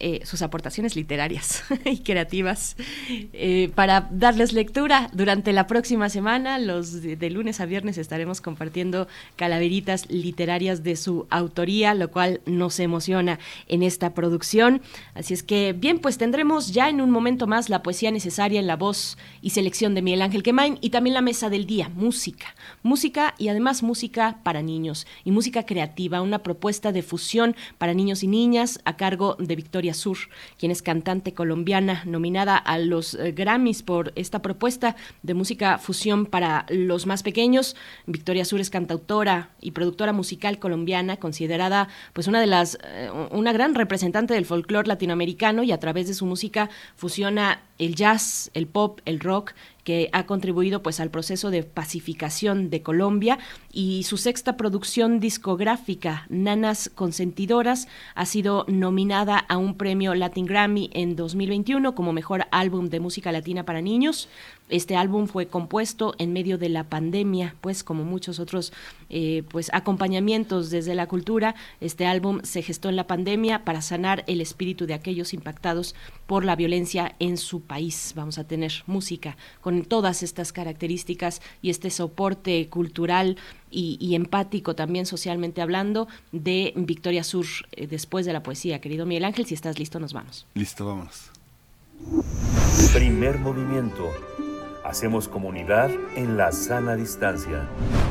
sus aportaciones literarias y creativas para darles lectura durante la próxima semana. De lunes a viernes estaremos compartiendo calaveritas literarias de su autoría, lo cual nos emociona en esta producción. Así es que, bien, pues tendremos ya en un momento más la poesía necesaria en la voz y selección de Miguel Ángel Quemain, y también la mesa del día, música y además música para niños y música creativa, una propuesta de fusión para niños y niñas a cargo de Victoria Sur, quien es cantante colombiana nominada a los Grammys por esta propuesta de música fusión para los más pequeños. Victoria Sur es cantautora y productora musical colombiana, considerada pues una gran representante del folclore latinoamericano, y a través de su música fusiona el jazz, el pop, el rock, que ha contribuido pues al proceso de pacificación de Colombia, y su sexta producción discográfica, Nanas Consentidoras, ha sido nominada a un premio Latin Grammy en 2021 como mejor álbum de música latina para niños. Este álbum fue compuesto en medio de la pandemia, pues como muchos otros pues acompañamientos desde la cultura. Este álbum se gestó en la pandemia para sanar el espíritu de aquellos impactados por la violencia en su país. Vamos a tener música con todas estas características y este soporte cultural y empático también socialmente hablando de Victoria Sur, después de la poesía. Querido Miguel Ángel, si estás listo, nos vamos. Listo, vámonos. Primer movimiento. Hacemos comunidad en la sana distancia.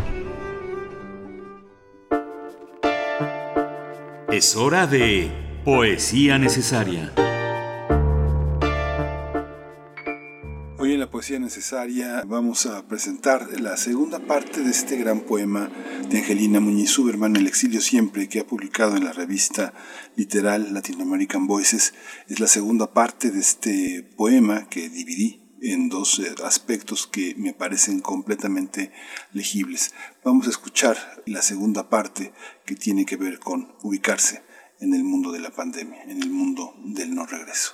Es hora de poesía necesaria. Hoy en la poesía necesaria vamos a presentar la segunda parte de este gran poema de Angelina Muñiz Huberman, El exilio siempre, que ha publicado en la revista literal Latin American Voices. Es la segunda parte de este poema que dividí en dos aspectos que me parecen completamente legibles. Vamos a escuchar la segunda parte, que tiene que ver con ubicarse en el mundo de la pandemia, en el mundo del no regreso.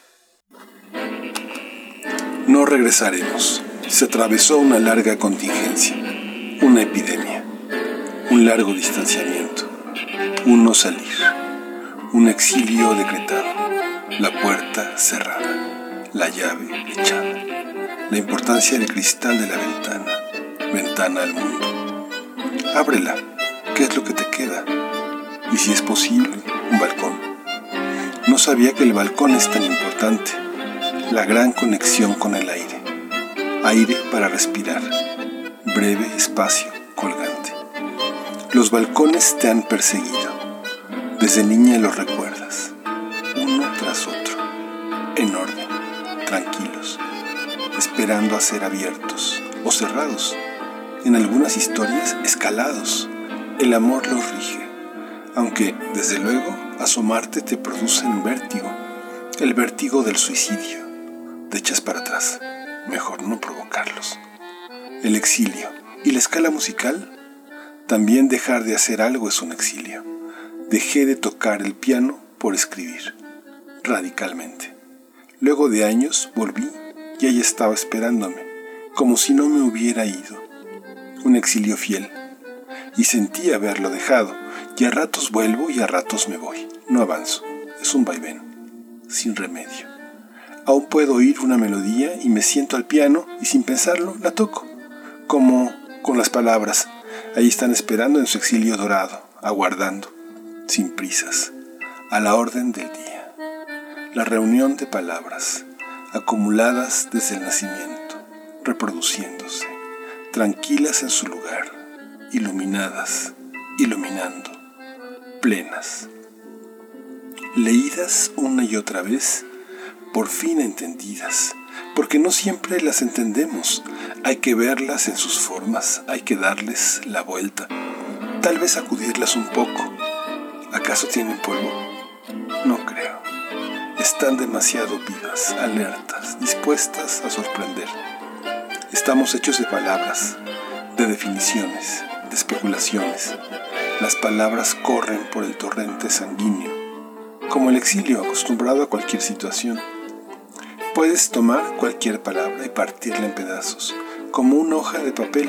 No regresaremos. Se atravesó una larga contingencia, una epidemia, un largo distanciamiento, un no salir, un exilio decretado, la puerta cerrada, la llave echada, la importancia del cristal de la ventana, ventana al mundo. Ábrela, ¿qué es lo que te queda? Y si es posible, un balcón. No sabía que el balcón es tan importante. La gran conexión con el aire. Aire para respirar. Breve espacio colgante. Los balcones te han perseguido. Desde niña los recuerdas. Uno tras otro. En orden. Tranquilos. Esperando a ser abiertos o cerrados. En algunas historias escalados. El amor los rige. Aunque, desde luego, asomarte te produce un vértigo. El vértigo del suicidio. Te echas para atrás, mejor no provocarlos. El exilio y la escala musical. También dejar de hacer algo es un exilio. Dejé de tocar el piano por escribir, radicalmente. Luego de años volví y ella estaba esperándome, como si no me hubiera ido. Un exilio fiel. Y sentí haberlo dejado, y a ratos vuelvo y a ratos me voy. No avanzo, es un vaivén, sin remedio. Aún puedo oír una melodía y me siento al piano y sin pensarlo la toco, como con las palabras. Ahí están esperando en su exilio dorado, aguardando, sin prisas, a la orden del día. La reunión de palabras, acumuladas desde el nacimiento, reproduciéndose, tranquilas en su lugar, iluminadas, iluminando, plenas. Leídas una y otra vez, por fin entendidas, porque no siempre las entendemos. Hay que verlas en sus formas, hay que darles la vuelta, tal vez sacudirlas un poco. ¿Acaso tienen polvo? No creo. Están demasiado vivas, alertas, dispuestas a sorprender. Estamos hechos de palabras, de definiciones, de especulaciones. Las palabras corren por el torrente sanguíneo, como el exilio acostumbrado a cualquier situación. Puedes tomar cualquier palabra y partirla en pedazos, como una hoja de papel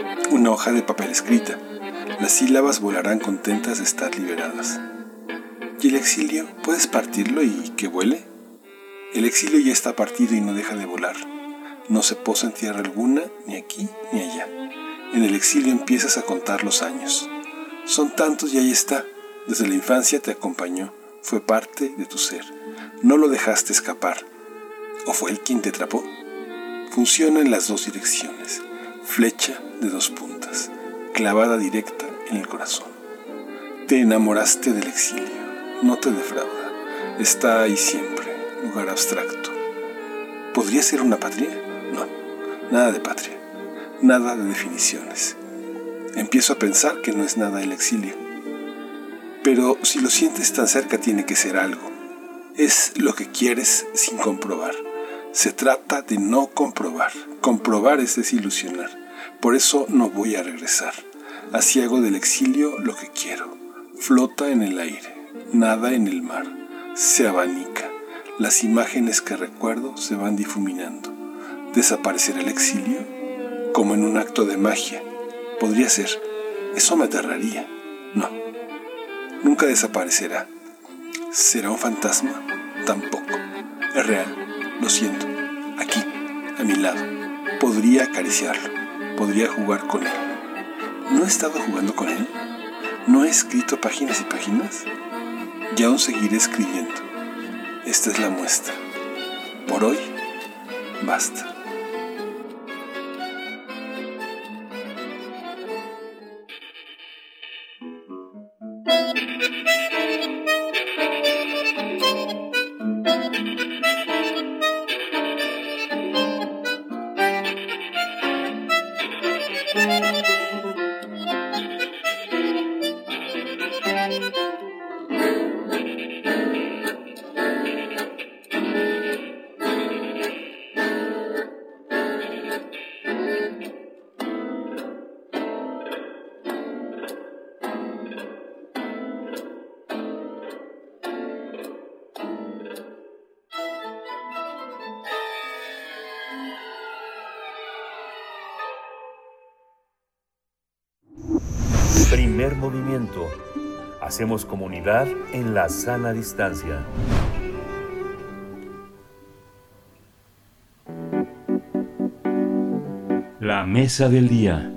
escrita. Las sílabas volarán contentas de estar liberadas. ¿Y el exilio? ¿Puedes partirlo y que vuele? El exilio ya está partido y no deja de volar. No se posa en tierra alguna, ni aquí ni allá. En el exilio empiezas a contar los años. Son tantos y ahí está. Desde la infancia te acompañó, fue parte de tu ser. No lo dejaste escapar. ¿O fue él quien te atrapó? Funciona en las dos direcciones. Flecha de dos puntas, clavada directa en el corazón. Te enamoraste del exilio. No te defrauda. Está ahí siempre, lugar abstracto. ¿Podría ser una patria? No, nada de patria. Nada de definiciones. Empiezo a pensar que no es nada el exilio. Pero si lo sientes tan cerca tiene que ser algo. Es lo que quieres sin comprobar. Se trata de no comprobar. Comprobar es desilusionar. Por eso no voy a regresar. Así hago del exilio lo que quiero. Flota en el aire, nada en el mar. Se abanica. Las imágenes que recuerdo se van difuminando. ¿Desaparecerá el exilio? Como en un acto de magia. Podría ser. Eso me aterraría. No. Nunca desaparecerá. ¿Será un fantasma? Tampoco. Es real. Lo siento. Aquí, a mi lado. Podría acariciarlo. Podría jugar con él. ¿No he estado jugando con él? ¿No he escrito páginas y páginas? Y aún seguiré escribiendo. Esta es la muestra. Por hoy, basta. Primer movimiento. Hacemos comunidad en la sana distancia. La mesa del día.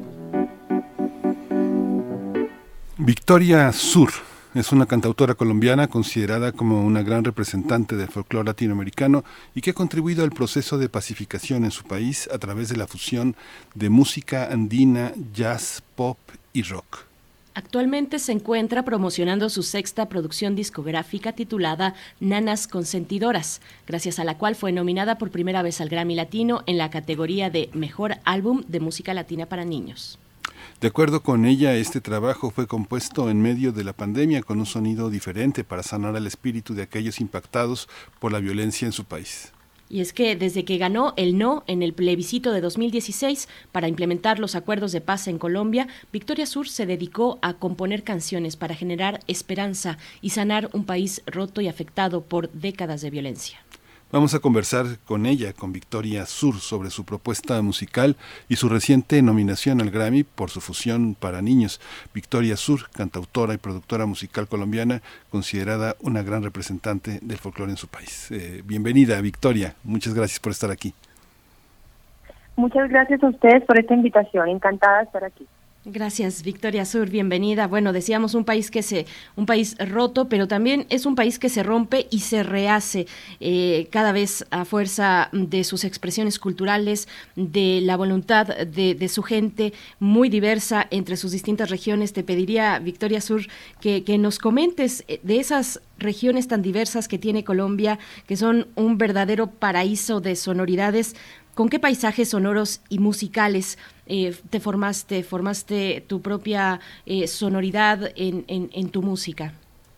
Victoria Sur es una cantautora colombiana considerada como una gran representante del folclore latinoamericano y que ha contribuido al proceso de pacificación en su país a través de la fusión de música andina, jazz, pop y rock. Actualmente se encuentra promocionando su sexta producción discográfica titulada Nanas Consentidoras, gracias a la cual fue nominada por primera vez al Grammy Latino en la categoría de Mejor Álbum de Música Latina para Niños. De acuerdo con ella, este trabajo fue compuesto en medio de la pandemia con un sonido diferente para sanar el espíritu de aquellos impactados por la violencia en su país. Y es que desde que ganó el no en el plebiscito de 2016 para implementar los acuerdos de paz en Colombia, Victoria Sur se dedicó a componer canciones para generar esperanza y sanar un país roto y afectado por décadas de violencia. Vamos a conversar con ella, con Victoria Sur, sobre su propuesta musical y su reciente nominación al Grammy por su fusión para niños. Victoria Sur, cantautora y productora musical colombiana, considerada una gran representante del folclore en su país. Bienvenida, Victoria. Muchas gracias por estar aquí. Muchas gracias a ustedes por esta invitación. Encantada de estar aquí. Gracias, Victoria Sur, bienvenida. Bueno, decíamos un país roto, pero también es un país que se rompe y se rehace cada vez a fuerza de sus expresiones culturales, de la voluntad de su gente muy diversa entre sus distintas regiones. Te pediría, Victoria Sur, que nos comentes de esas regiones tan diversas que tiene Colombia, que son un verdadero paraíso de sonoridades. ¿Con qué paisajes sonoros y musicales te formaste tu propia sonoridad en tu música?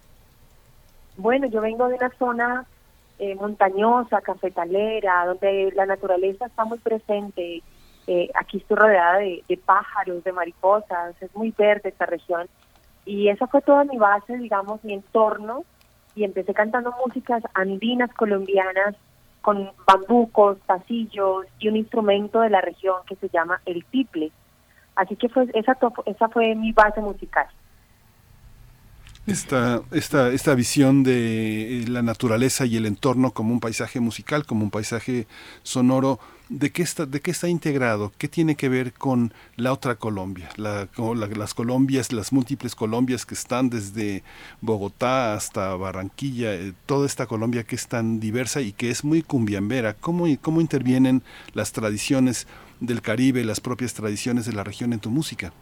Bueno, yo vengo de una zona montañosa, cafetalera, donde la naturaleza está muy presente. Aquí estoy rodeada de pájaros, de mariposas, es muy verde esta región. Y esa fue toda mi base, digamos, mi entorno. Y empecé cantando músicas andinas colombianas, con bambucos, pasillos y un instrumento de la región que se llama el tiple. Así que esa fue mi base musical. Esta visión de la naturaleza y el entorno como un paisaje musical, como un paisaje sonoro, ¿de qué está integrado? ¿Qué tiene que ver con la otra Colombia? Las Colombias, las múltiples Colombias que están desde Bogotá hasta Barranquilla, toda esta Colombia que es tan diversa y que es muy cumbiambera. ¿Cómo intervienen las tradiciones del Caribe, las propias tradiciones de la región en tu música?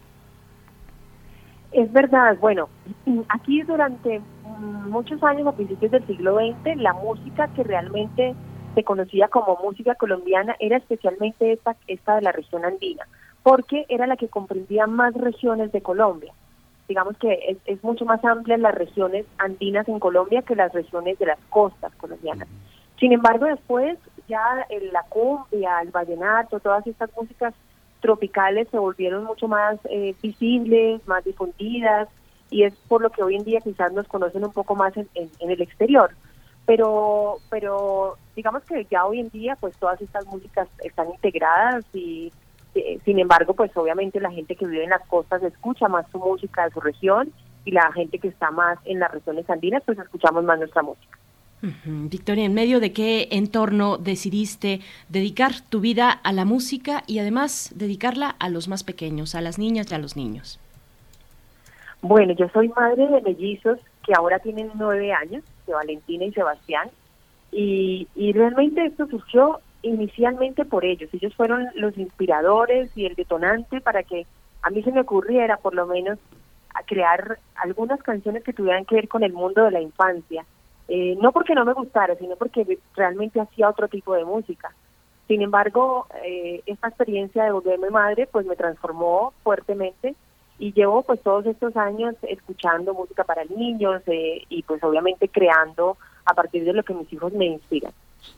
Es verdad, bueno, aquí durante muchos años, a principios del siglo XX, la música que realmente se conocía como música colombiana era especialmente esta de la región andina, porque era la que comprendía más regiones de Colombia. Digamos que es mucho más amplia las regiones andinas en Colombia que las regiones de las costas colombianas. Sin embargo, después ya la cumbia, el vallenato, todas estas músicas tropicales se volvieron mucho más visibles, más difundidas, y es por lo que hoy en día quizás nos conocen un poco más en el exterior. Pero digamos que ya hoy en día pues todas estas músicas están integradas y sin embargo pues obviamente la gente que vive en las costas escucha más su música de su región y la gente que está más en las regiones andinas pues escuchamos más nuestra música. Victoria, ¿en medio de qué entorno decidiste dedicar tu vida a la música y además dedicarla a los más pequeños, a las niñas y a los niños? Bueno, yo soy madre de mellizos que ahora tienen 9 años, de Valentina y Sebastián, y realmente esto surgió inicialmente por ellos. Ellos fueron los inspiradores y el detonante para que a mí se me ocurriera por lo menos a crear algunas canciones que tuvieran que ver con el mundo de la infancia. No porque no me gustara, sino porque realmente hacía otro tipo de música. Sin embargo, esta experiencia de volverme madre pues me transformó fuertemente y llevo pues todos estos años escuchando música para niños y pues obviamente creando a partir de lo que mis hijos me inspiran.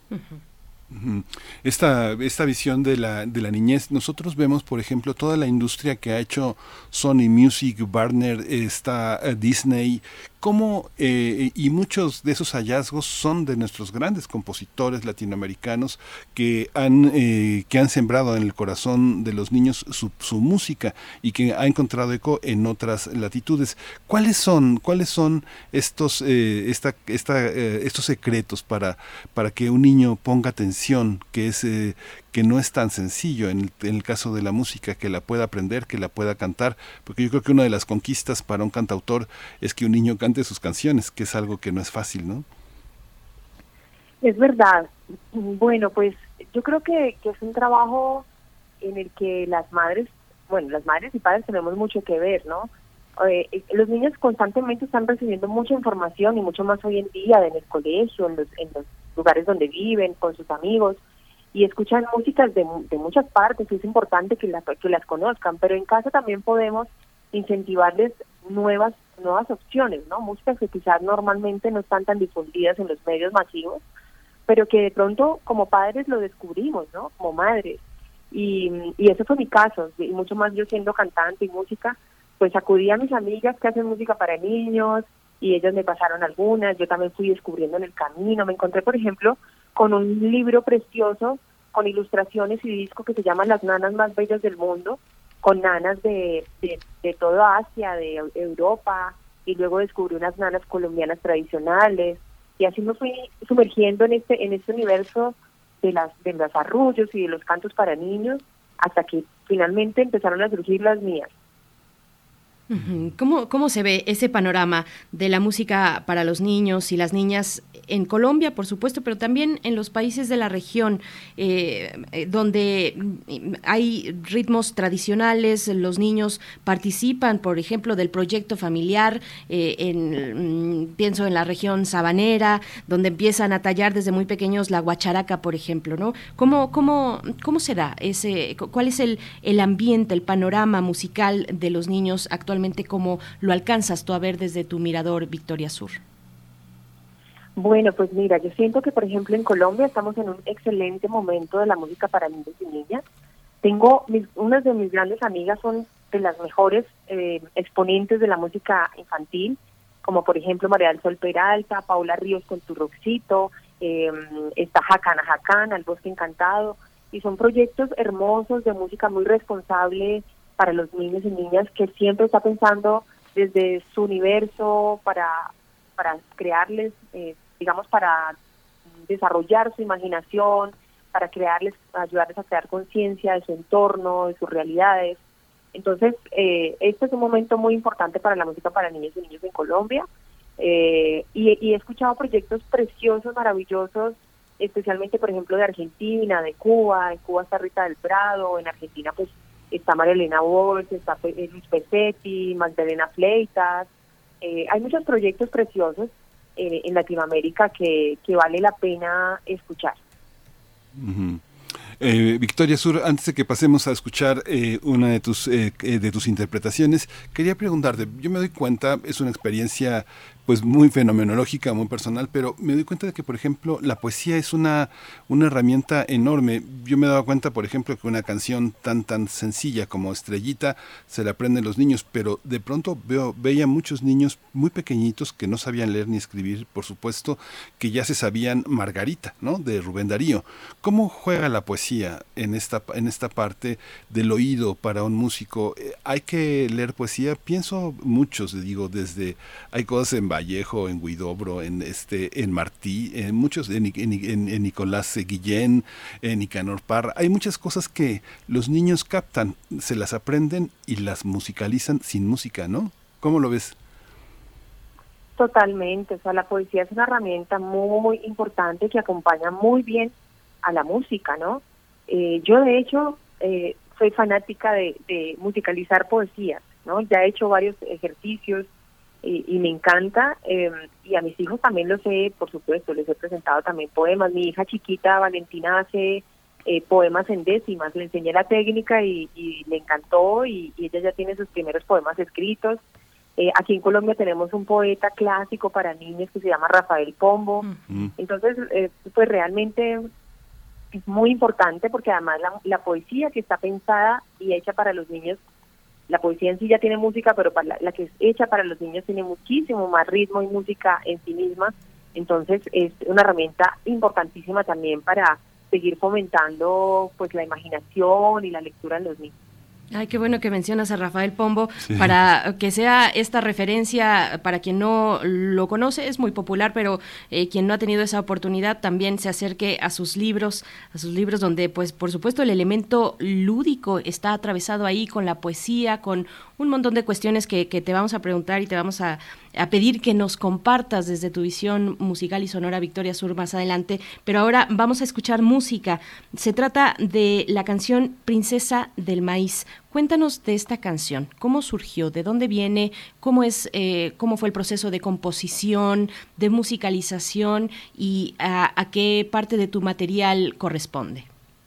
Esta visión de la niñez, nosotros vemos por ejemplo toda la industria que ha hecho Sony Music, Warner, Disney, cómo y muchos de esos hallazgos son de nuestros grandes compositores latinoamericanos que han sembrado en el corazón de los niños su música y que ha encontrado eco en otras latitudes. ¿Cuáles son estos secretos para que un niño ponga atención, que no es tan sencillo en el caso de la música, que la pueda aprender, que la pueda cantar? Porque yo creo que una de las conquistas para un cantautor es que un niño cante sus canciones, que es algo que no es fácil, ¿no? Es verdad. Bueno, pues yo creo que es un trabajo en el que las madres y padres tenemos mucho que ver, ¿no? Los niños constantemente están recibiendo mucha información y mucho más hoy en día en el colegio, en los lugares donde viven, con sus amigos, y escuchan músicas de muchas partes, y es importante que las conozcan, pero en casa también podemos incentivarles nuevas opciones, ¿no? Músicas que quizás normalmente no están tan difundidas en los medios masivos, pero que de pronto como padres lo descubrimos, ¿no? Como madres, y ese fue mi caso, y mucho más yo siendo cantante y música, pues acudí a mis amigas que hacen música para niños, y ellas me pasaron algunas, yo también fui descubriendo en el camino. Me encontré, por ejemplo, con un libro precioso, con ilustraciones y disco que se llama Las nanas más bellas del mundo, con nanas de toda Asia, de Europa, y luego descubrí unas nanas colombianas tradicionales, y así me fui sumergiendo en este universo de los arrullos y de los cantos para niños, hasta que finalmente empezaron a surgir las mías. ¿Cómo se ve ese panorama de la música para los niños y las niñas en Colombia, por supuesto, pero también en los países de la región, donde hay ritmos tradicionales? Los niños participan, por ejemplo, del proyecto familiar, pienso en la región sabanera, donde empiezan a tallar desde muy pequeños la guacharaca, por ejemplo, ¿no? ¿Cómo se da cuál es el ambiente, el panorama musical de los niños actualmente? ¿Cómo lo alcanzas tú a ver desde tu mirador, Victoria Sur? Bueno, pues mira, yo siento que, por ejemplo, en Colombia estamos en un excelente momento de la música para niños y niñas. Unas de mis grandes amigas son de las mejores exponentes de la música infantil, como por ejemplo María del Sol Peralta, Paula Ríos con Tu Roxito, está Jacana Jacana, El Bosque Encantado, y son proyectos hermosos de música muy responsable para los niños y niñas, que siempre está pensando desde su universo para crearles, digamos, para desarrollar su imaginación, para ayudarles a crear conciencia de su entorno, de sus realidades. Entonces, este es un momento muy importante para la música para niños y niños en Colombia, y he escuchado proyectos preciosos, maravillosos, especialmente, por ejemplo, de Argentina, de Cuba. En Cuba está Rita del Prado, en Argentina pues está María Elena Walsh, está Luis Pesetti, Magdalena Fleitas. Hay muchos proyectos preciosos en Latinoamérica que vale la pena escuchar. Uh-huh. Victoria Sur, antes de que pasemos a escuchar una de tus interpretaciones, quería preguntarte, yo me doy cuenta, es una experiencia pues muy fenomenológica, muy personal, pero me doy cuenta de que, por ejemplo, la poesía es una herramienta enorme. Yo me he dado cuenta, por ejemplo, que una canción tan sencilla como Estrellita se la aprenden los niños, pero de pronto veía muchos niños muy pequeñitos que no sabían leer ni escribir, por supuesto, que ya se sabían Margarita, ¿no?, de Rubén Darío. ¿Cómo juega la poesía en esta parte del oído para un músico? ¿Hay que leer poesía? Pienso muchos, digo, desde hay cosas en Vallejo, en Huidobro, en Martí, en muchos, en Nicolás Guillén, en Nicanor Parra. Hay muchas cosas que los niños captan, se las aprenden y las musicalizan sin música, ¿no? ¿Cómo lo ves? Totalmente, o sea, la poesía es una herramienta muy importante que acompaña muy bien a la música, ¿no? Yo, de hecho, soy fanática de musicalizar poesías, ¿no? Ya he hecho varios ejercicios y me encanta, y a mis hijos también por supuesto, les he presentado también poemas. Mi hija chiquita, Valentina, hace poemas en décimas, le enseñé la técnica y le encantó, y ella ya tiene sus primeros poemas escritos. Aquí en Colombia tenemos un poeta clásico para niños que se llama Rafael Pombo. Entonces, pues realmente es muy importante, porque además la poesía que está pensada y hecha para los niños, la poesía en sí ya tiene música, pero la que es hecha para los niños tiene muchísimo más ritmo y música en sí misma. Entonces es una herramienta importantísima también para seguir fomentando pues la imaginación y la lectura en los niños. Ay, qué bueno que mencionas a Rafael Pombo, Sí. para que sea esta referencia para quien no lo conoce. Es muy popular, pero quien no ha tenido esa oportunidad también se acerque a sus libros donde, pues, por supuesto, el elemento lúdico está atravesado ahí con la poesía, con un montón de cuestiones que te vamos a preguntar y te vamos a pedir que nos compartas desde tu visión musical y sonora, Victoria Sur, más adelante. Pero ahora vamos a escuchar música. Se trata de la canción Princesa del Maíz. Cuéntanos de esta canción, ¿cómo surgió? ¿De dónde viene? ¿Cómo fue el proceso de composición, de musicalización y a qué parte de tu material corresponde?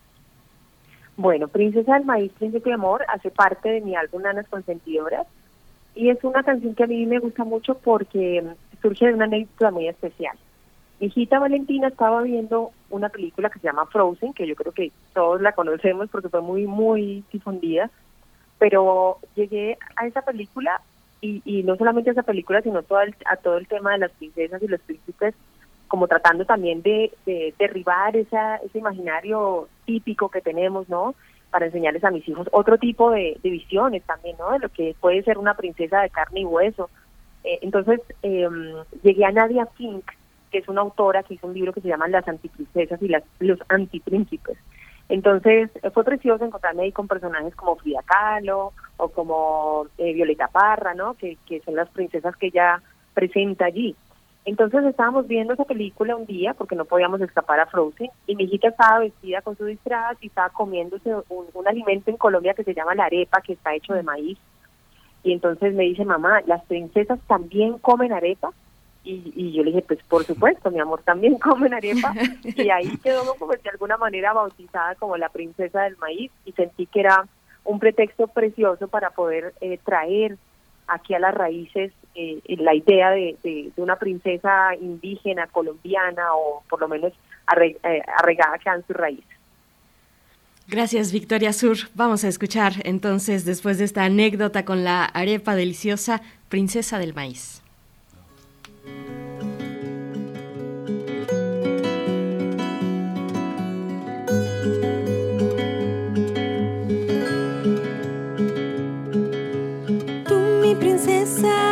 Bueno, Princesa del Maíz, Príncipe de Amor hace parte de mi álbum Nanas Consentidoras, y es una canción que a mí me gusta mucho porque surge de una anécdota muy especial. Mi hijita Valentina estaba viendo una película que se llama Frozen, que yo creo que todos la conocemos porque fue muy difundida, pero llegué a esa película y no solamente a esa película, sino a todo el tema de las princesas y los príncipes, como tratando también de derribar ese imaginario típico que tenemos, ¿no?, para enseñarles a mis hijos otro tipo de visiones también, ¿no?, de lo que puede ser una princesa de carne y hueso. Entonces llegué a Nadia Fink, que es una autora que hizo un libro que se llama Las antiprincesas y los antipríncipes. Entonces fue precioso encontrarme ahí con personajes como Frida Kahlo o como Violeta Parra, ¿no?, que son las princesas que ella presenta allí. Entonces estábamos viendo esa película un día porque no podíamos escapar a Frozen, y mi hijita estaba vestida con su disfraz y estaba comiéndose un alimento en Colombia que se llama la arepa, que está hecho de maíz. Y entonces me dice: mamá, ¿las princesas también comen arepa? Y yo le dije: pues por supuesto, mi amor, también comen arepa. Y ahí quedó como de alguna manera bautizada como la princesa del maíz, y sentí que era un pretexto precioso para poder traer aquí a las raíces la idea de una princesa indígena, colombiana, o por lo menos arraigada acá en sus raíces. Gracias, Victoria Sur. Vamos a escuchar entonces, después de esta anécdota con la arepa deliciosa, Princesa del Maíz. Tú, mi princesa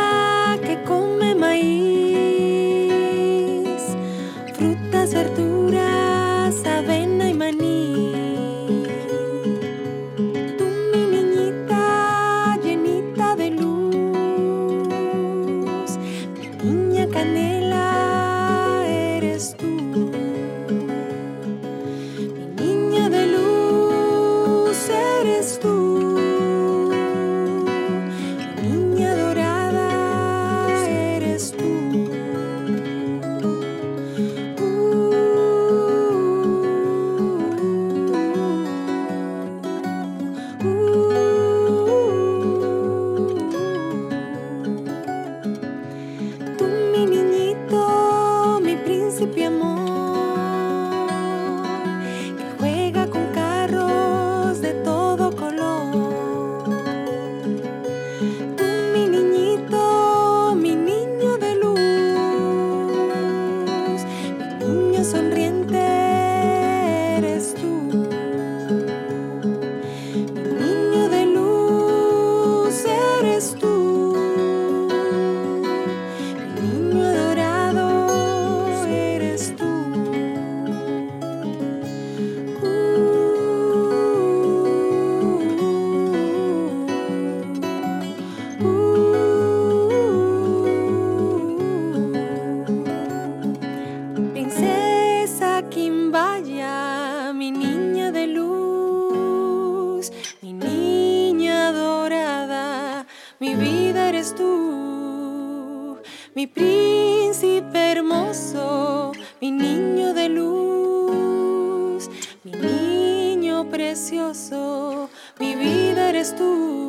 eres tú, mi príncipe hermoso, mi niño de luz, mi niño precioso, mi vida eres tú.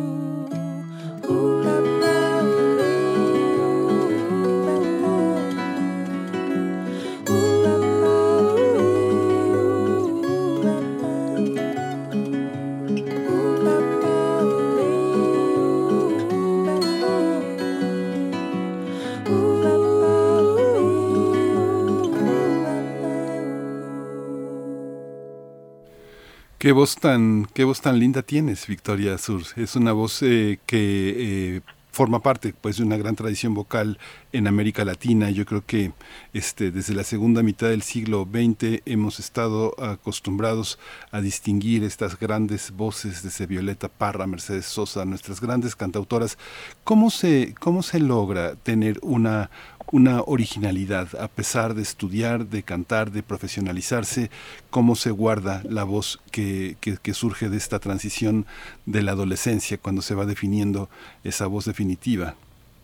Qué voz tan linda tienes, Victoria Sur. Es una voz que forma parte, pues, de una gran tradición vocal en América Latina. Yo creo que desde la segunda mitad del siglo XX hemos estado acostumbrados a distinguir estas grandes voces desde Violeta Parra, Mercedes Sosa, nuestras grandes cantautoras. ¿Cómo se logra tener una originalidad a pesar de estudiar, de cantar, de profesionalizarse? ¿Cómo se guarda la voz que surge de esta transición de la adolescencia cuando se va definiendo esa voz definitiva?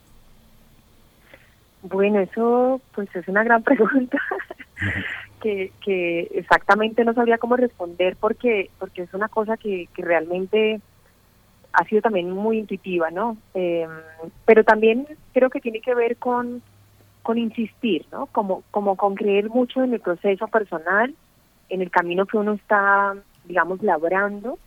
Bueno, eso pues es una gran pregunta que exactamente no sabría cómo responder porque es una cosa que realmente ha sido también muy intuitiva, ¿no? Pero también creo que tiene que ver con insistir, ¿no? Como con creer mucho en el proceso personal, en el camino que uno está, digamos, labrando,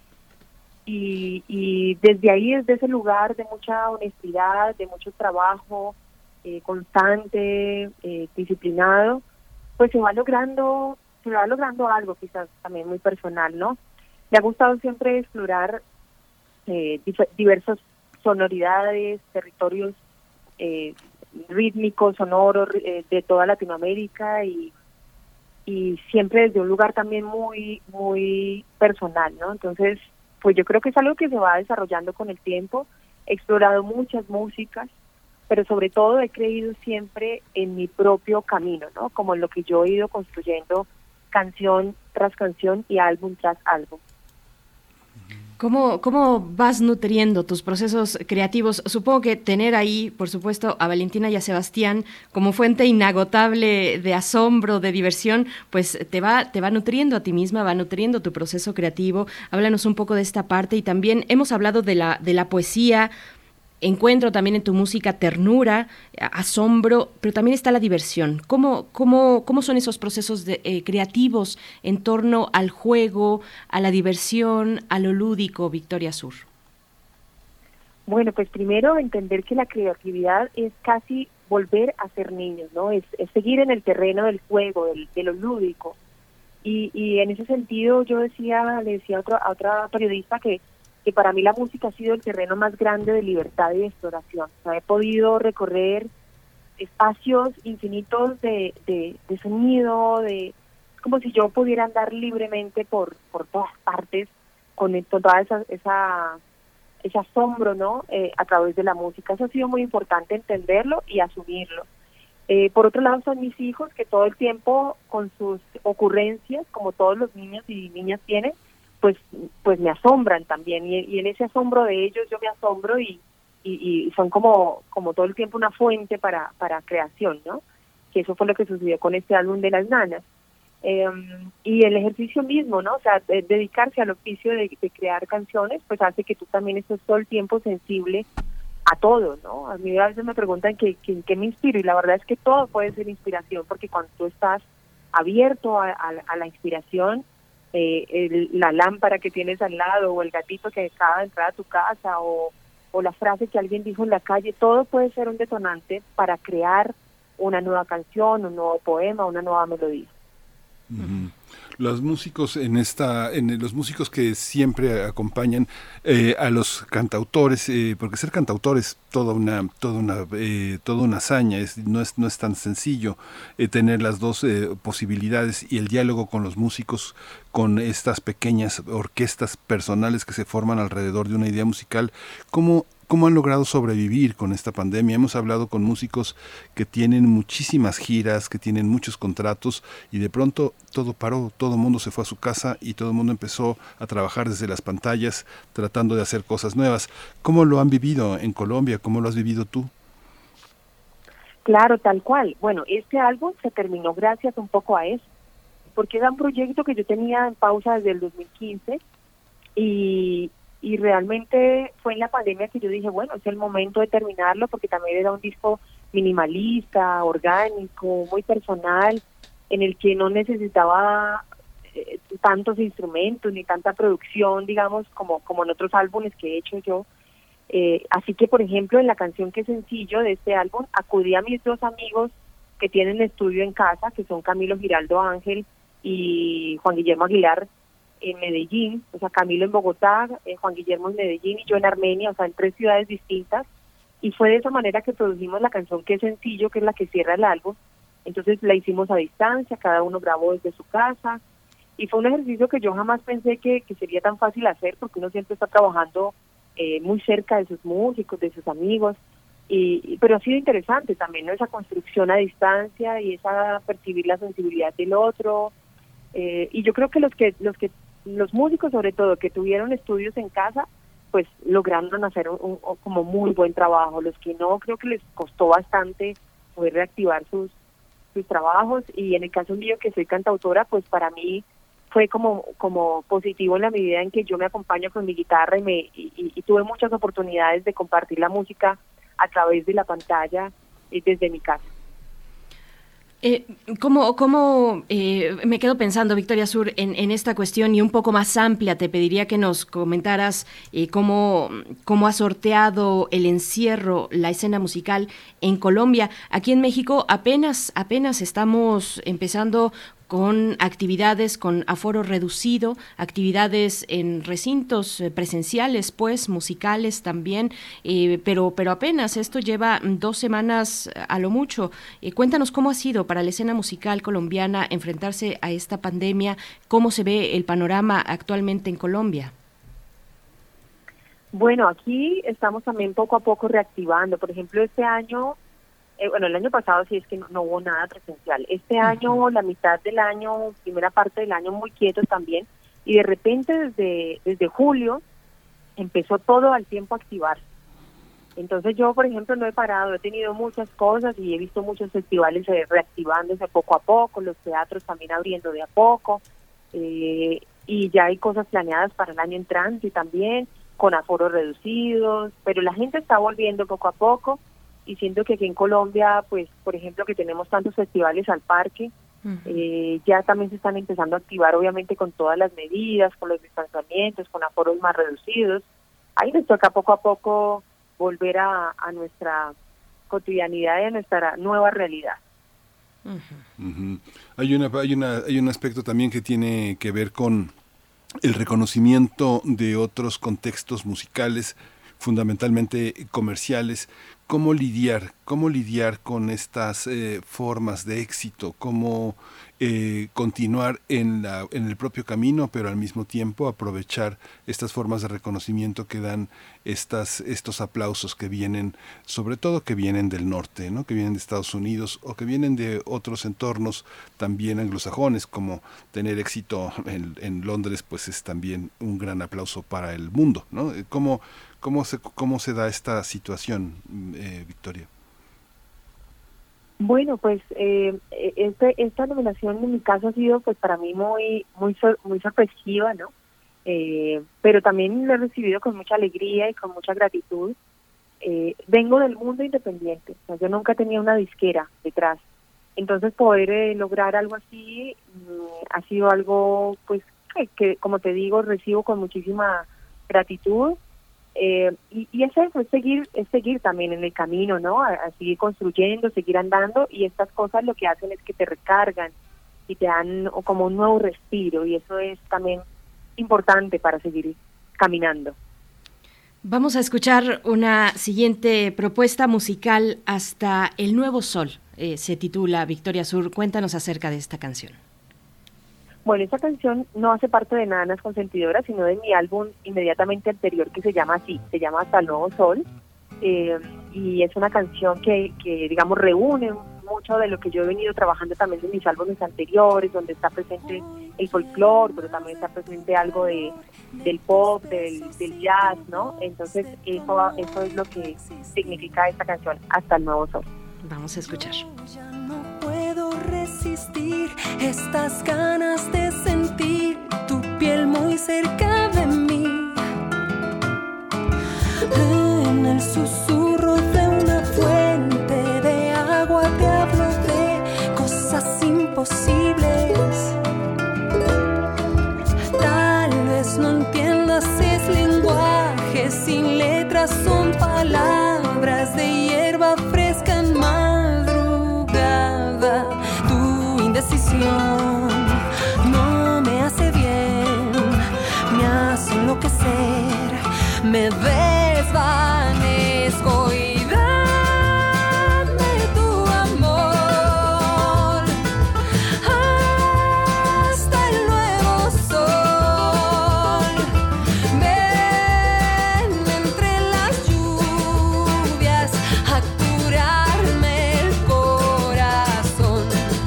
y desde ahí, desde ese lugar de mucha honestidad, de mucho trabajo constante, disciplinado, pues se va logrando algo quizás también muy personal, ¿no? Me ha gustado siempre explorar diversas sonoridades, territorios rítmicos, sonoros de toda Latinoamérica y siempre desde un lugar también muy muy personal, ¿no? Entonces, pues yo creo que es algo que se va desarrollando con el tiempo. He explorado muchas músicas, pero sobre todo he creído siempre en mi propio camino, ¿no? Como en lo que yo he ido construyendo canción tras canción y álbum tras álbum. ¿Cómo vas nutriendo tus procesos creativos? Supongo que tener ahí, por supuesto, a Valentina y a Sebastián como fuente inagotable de asombro, de diversión, pues te va nutriendo a ti misma, va nutriendo tu proceso creativo. Háblanos un poco de esta parte, y también hemos hablado de la poesía. Encuentro también en tu música ternura, asombro, pero también está la diversión. ¿Cómo son esos procesos creativos en torno al juego, a la diversión, a lo lúdico, Victoria Sur? Bueno, pues primero entender que la creatividad es casi volver a ser niños, ¿no? Es seguir en el terreno del juego, de lo lúdico. Y en ese sentido le decía a otra periodista que para mí la música ha sido el terreno más grande de libertad y de exploración. O sea, he podido recorrer espacios infinitos de sonido, como si yo pudiera andar libremente por todas partes con toda ese asombro, ¿no? A través de la música. Eso ha sido muy importante entenderlo y asumirlo. Por otro lado son mis hijos, que todo el tiempo con sus ocurrencias, como todos los niños y niñas tienen, pues me asombran también, y en ese asombro de ellos yo me asombro y son como todo el tiempo una fuente para creación, ¿no? Que eso fue lo que sucedió con este álbum de las nanas. Y el ejercicio mismo, ¿no? O sea, dedicarse al oficio de crear canciones, pues hace que tú también estés todo el tiempo sensible a todo, ¿no? A mí a veces me preguntan qué me inspiro, y la verdad es que todo puede ser inspiración, porque cuando tú estás abierto a la inspiración, la lámpara que tienes al lado, o el gatito que acaba de entrar a tu casa, o la frase que alguien dijo en la calle, todo puede ser un detonante para crear una nueva canción, un nuevo poema, una nueva melodía. Uh-huh. Los músicos los músicos que siempre acompañan a los cantautores, porque ser cantautor es toda una hazaña, no es tan sencillo tener las dos posibilidades, y el diálogo con los músicos, con estas pequeñas orquestas personales que se forman alrededor de una idea musical. ¿Cómo ¿Cómo han logrado sobrevivir con esta pandemia? Hemos hablado con músicos que tienen muchísimas giras, que tienen muchos contratos y de pronto todo paró, todo el mundo se fue a su casa y todo el mundo empezó a trabajar desde las pantallas tratando de hacer cosas nuevas. ¿Cómo lo han vivido en Colombia? ¿Cómo lo has vivido tú? Claro, tal cual. Bueno, este álbum se terminó gracias un poco a eso, porque era un proyecto que yo tenía en pausa desde el 2015 y realmente fue en la pandemia que yo dije, bueno, es el momento de terminarlo, porque también era un disco minimalista, orgánico, muy personal, en el que no necesitaba tantos instrumentos ni tanta producción, digamos, como en otros álbumes que he hecho yo. Así que, por ejemplo, en la canción que es sencillo de este álbum, acudí a mis dos amigos que tienen estudio en casa, que son Camilo Giraldo Ángel y Juan Guillermo Aguilar en Medellín, o sea, Camilo en Bogotá, Juan Guillermo en Medellín y yo en Armenia, o sea, en 3 ciudades distintas, y fue de esa manera que produjimos la canción que es sencillo, que es la que cierra el álbum. Entonces la hicimos a distancia, cada uno grabó desde su casa, y fue un ejercicio que yo jamás pensé que sería tan fácil hacer, porque uno siempre está trabajando muy cerca de sus músicos, de sus amigos, pero ha sido interesante también, ¿no? Esa construcción a distancia y esa percibir la sensibilidad del otro, y yo creo que los músicos sobre todo que tuvieron estudios en casa, pues lograron hacer como muy buen trabajo. Los que no, creo que les costó bastante poder reactivar sus trabajos, y en el caso mío, que soy cantautora, pues para mí fue como positivo en la medida en que yo me acompaño con mi guitarra y tuve muchas oportunidades de compartir la música a través de la pantalla desde mi casa. Me quedo pensando, Victoria Sur, en esta cuestión y un poco más amplia. Te pediría que nos comentaras cómo ha sorteado el encierro la escena musical en Colombia. Aquí en México apenas estamos empezando con actividades con aforo reducido, actividades en recintos presenciales, pues, musicales también, pero apenas esto lleva 2 semanas a lo mucho. Cuéntanos cómo ha sido para la escena musical colombiana enfrentarse a esta pandemia, cómo se ve el panorama actualmente en Colombia. Bueno, aquí estamos también poco a poco reactivando. Por ejemplo, este año, el año pasado sí es que no hubo nada presencial. Este año, la mitad del año, primera parte del año, muy quieto también. Y de repente, desde julio, empezó todo al tiempo a activarse. Entonces yo, por ejemplo, no he parado, he tenido muchas cosas y he visto muchos festivales reactivándose poco a poco, los teatros también abriendo de a poco, y ya hay cosas planeadas para el año entrante también, con aforos reducidos, pero la gente está volviendo poco a poco. Y siento que aquí en Colombia, pues, por ejemplo, que tenemos tantos festivales al parque, ya también se están empezando a activar, obviamente, con todas las medidas, con los distanciamientos, con aforos más reducidos. Ahí nos toca poco a poco volver a nuestra cotidianidad y a nuestra nueva realidad. Hay un aspecto también que tiene que ver con el reconocimiento de otros contextos musicales, fundamentalmente comerciales. ¿Cómo lidiar con estas formas de éxito? ¿Cómo continuar en el propio camino, pero al mismo tiempo aprovechar estas formas de reconocimiento que dan estos aplausos que vienen, sobre todo que vienen del norte, ¿no? Que vienen de Estados Unidos o que vienen de otros entornos también anglosajones, como tener éxito en Londres, pues es también un gran aplauso para el mundo, ¿no? ¿Cómo se da esta situación, Victoria? Bueno, pues esta nominación en mi caso ha sido, pues, para mí muy sorpresiva, ¿no? Pero también lo he recibido con mucha alegría y con mucha gratitud. Vengo del mundo independiente, o sea, yo nunca tenía una disquera detrás. Entonces poder lograr algo así ha sido algo, pues, que como te digo, recibo con muchísima gratitud. Y es eso, es seguir también en el camino, ¿no? A seguir construyendo, seguir andando, y estas cosas lo que hacen es que te recargan y te dan como un nuevo respiro, y eso es también importante para seguir caminando. Vamos a escuchar una siguiente propuesta musical, Hasta el Nuevo Sol, se titula. Victoria Sur, cuéntanos acerca de esta canción. Bueno, esta canción no hace parte de Nanas Consentidoras, sino de mi álbum inmediatamente anterior que se llama así, se llama Hasta el Nuevo Sol, y es una canción que digamos reúne mucho de lo que yo he venido trabajando también en mis álbumes anteriores, donde está presente el folclore, pero también está presente algo del pop, del jazz, ¿no? Entonces eso es lo que significa esta canción, Hasta el Nuevo Sol. Vamos a escuchar. Ya no puedo resistir estas ganas de sentir tu piel muy cerca de mí. En el susurro de una fuente de agua te hablo de cosas imposibles. Tal vez no entiendas, es lenguaje sin letras, son palabras de hierba fresca en madrugada. Tu indecisión no me hace bien, me hace enloquecer, me desvanezco y dame tu amor hasta el nuevo sol. Ven entre las lluvias a curarme el corazón.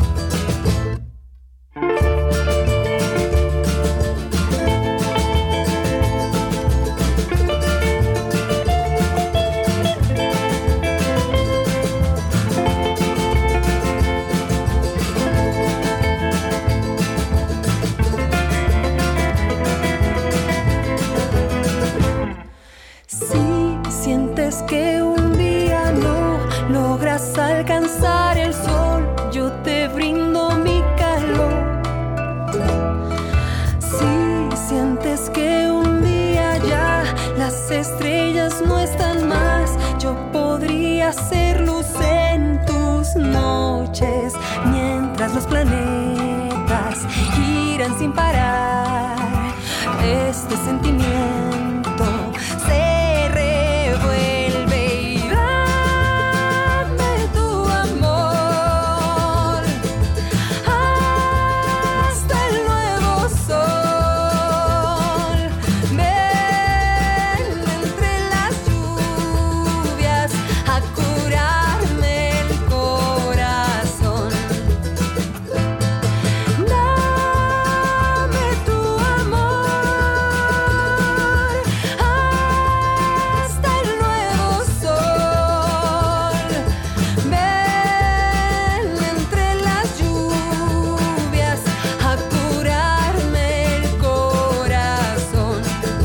Si sientes que un día no logras alcanzar el sol, yo te brindo mi calor. Si sientes que un día ya las estrellas no están más, yo podría ser luz en tus noches, mientras los planetas giran sin parar. Este sentimiento se revuelve y dame tu amor hasta el nuevo sol. Ven entre las lluvias a curarme el corazón. Dame tu amor hasta el nuevo sol. Ven entre las lluvias a curarme el corazón.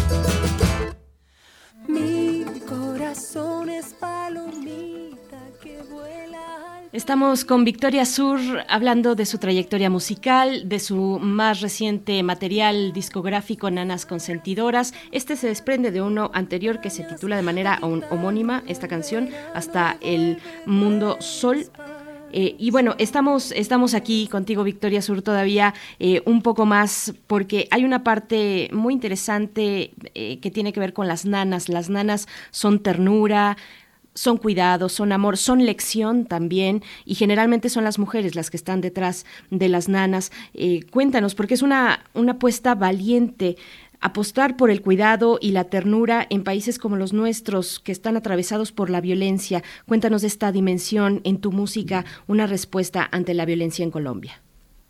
Mi corazón es palomita que vuela. Estamos con Victoria Sur hablando de su trayectoria musical, de su más reciente material discográfico Nanas Consentidoras. Este se desprende de uno anterior que se titula de manera homónima, esta canción, Hasta el Mundo Sol. Y bueno, estamos aquí contigo, Victoria Sur, todavía un poco más, porque hay una parte muy interesante que tiene que ver con las nanas. Las nanas son ternura, son cuidado, son amor, son lección también, y generalmente son las mujeres las que están detrás de las nanas. Cuéntanos, porque es una apuesta valiente, apostar por el cuidado y la ternura en países como los nuestros, que están atravesados por la violencia. Cuéntanos de esta dimensión en tu música, una respuesta ante la violencia en Colombia.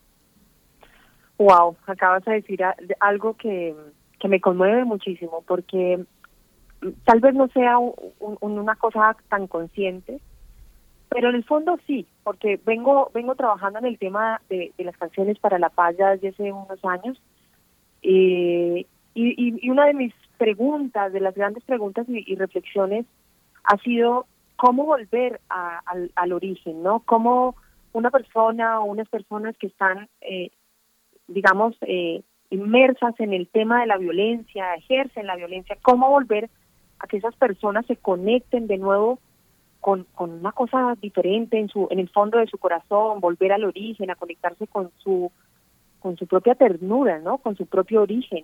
Wow, acabas de decir algo que me conmueve muchísimo, porque tal vez no sea una cosa tan consciente, pero en el fondo sí, porque vengo trabajando en el tema de las canciones para la paz ya desde hace unos años, y una de mis preguntas, de las grandes preguntas y reflexiones, ha sido cómo volver al origen, ¿no? Cómo una persona o unas personas que están, inmersas en el tema de la violencia, ejercen la violencia, cómo volver a que esas personas se conecten de nuevo con una cosa diferente en el fondo de su corazón, volver al origen, a conectarse con su propia ternura, ¿no? Con su propio origen.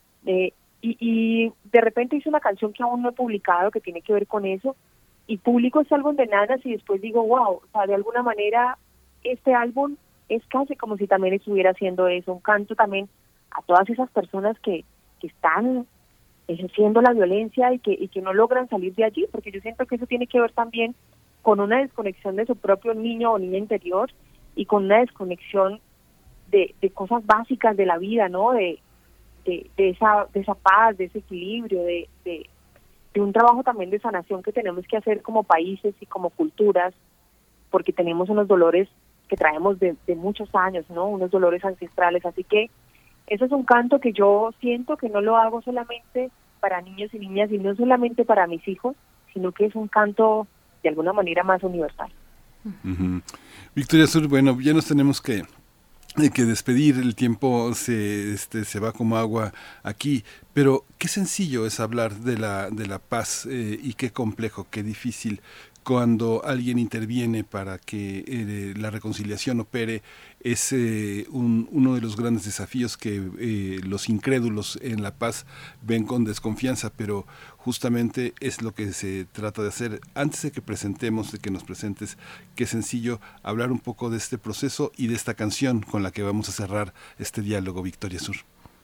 Y de repente hice una canción que aún no he publicado que tiene que ver con eso, y publico ese álbum de Nanas y después digo, wow, o sea, de alguna manera este álbum es casi como si también estuviera haciendo eso, un canto también a todas esas personas que están ejerciendo la violencia y que no logran salir de allí, porque yo siento que eso tiene que ver también con una desconexión de su propio niño o niña interior y con una desconexión de cosas básicas de la vida, ¿no? De esa paz, de ese equilibrio, de un trabajo también de sanación que tenemos que hacer como países y como culturas, porque tenemos unos dolores que traemos de muchos años, ¿no? Unos dolores ancestrales, así que eso es un canto que yo siento que no lo hago solamente para niños y niñas y no solamente para mis hijos, sino que es un canto de alguna manera más universal. Uh-huh. Victoria Sur, bueno, ya nos tenemos que despedir, el tiempo se va como agua aquí, pero qué sencillo es hablar de la paz y qué complejo, qué difícil cuando alguien interviene para que la reconciliación opere. Es uno de los grandes desafíos que los incrédulos en la paz ven con desconfianza, pero justamente es lo que se trata de hacer. Antes de que nos presentes, qué sencillo hablar un poco de este proceso y de esta canción con la que vamos a cerrar este diálogo, Victoria Sur.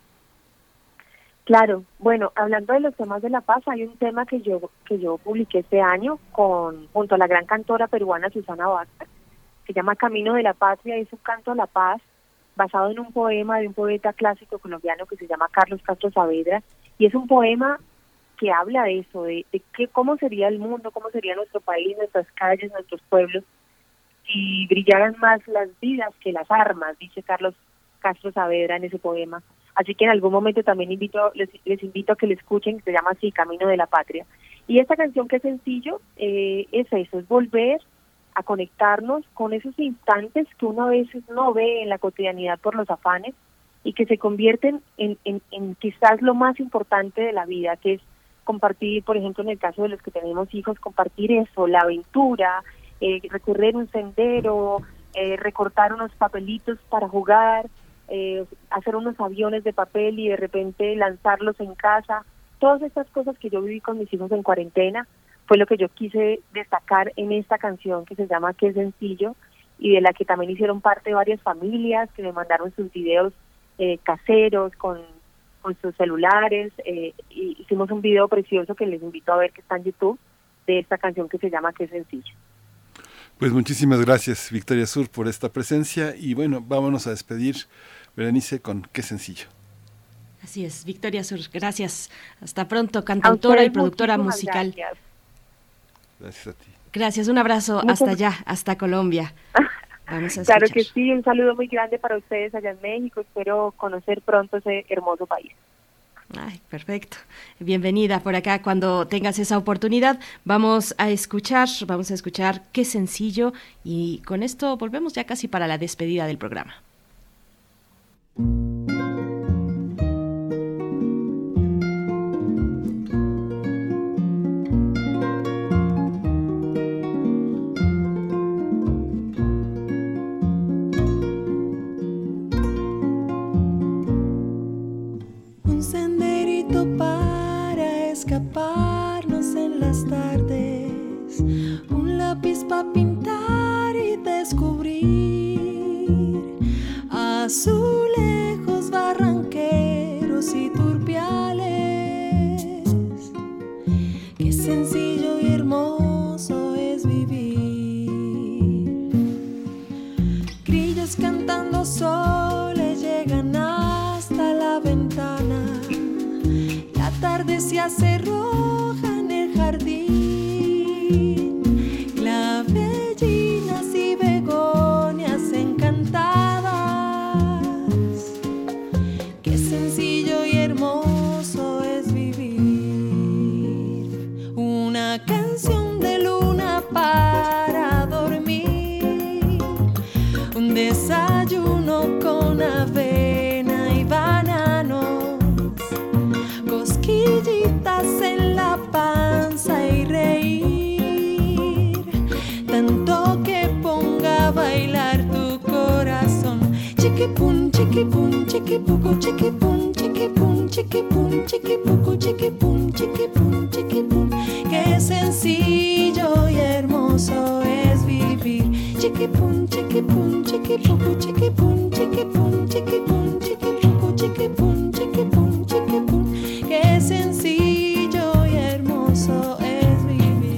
Claro, bueno, hablando de los temas de la paz, hay un tema que yo publiqué este año junto a la gran cantora peruana Susana Vázquez, que se llama Camino de la Patria, y es un canto a la paz basado en un poema de un poeta clásico colombiano que se llama Carlos Castro Saavedra, y es un poema que habla de eso, de cómo sería el mundo, cómo sería nuestro país, nuestras calles, nuestros pueblos, si brillaran más las vidas que las armas, dice Carlos Castro Saavedra en ese poema. Así que en algún momento también les invito a que le escuchen, que se llama así, Camino de la Patria. Y esta canción, que es sencillo, es eso, es volver a conectarnos con esos instantes que uno a veces no ve en la cotidianidad por los afanes y que se convierten en quizás lo más importante de la vida, que es compartir, por ejemplo, en el caso de los que tenemos hijos, compartir eso, la aventura, recorrer un sendero, recortar unos papelitos para jugar, hacer unos aviones de papel y de repente lanzarlos en casa. Todas estas cosas que yo viví con mis hijos en cuarentena fue lo que yo quise destacar en esta canción que se llama Qué sencillo, y de la que también hicieron parte varias familias que me mandaron sus videos caseros con sus celulares. Y hicimos un video precioso que les invito a ver, que está en YouTube, de esta canción que se llama Qué sencillo. Pues muchísimas gracias, Victoria Sur, por esta presencia, y bueno, vámonos a despedir, Berenice, con Qué sencillo. Así es, Victoria Sur, gracias. Hasta pronto, cantautora y productora musical. Gracias a ti. Gracias, un abrazo hasta allá, hasta Colombia. Vamos a escuchar. Claro que sí, un saludo muy grande para ustedes allá en México. Espero conocer pronto ese hermoso país. Ay, perfecto. Bienvenida por acá cuando tengas esa oportunidad. Vamos a escuchar Qué sencillo, y con esto volvemos ya casi para la despedida del programa. Para escaparnos en las tardes, un lápiz para pintar y descubrir azulejos, barranqueros y turpiales. Qué sencillo y hermoso es vivir. Grillos cantando soles llegan hasta la ventana. La tarde se hace roja en el jardín, clavellinas y begonias encantadas. Qué sencillo y hermoso es vivir. Una canción de luna para dormir, un desayuno con avena y bananos, cosquillitas en la panza y reír, tanto que ponga a bailar tu corazón. Chiquipum, chiquipum, chiquipuco, chiquipum, chiquipum, chiquipum, chiquipuco, chiquipum, chiquipum, chiquipum. Qué sencillo y hermoso es vivir. Chiquipum, chiquipum, chiquipum. chiquipucu, chiquipun, chiquipun, chiquipun, chiquipucu, chiquipun, chiquipun, chiquipun. Qué sencillo y hermoso es vivir.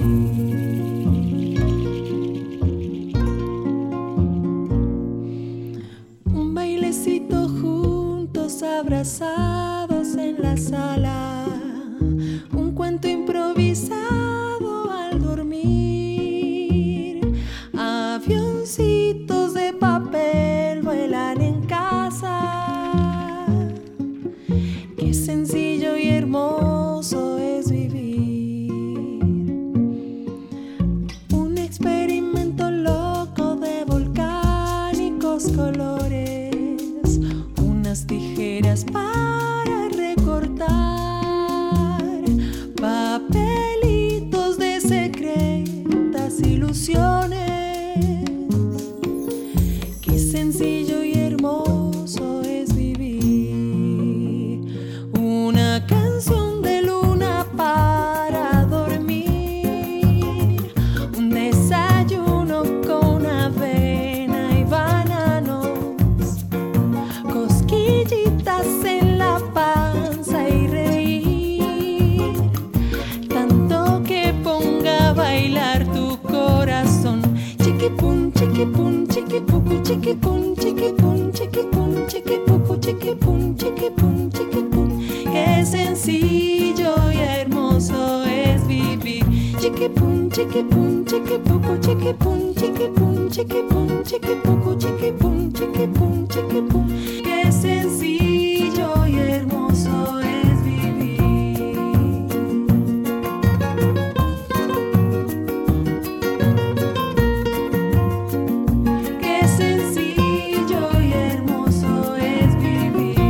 Un bailecito juntos abrazados en la sala, un cuento improvisado al dormir, avioncitos de papel vuelan en casa. Qué sencillo y hermoso es vivir. Un experimento loco de volcánicos colores, unas tijeras para recortar, papelitos de secretas ilusiones. Qué sencillo y hermoso es vivir. Una canción de luna para dormir, un desayuno con avena y bananos, cosquillitas en la panza y reír, tanto que ponga a bailar tu corazón. Chiquipun, chiquipun, chiquipucu, chiquipun, chiquipun, chiquipun, chiquipucu, chiquipun, chiquipun, chiquipun. Qué sencillo y hermoso es vivir. Chiquipun, chiquipun, chiquipucu, chiquipun, chiquipun, chiquipun, chiquipucu, chiquipun, chiquipun, chiquipun. Qué sencillo y hermoso es vivir. Qué sencillo y hermoso es vivir.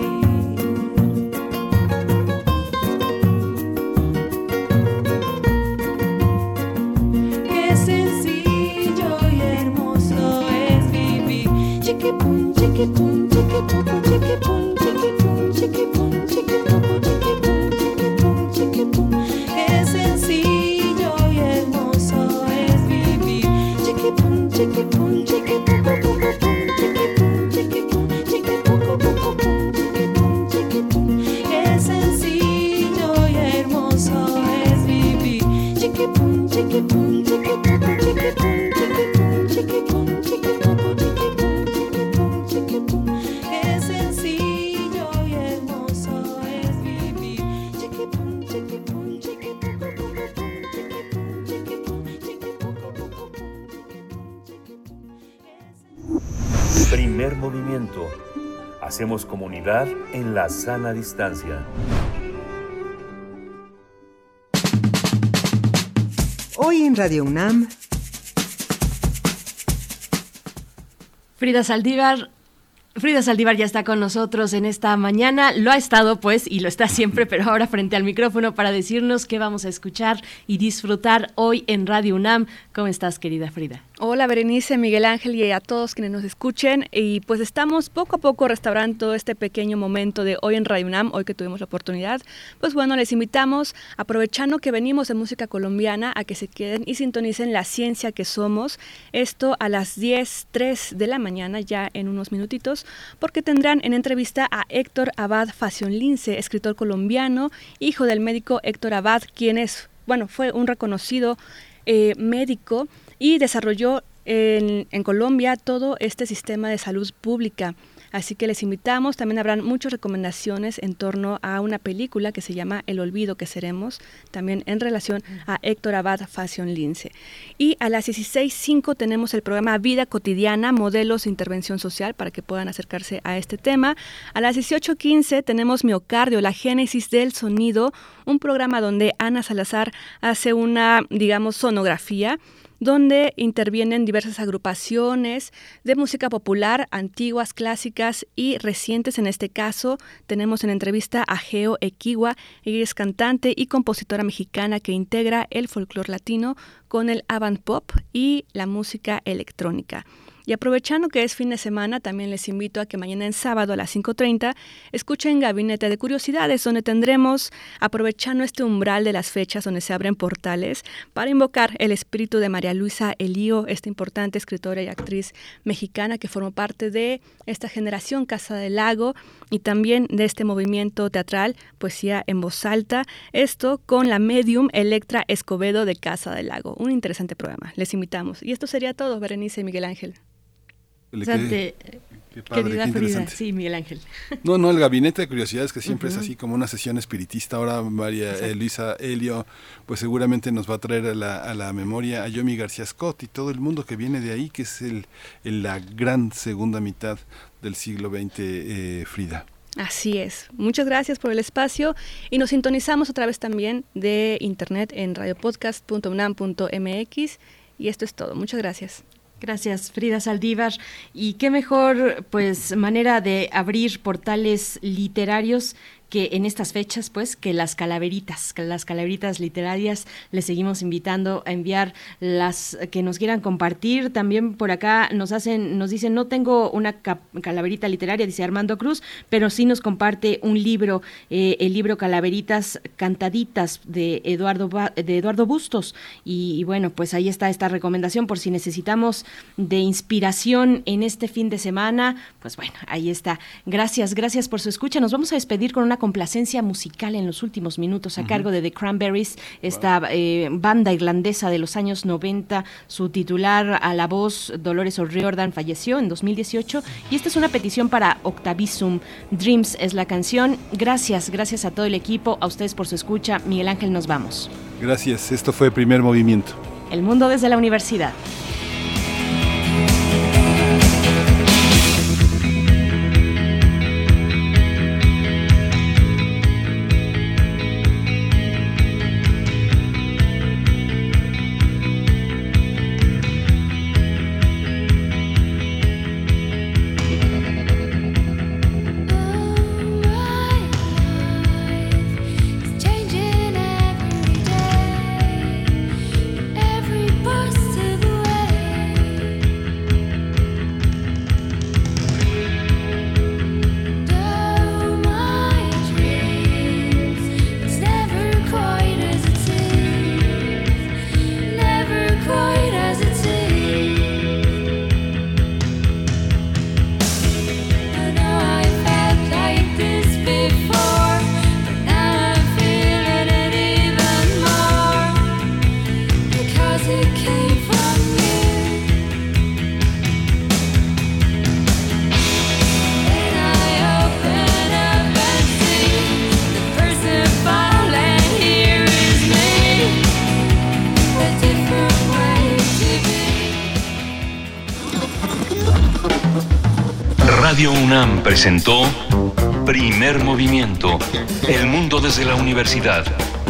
Qué sencillo y hermoso es vivir. Chiquipun, chiquipun, chiquipucu, chiquipun, chiquipun, chiquipun, chiquipucu, chiquipun, chiquipun, chiquipun. Qué sencillo y hermoso es vivir. Chiquipun, chiquipun, chiquipucu, chiquipun, chiquipun, chiquipucu, chiquipun, chiquipun. Qué sencillo y hermoso es vivir. Chiquipun, chiquipun, chiquipucu, chiquipun, chiquipun, chiquipun, chiquipucu, chiquipun, chiquipun. Qué sencillo y hermoso es vivir. Chiquipun, chiquipun, chiquipucu, chiquipun, chiquipun, chiquipucu. Primer movimiento. Hacemos comunidad en la sana distancia. Hoy en Radio UNAM, Frida Saldívar ya está con nosotros en esta mañana. Lo ha estado, pues, y lo está siempre, pero ahora frente al micrófono para decirnos qué vamos a escuchar y disfrutar hoy en Radio UNAM. ¿Cómo estás, querida Frida? Hola, Berenice, Miguel Ángel y a todos quienes nos escuchen. Y pues estamos poco a poco restaurando este pequeño momento de hoy en Radio UNAM, hoy que tuvimos la oportunidad. Pues bueno, les invitamos, aprovechando que venimos de música colombiana, a que se queden y sintonicen La Ciencia que Somos. Esto a las 10:03 de la mañana, ya en unos minutitos, porque tendrán en entrevista a Héctor Abad Facionlince, escritor colombiano, hijo del médico Héctor Abad, quien fue un reconocido médico y desarrolló en Colombia todo este sistema de salud pública. Así que les invitamos, también habrán muchas recomendaciones en torno a una película que se llama El olvido que seremos, también en relación a Héctor Abad Facionlince. Y a las 16:05 tenemos el programa Vida Cotidiana, Modelos de Intervención Social, para que puedan acercarse a este tema. A las 18:15 tenemos Miocardio, la génesis del sonido, un programa donde Ana Salazar hace una, sonografía, donde intervienen diversas agrupaciones de música popular, antiguas, clásicas y recientes. En este caso, tenemos en entrevista a Geo Equigua. Ella es cantante y compositora mexicana que integra el folclore latino con el avant pop y la música electrónica. Y aprovechando que es fin de semana, también les invito a que mañana en sábado a las 5:30 escuchen Gabinete de Curiosidades, donde tendremos, aprovechando este umbral de las fechas donde se abren portales, para invocar el espíritu de María Luisa Elío, esta importante escritora y actriz mexicana que formó parte de esta generación Casa del Lago y también de este movimiento teatral Poesía en Voz Alta, esto con la medium Electra Escobedo de Casa del Lago. Un interesante programa, les invitamos. Y esto sería todo, Berenice y Miguel Ángel. Qué padre, querida qué Frida, interesante. sí, Miguel Ángel. No, el Gabinete de Curiosidades, que siempre es así como una sesión espiritista. Ahora María Luisa Elío, pues seguramente nos va a traer a la memoria a Yomi García Scott y todo el mundo que viene de ahí, que es la gran segunda mitad del siglo XX, Frida. Así es. Muchas gracias por el espacio y nos sintonizamos otra vez también de internet en radiopodcast.unam.mx y esto es todo. Muchas gracias. Gracias, Frida Saldívar. Y qué mejor, pues, manera de abrir portales literarios que en estas fechas, pues, que las calaveritas literarias. Les seguimos invitando a enviar las que nos quieran compartir. También por acá nos dicen, no tengo una calaverita literaria, dice Armando Cruz, pero sí nos comparte un libro, el libro Calaveritas Cantaditas de Eduardo Bustos. Y bueno, pues ahí está esta recomendación por si necesitamos de inspiración en este fin de semana. Pues bueno, ahí está. Gracias por su escucha. Nos vamos a despedir con una complacencia musical en los últimos minutos a cargo de The Cranberries, esta banda irlandesa de los años 90. Su titular a la voz, Dolores O'Riordan, falleció en 2018 y esta es una petición para Octavisum. Dreams es la canción. Gracias a todo el equipo, a ustedes por su escucha. Miguel Ángel, nos vamos. Gracias, esto fue Primer Movimiento. El mundo desde la universidad. Radio UNAM presentó Primer Movimiento, El Mundo desde la Universidad,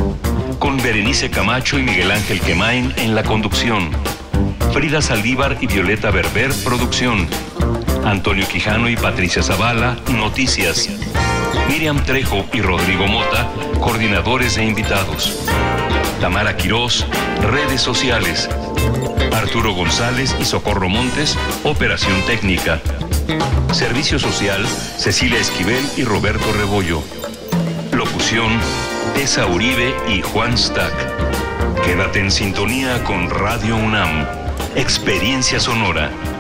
con Berenice Camacho y Miguel Ángel Quemain en la conducción, Frida Saldívar y Violeta Berber, producción, Antonio Quijano y Patricia Zavala, noticias, Miriam Trejo y Rodrigo Mota, coordinadores e invitados, Tamara Quirós, redes sociales, Arturo González y Socorro Montes, operación técnica. Servicio social, Cecilia Esquivel y Roberto Rebollo. Locución, Tessa Uribe y Juan Stack. Quédate en sintonía con Radio UNAM. Experiencia sonora.